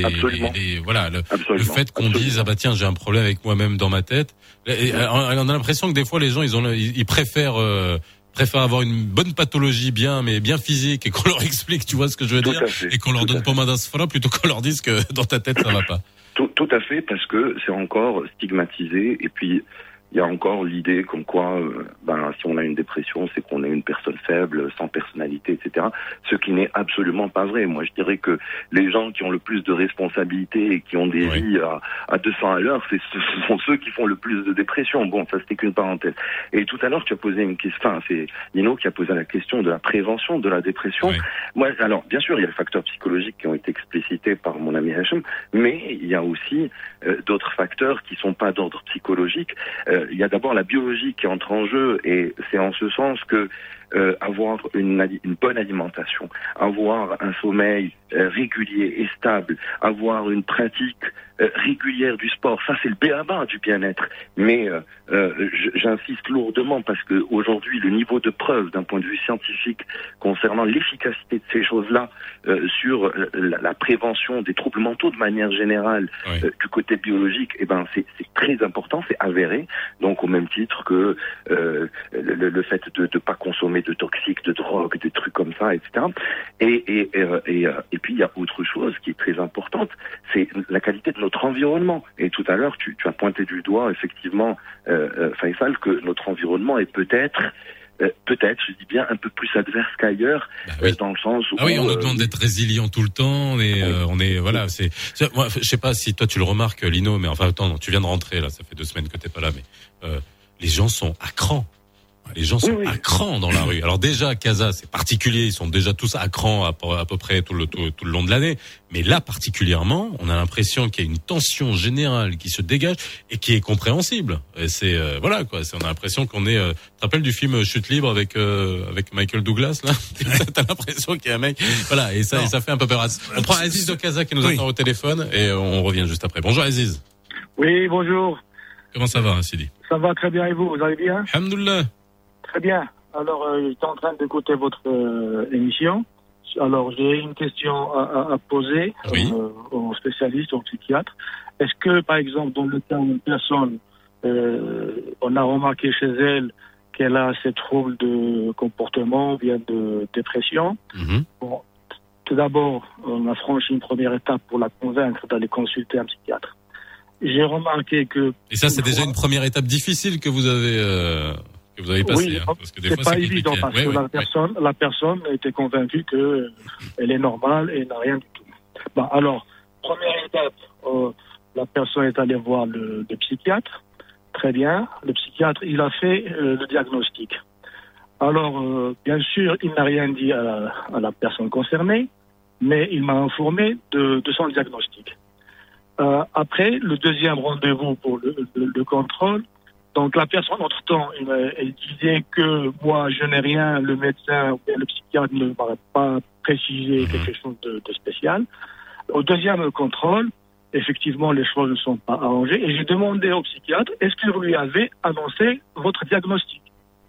S2: le fait qu'on dise tiens j'ai un problème avec moi-même dans ma tête. On a l'impression que des fois les gens ils préfèrent avoir une bonne pathologie bien physique et qu'on leur explique, tu vois ce que je veux dire, et qu'on leur donne pommade à sfra plutôt qu'on leur dise que dans ta tête ça va pas.
S12: Tout à fait, parce que c'est encore stigmatisé, et puis il y a encore l'idée comme quoi, si on a une dépression, c'est qu'on est une personne faible, sans personnalité, etc. Ce qui n'est absolument pas vrai. Moi, je dirais que les gens qui ont le plus de responsabilités et qui ont des vies à 200 à l'heure, ce sont ceux qui font le plus de dépression. Bon, ça c'était qu'une parenthèse. Et tout à l'heure, tu as posé une question, c'est Nino qui a posé la question de la prévention de la dépression. Oui. Moi, alors, bien sûr, il y a les facteurs psychologiques qui ont été explicités par mon ami Hachem, mais il y a aussi d'autres facteurs qui sont pas d'ordre psychologique. Il y a d'abord la biologie qui entre en jeu, et c'est en ce sens que avoir une bonne alimentation, avoir un sommeil régulier et stable, avoir une pratique régulière du sport, ça c'est le b.a.-ba du bien-être. Mais j'insiste lourdement parce que aujourd'hui le niveau de preuve d'un point de vue scientifique concernant l'efficacité de ces choses-là sur la prévention des troubles mentaux de manière générale, du côté biologique, c'est très important, c'est avéré. Donc au même titre que le fait de pas consommer de toxiques, de drogue, des trucs comme ça, etc. Et puis il y a autre chose qui est très importante, c'est la qualité de notre environnement. Et tout à l'heure, tu as pointé du doigt, effectivement, Faisal, que notre environnement est peut-être, je dis bien, un peu plus adverse qu'ailleurs, dans le sens où...
S2: on nous demande d'être résilient tout le temps, et on est, voilà, moi, je sais pas si toi tu le remarques, Lino, mais enfin, attends, tu viens de rentrer, là, ça fait 2 semaines que t'es pas là, mais les gens sont à cran. Les gens sont à cran dans la rue. Alors déjà, à Casa, c'est particulier. Ils sont déjà tous à cran à peu près tout le long de l'année. Mais là, particulièrement, on a l'impression qu'il y a une tension générale qui se dégage et qui est compréhensible. Et c'est, voilà, quoi. On a l'impression qu'on est, tu te rappelles du film Chute libre avec Michael Douglas, là? T'as l'impression qu'il y a un mec, voilà. Et ça fait un peu peur. On prend Aziz de Casa qui nous attend au téléphone et on revient juste après. Bonjour Aziz.
S14: Oui, bonjour.
S2: Comment ça va, Sidi?
S14: Ça va très bien, et vous allez bien?
S2: Alhamdoulilah.
S14: Très bien. Alors, j'étais en train d'écouter votre émission. Alors, j'ai une question à poser aux spécialistes, aux psychiatres. Est-ce que, par exemple, dans le cas d'une personne, on a remarqué chez elle qu'elle a ces troubles de comportement ou bien de dépression, bon, tout d'abord, on a franchi une première étape pour la convaincre d'aller consulter un psychiatre. J'ai remarqué que... Et
S2: ça, c'est déjà une première étape difficile que vous avez passée.
S14: Oui,
S2: parce que des fois,
S14: c'est pas évident parce que la personne était convaincue que elle est normale et n'a rien du tout. Bon, alors, première étape, la personne est allée voir le psychiatre. Très bien. Le psychiatre, il a fait le diagnostic. Alors, bien sûr, il n'a rien dit à la personne concernée, mais il m'a informé de son diagnostic. Après, le deuxième rendez-vous pour le contrôle, donc la personne, entre-temps, elle disait que moi, je n'ai rien, le médecin ou le psychiatre ne m'aurait pas précisé quelque chose de spécial. Au deuxième contrôle, effectivement, les choses ne sont pas arrangées. Et j'ai demandé au psychiatre, est-ce qu'il lui avait annoncé votre diagnostic?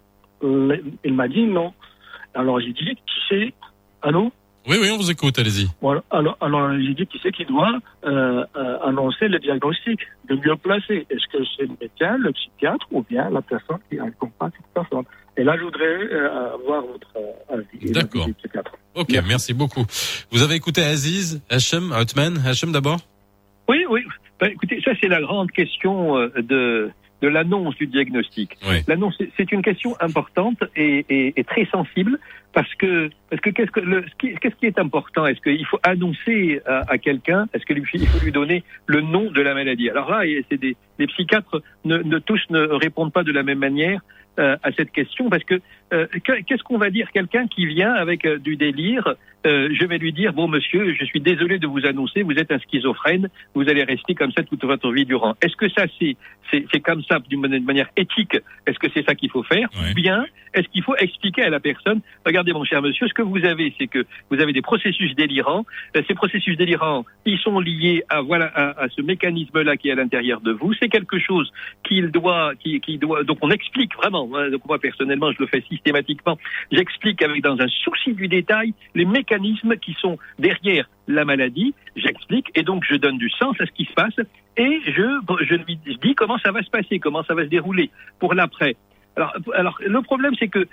S14: Il m'a dit non. Alors j'ai dit, qui c'est? Allô?
S2: Oui, on vous écoute, allez-y.
S14: Voilà. Alors j'ai dit, qui c'est qui doit annoncer le diagnostic, le mieux placé? Est-ce que c'est le médecin, le psychiatre, ou bien la personne qui accompagne cette personne? Et là, je voudrais avoir votre avis.
S2: D'accord. Ok, merci beaucoup. Vous avez écouté Aziz, Hachem, Outman, Hachem d'abord?
S13: Oui. Écoutez, ça c'est la grande question de l'annonce du diagnostic.
S2: Oui.
S13: L'annonce, c'est une question importante et très sensible parce que qu'est-ce qui est important? Est-ce qu'il faut annoncer à quelqu'un? Est-ce qu'il faut lui donner le nom de la maladie? Alors là, les psychiatres tous ne répondent pas de la même manière. à cette question, parce que qu'est-ce qu'on va dire quelqu'un qui vient avec du délire? Je vais lui dire, bon monsieur, je suis désolé de vous annoncer, vous êtes un schizophrène, vous allez rester comme ça toute votre vie durant. Est-ce que ça c'est comme ça d'une manière éthique? Est-ce que c'est ça qu'il faut faire? Ou bien est-ce qu'il faut expliquer à la personne, regardez mon cher monsieur, ce que vous avez, c'est que vous avez des processus délirants. Ces processus délirants, ils sont liés à ce mécanisme-là qui est à l'intérieur de vous. C'est quelque chose qui doit, donc on explique vraiment. Hein, donc moi personnellement, je le fais systématiquement. J'explique dans un souci du détail les mécanismes qui sont derrière la maladie. J'explique et donc je donne du sens à ce qui se passe et je lui dis comment ça va se passer, comment ça va se dérouler pour l'après. Alors, le problème, c'est que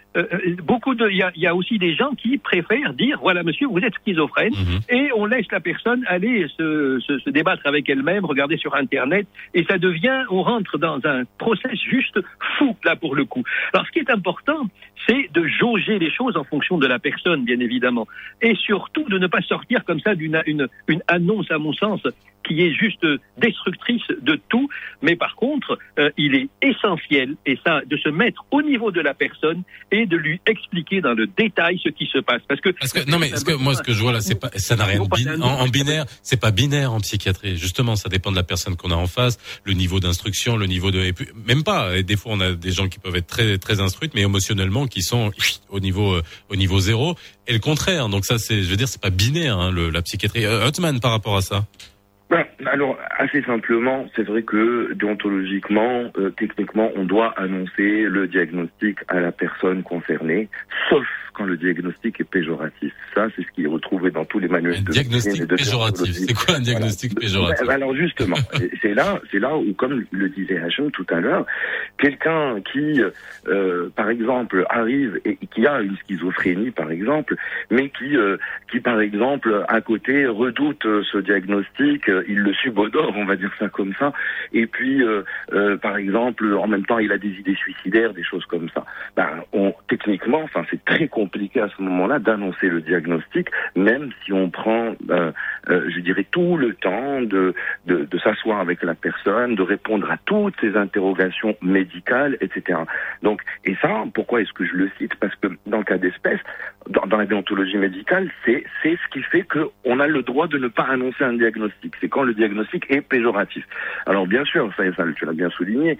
S13: il y a aussi des gens qui préfèrent dire, voilà, monsieur, vous êtes schizophrène, et on laisse la personne aller se débattre avec elle-même, regarder sur Internet, et ça devient, on rentre dans un process juste fou, là, pour le coup. Alors, ce qui est important, c'est de jauger les choses en fonction de la personne, bien évidemment, et surtout de ne pas sortir comme ça d'une annonce, à mon sens, qui est juste destructrice de tout, mais par contre, il est essentiel, et ça, de se mettre au niveau de la personne et de lui expliquer dans le détail ce qui se passe. Parce que
S2: moi, ce que je vois là, ça n'a rien en binaire, c'est pas binaire en psychiatrie. Justement, ça dépend de la personne qu'on a en face, le niveau d'instruction, le niveau et puis, même pas. Et des fois, on a des gens qui peuvent être très, très instruites, mais émotionnellement, qui sont au niveau zéro. Et le contraire. Donc ça, je veux dire, c'est pas binaire, hein, la psychiatrie. Othman, par rapport à ça.
S12: Alors, assez simplement, c'est vrai que déontologiquement, techniquement, on doit annoncer le diagnostic à la personne concernée, sauf quand le diagnostic est péjoratif. Ça, c'est ce qui est retrouvé dans tous les manuels de
S2: diagnostic péjoratif. C'est quoi un diagnostic péjoratif?
S12: Alors justement, c'est là où, comme le disait Hachem tout à l'heure, quelqu'un qui, par exemple, arrive et qui a une schizophrénie, par exemple, mais qui par exemple, à côté, redoute ce diagnostic, il le subodore, on va dire ça comme ça, et puis, par exemple, en même temps, il a des idées suicidaires, des choses comme ça. Techniquement, c'est très compliqué à ce moment-là d'annoncer le diagnostic, même si on prend, je dirais, tout le temps de s'asseoir avec la personne, de répondre à toutes ses interrogations médicales, etc. Donc, et ça, pourquoi est-ce que je le cite? Parce que dans le cas d'espèce, dans la déontologie médicale, c'est ce qui fait qu'on a le droit de ne pas annoncer un diagnostic. C'est quand le diagnostic est péjoratif. Alors bien sûr, ça tu l'as bien souligné,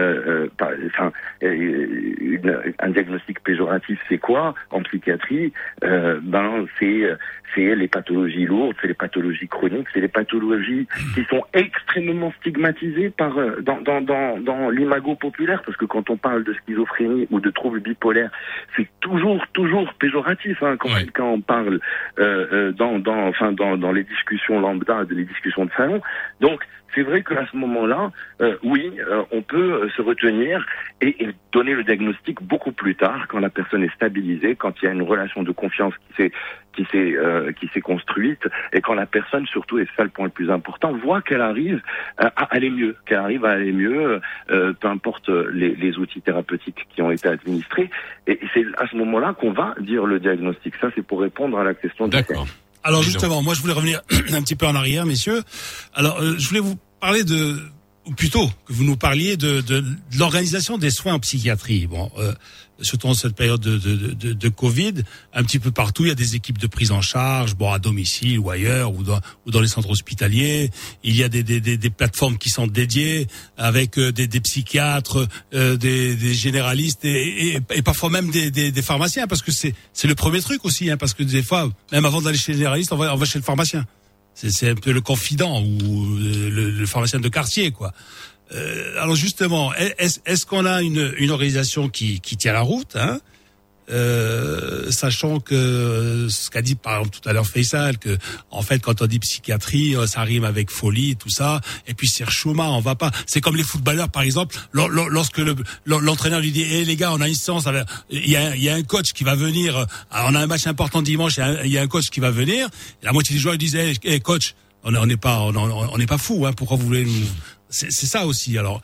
S12: un diagnostic péjoratif, c'est quoi en psychiatrie? C'est les pathologies lourdes, c'est les pathologies chroniques, c'est les pathologies qui sont extrêmement stigmatisées dans l'imago populaire, parce que quand on parle de schizophrénie ou de troubles bipolaires, c'est toujours péjoratif, hein, quand quelqu'un en parle dans les discussions lambda, les discussions de salon. Donc c'est vrai qu'à ce moment-là, on peut se retenir et donner le diagnostic beaucoup plus tard, quand la personne est stabilisée, quand il y a une relation de confiance qui s'est construite, et quand la personne, surtout, et c'est ça le point le plus important, voit qu'elle arrive à aller mieux, peu importe les outils thérapeutiques qui ont été administrés, et c'est à ce moment-là qu'on va dire le diagnostic. Ça, c'est pour répondre à la question de
S2: D'accord.
S3: Alors justement, moi je voulais revenir un petit peu en arrière, messieurs. Alors je voulais vous parler ou plutôt que vous nous parliez de l'organisation des soins en psychiatrie. Bon, surtout en cette période de Covid, un petit peu partout, il y a des équipes de prise en charge, à domicile ou ailleurs, ou dans les centres hospitaliers. Il y a des plateformes qui sont dédiées avec des psychiatres, des généralistes et parfois même des pharmaciens, parce que c'est le premier truc aussi, hein, parce que des fois, même avant d'aller chez le généraliste, on va chez le pharmacien. C'est un peu le confident ou le pharmacien de quartier, quoi. Alors justement, est-ce qu'on a une organisation qui tient la route, hein, sachant que ce qu'a dit par exemple tout à l'heure Faisal, que en fait quand on dit psychiatrie, ça rime avec folie et tout ça, et puis c'est chouma, on va pas. C'est comme les footballeurs par exemple, lorsque l'entraîneur lui dit les gars, on a une séance, il y a un coach qui va venir, on a un match important dimanche, il y a un coach qui va venir, et la moitié des joueurs ils disent coach, on n'est pas fou, hein, pourquoi vous voulez nous... C'est ça aussi. Alors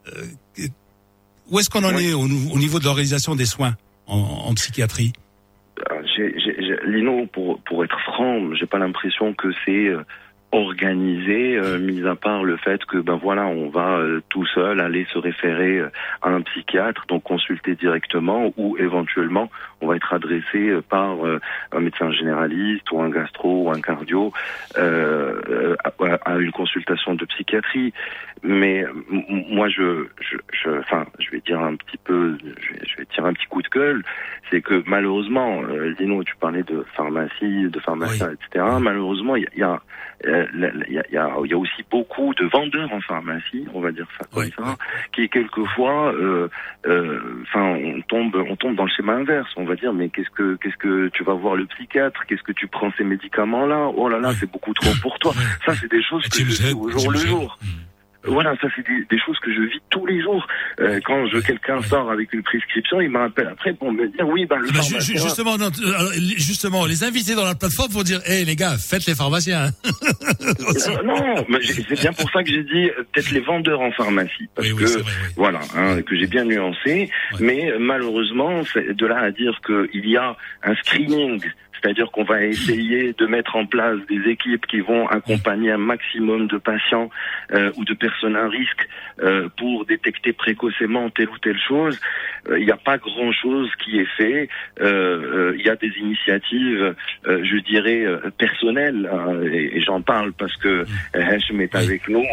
S3: où est-ce qu'on en est au niveau de l'organisation des soins en psychiatrie?
S12: Lino, pour être franc, j'ai pas l'impression que c'est organisé, mis à part le fait que on va tout seul aller se référer à un psychiatre, donc consulter directement, ou éventuellement on va être adressé par un médecin généraliste ou un gastro ou un cardio à une consultation de psychiatrie. Mais moi je vais dire un petit peu, je vais tirer un petit coup de gueule, c'est que malheureusement, Dino, tu parlais de pharmacie, de pharmaciens, etc. Malheureusement, il y a aussi beaucoup de vendeurs en pharmacie, on va dire ça comme ça, qui quelquefois, on tombe dans le schéma inverse. On va dire, mais qu'est-ce que tu vas voir le psychiatre, qu'est-ce que tu prends ces médicaments-là, oh là là, c'est beaucoup trop pour toi. Ça, c'est des choses que je vis au jour le jour. Voilà, ça c'est des choses que je vis tous les jours. Quand quelqu'un sort avec une prescription, il me rappelle après pour me dire oui, le pharmacien...
S3: Justement, les invités dans la plateforme vont dire, les gars, faites les pharmaciens.
S12: Non, mais c'est bien pour ça que j'ai dit peut-être les vendeurs en pharmacie, parce que j'ai bien nuancé. Mais malheureusement, c'est de là à dire qu'il y a un screening. C'est-à-dire qu'on va essayer de mettre en place des équipes qui vont accompagner un maximum de patients ou de personnes à risque pour détecter précocement telle ou telle chose. Il n'y a pas grand-chose qui est fait. Il y a des initiatives, je dirais, personnelles, et j'en parle parce que Hachem est avec nous.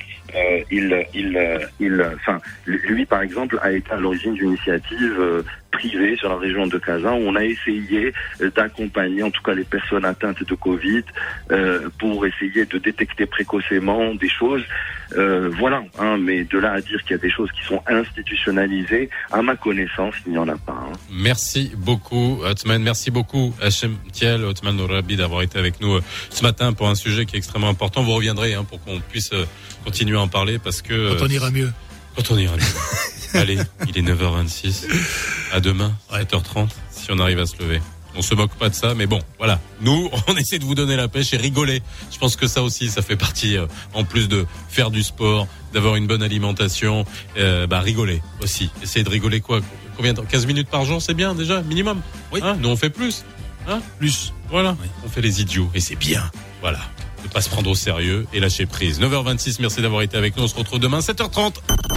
S12: Lui, par exemple, a été à l'origine d'une initiative privée sur la région de Kazan où on a essayé d'accompagner en tout cas les personnes atteintes de Covid pour essayer de détecter précocement des choses. Mais de là à dire qu'il y a des choses qui sont institutionnalisées, à ma connaissance, il n'y en a pas.
S2: Merci beaucoup, Othman. Merci beaucoup, Hachem Thiel, Othman Nourabi, d'avoir été avec nous ce matin pour un sujet qui est extrêmement important. Vous reviendrez pour qu'on puisse continuer à en parler parce que...
S3: Quand on ira mieux.
S2: Allez, il est 9h26. À demain, 7h30, si on arrive à se lever. On se moque pas de ça, mais bon, voilà. Nous, on essaie de vous donner la pêche et rigoler. Je pense que ça aussi, ça fait partie, en plus de faire du sport, d'avoir une bonne alimentation, rigoler aussi. Essayez de rigoler combien de temps? 15 minutes par jour, c'est bien déjà, minimum. Oui. Nous, on fait plus. Plus. Voilà. Oui. On fait les idiots et c'est bien. Voilà. Ne pas se prendre au sérieux et lâcher prise. 9h26, merci d'avoir été avec nous. On se retrouve demain, 7h30.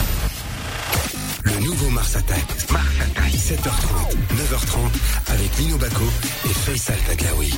S1: Le nouveau Mars Attack. 7h30, 9h30 avec Lino Bacco et Faisal Taglaoui.